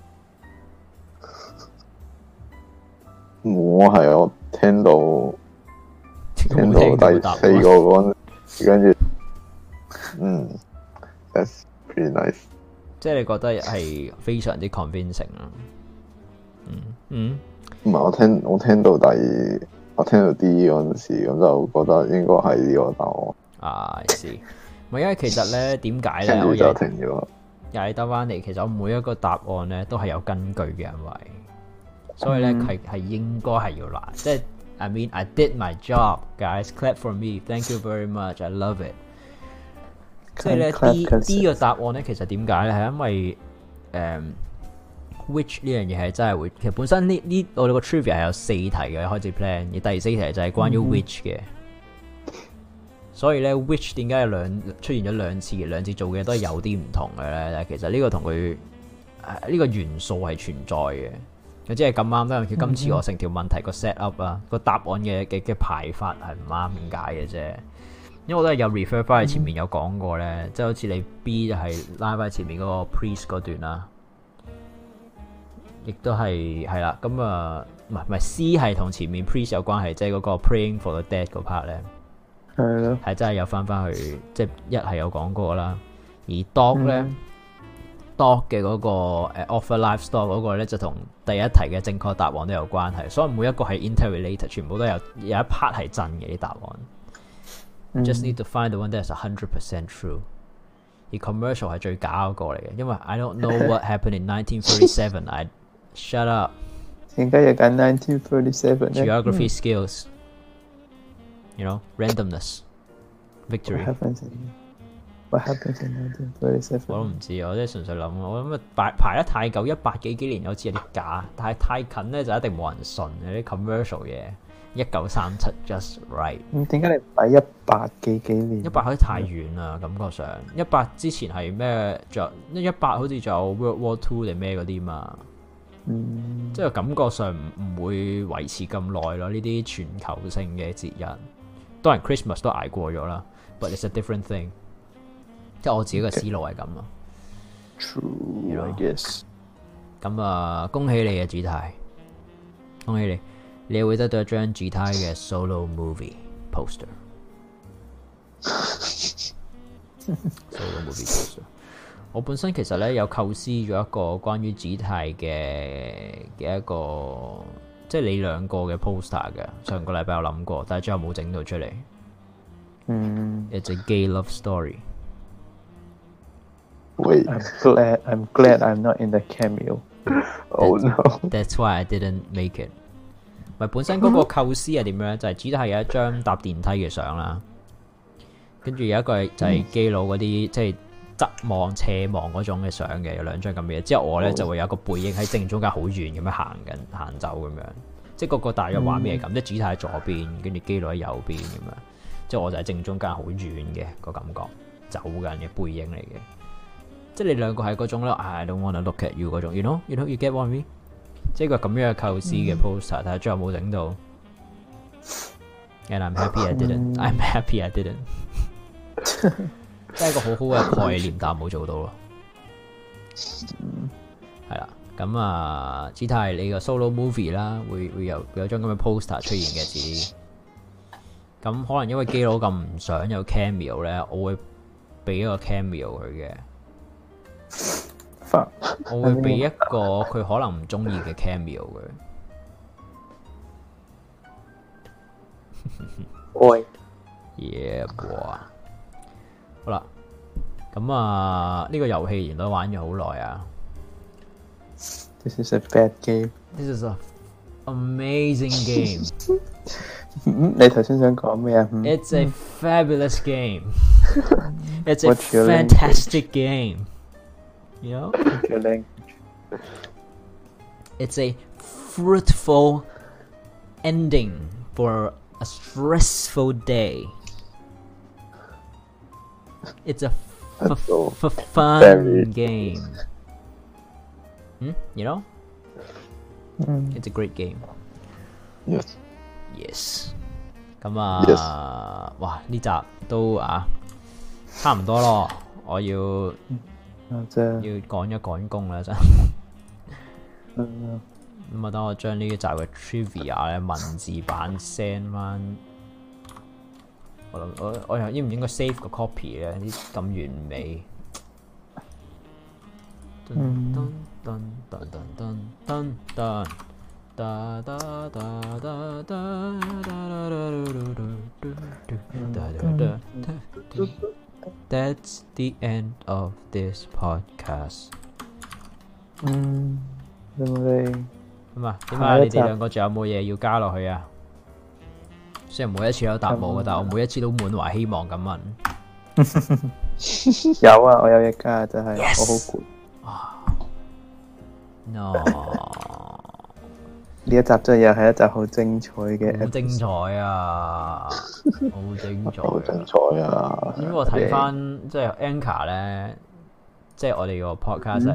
我聽到第四個嗰陣，跟住，that's pretty nice。 即係你覺得係非常之 convincing 啦。唔係我聽到 D 嗰陣時，咁就覺得應該係呢個答案。 啊，是。唔係因為其實咧，點解咧？ 跟住就停咗。 又係得翻嚟，其實我每一個答案咧都係有根據嘅，因為所以咧係應該係要難。即係 I mean I did my job, guys. Clap for me. Thank you very much. I love it。即係咧 D 個答案咧，其實點解咧？係因為which 呢樣嘢係真係會，其實本身呢我哋個 trivia 係有4題嘅開始 plan，而第4題就係關於 which 嘅。所以咧 which 點解出現咗兩次做嘅都係有啲唔同嘅咧？其實呢個同佢呢個元素係存在嘅。佢即係咁啱得，佢今次我成條問題個 set up 啊，個答案嘅排法係唔啱點解嘅啫？因為我都係有 refer 翻去前面有講過咧，即係好似你 B 就係拉翻前面嗰個 priest 嗰段啦，亦都係啦。咁唔係 C 係同前面 priest 有關係，即係嗰個 praying for the dead 嗰 part 咧，係咯，係真係有翻去，即係一係有講過啦。而 dog 咧。Dog 嘅嗰個offer life store 嗰個咧就同第一題嘅正確答案都有關係，所以每一個係 interrelated， 全部都有一 part 係真嘅啲答案。Just need to find the one that is 100% true。而 commercial 係最假嗰個嚟嘅，因為 I don't know what happened in 1937。I shut up。 點解要揀1937咧 ？Geography skills。You know, randomness, victory。 What happens in 1937？ 我都唔知，我真係純粹諗，我諗排得太久，100幾年好似有啲假，但係太近咧就一定冇人信嘅啲 commercial 嘢。1937 just right。 點解你擺100幾年 ？100好似太遠啦，感覺上100之前係咩？仲有100好似仲有 World War II 定咩嗰啲嘛？即係感覺上唔會維持咁耐咯。呢啲全球性嘅節日，當然 Christmas 都捱過咗啦，but it's a different thing。即係我自己嘅思路係咁咯。 True, I guess。 咁恭喜你嘅主題，恭喜你，你會得到一張主題嘅 solo movie poster。solo movie poster。我本身其實咧有構思咗一個關於主題嘅一個，即係你兩個嘅 poster 嘅。上個禮拜有諗過，但係最後冇整到出嚟。It's a gay love story。Wait. I'm glad I'm not in the cameo. Oh no. That's why I didn't make it. 咪本身嗰個構思係點樣咧？就係主要係有一張搭電梯嘅相啦，跟住有一個就係基佬嗰啲即係側望斜望嗰種嘅相嘅，有兩張咁嘅嘢。之後我咧就會有一個背影喺正中間好遠咁樣行走咁樣，即係個大約畫面係咁，即係主體喺左邊，跟住基佬喺右邊咁樣，即係我就喺正中間好遠嘅個感覺走緊嘅背影嚟嘅。即係你兩個係嗰種咧 ，I don't wanna look at you 嗰種 ，you know you get what I mean？ 即係個咁樣嘅構思嘅 poster，睇下最後冇整到。And I'm happy I didn't. I'm happy I didn't. 真係一個好好嘅概念，但係冇做到咯。係啦，咁啊，只睇你個 solo movie 啦，會有張咁嘅 poster 出現嘅自己。咁可能因為基佬咁唔想有 cameo 咧，我會俾一個 cameo 佢嘅。我會俾一個佢可能唔中意嘅 cameo 佢。 喂 ，Yeah boy。好啦，咁啊，呢個遊戲原來都玩咗好耐啊。 This is a bad game. This is a amazing game. 你頭先想講咩啊 ？It's a fabulous game. It's a fantastic game. You know? What's your language? It's a fruitful ending for a stressful day. It's a fun game. You know? It's a great game. Yes. Yes. 咁啊，哇！呢集都差唔多咯，我要趕一趕工啦，真。咁啊，等我將呢集嘅 trivia 咧文字版 send 翻。我又應唔應該 save 個 copy 咧？啲咁完美。That's the end of this podcast。咁啊，點解你哋兩個仲有冇嘢要加落去啊？雖然每一次都答冇嘅，但係我每一次都滿懷希望咁問。 有啊，我有嘢加，就係、我好攰。No， 呢一集真係又係一集好精彩嘅， 好精彩啊！好精彩， 好精彩啊！ 因為我睇翻即係 Anchor 咧，即係我哋個 podcast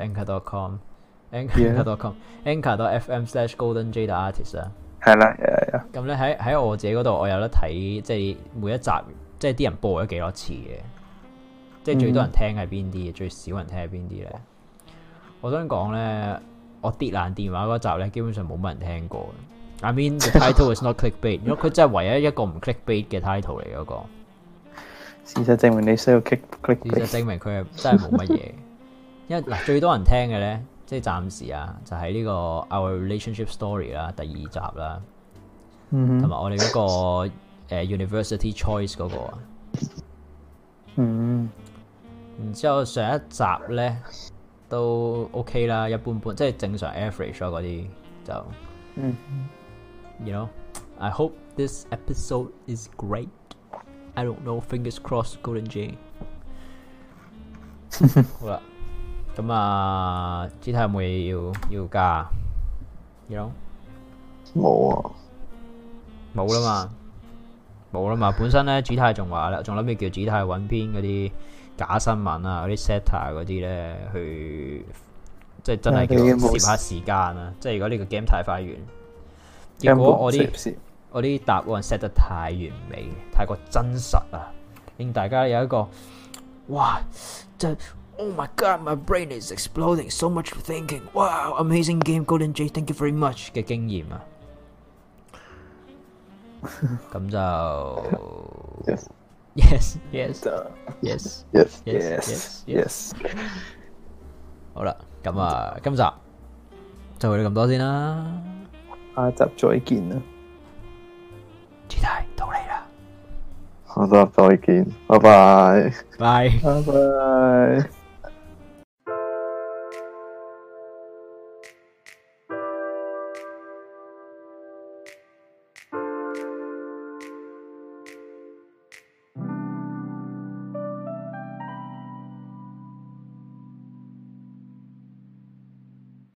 anchor.com。Anchor.fm/goldenj artist 啊， 係啦， 咁咧喺我自己嗰度，我有得睇，即係每一集，即係啲人播咗幾多次嘅，即係最多人聽係邊啲，最少人聽係邊啲咧？我想講咧，我跌爛電話嗰集咧，基本上冇乜人聽過。I mean the title is not clickbait， 因為佢真係唯一一個唔 clickbait 嘅 title 嚟嗰個。 事實證明你需要 clickbait。 事實證明佢係真係冇乜嘢，因為嗱最多人聽嘅咧。即係暫時就係呢個 Our Relationship Story 啦，第2集啦，同埋我哋嗰個University Choice 嗰個啊，然之後上一集咧都 OK 啦，一般般，即係正常 average 嗰啲就，You know, I hope this episode is great. I don't know, fingers crossed, Golden J。好啦。咁啊，之後有冇嘢要加？You know？ 冇啊， 冇啦嘛。本身咧，主太仲話啦，仲諗住叫主太揾篇嗰啲假新聞啊，嗰啲 setter 嗰啲咧，去即係真係叫攝下時間啊。即係如果呢個 game 太快完，結果我啲答案 set 得太完美，太過真實啊，令大家有一個哇，即係。Oh my god, my brain is exploding. So much thinking. Wow, amazing game, Golden J. Thank you very much 嘅經驗啊。咁就 yes。好啦，咁啊，今集就去到咁多先啦。 下集再見啦。 主題到你啦。 下集再見，拜拜。 拜。 拜拜。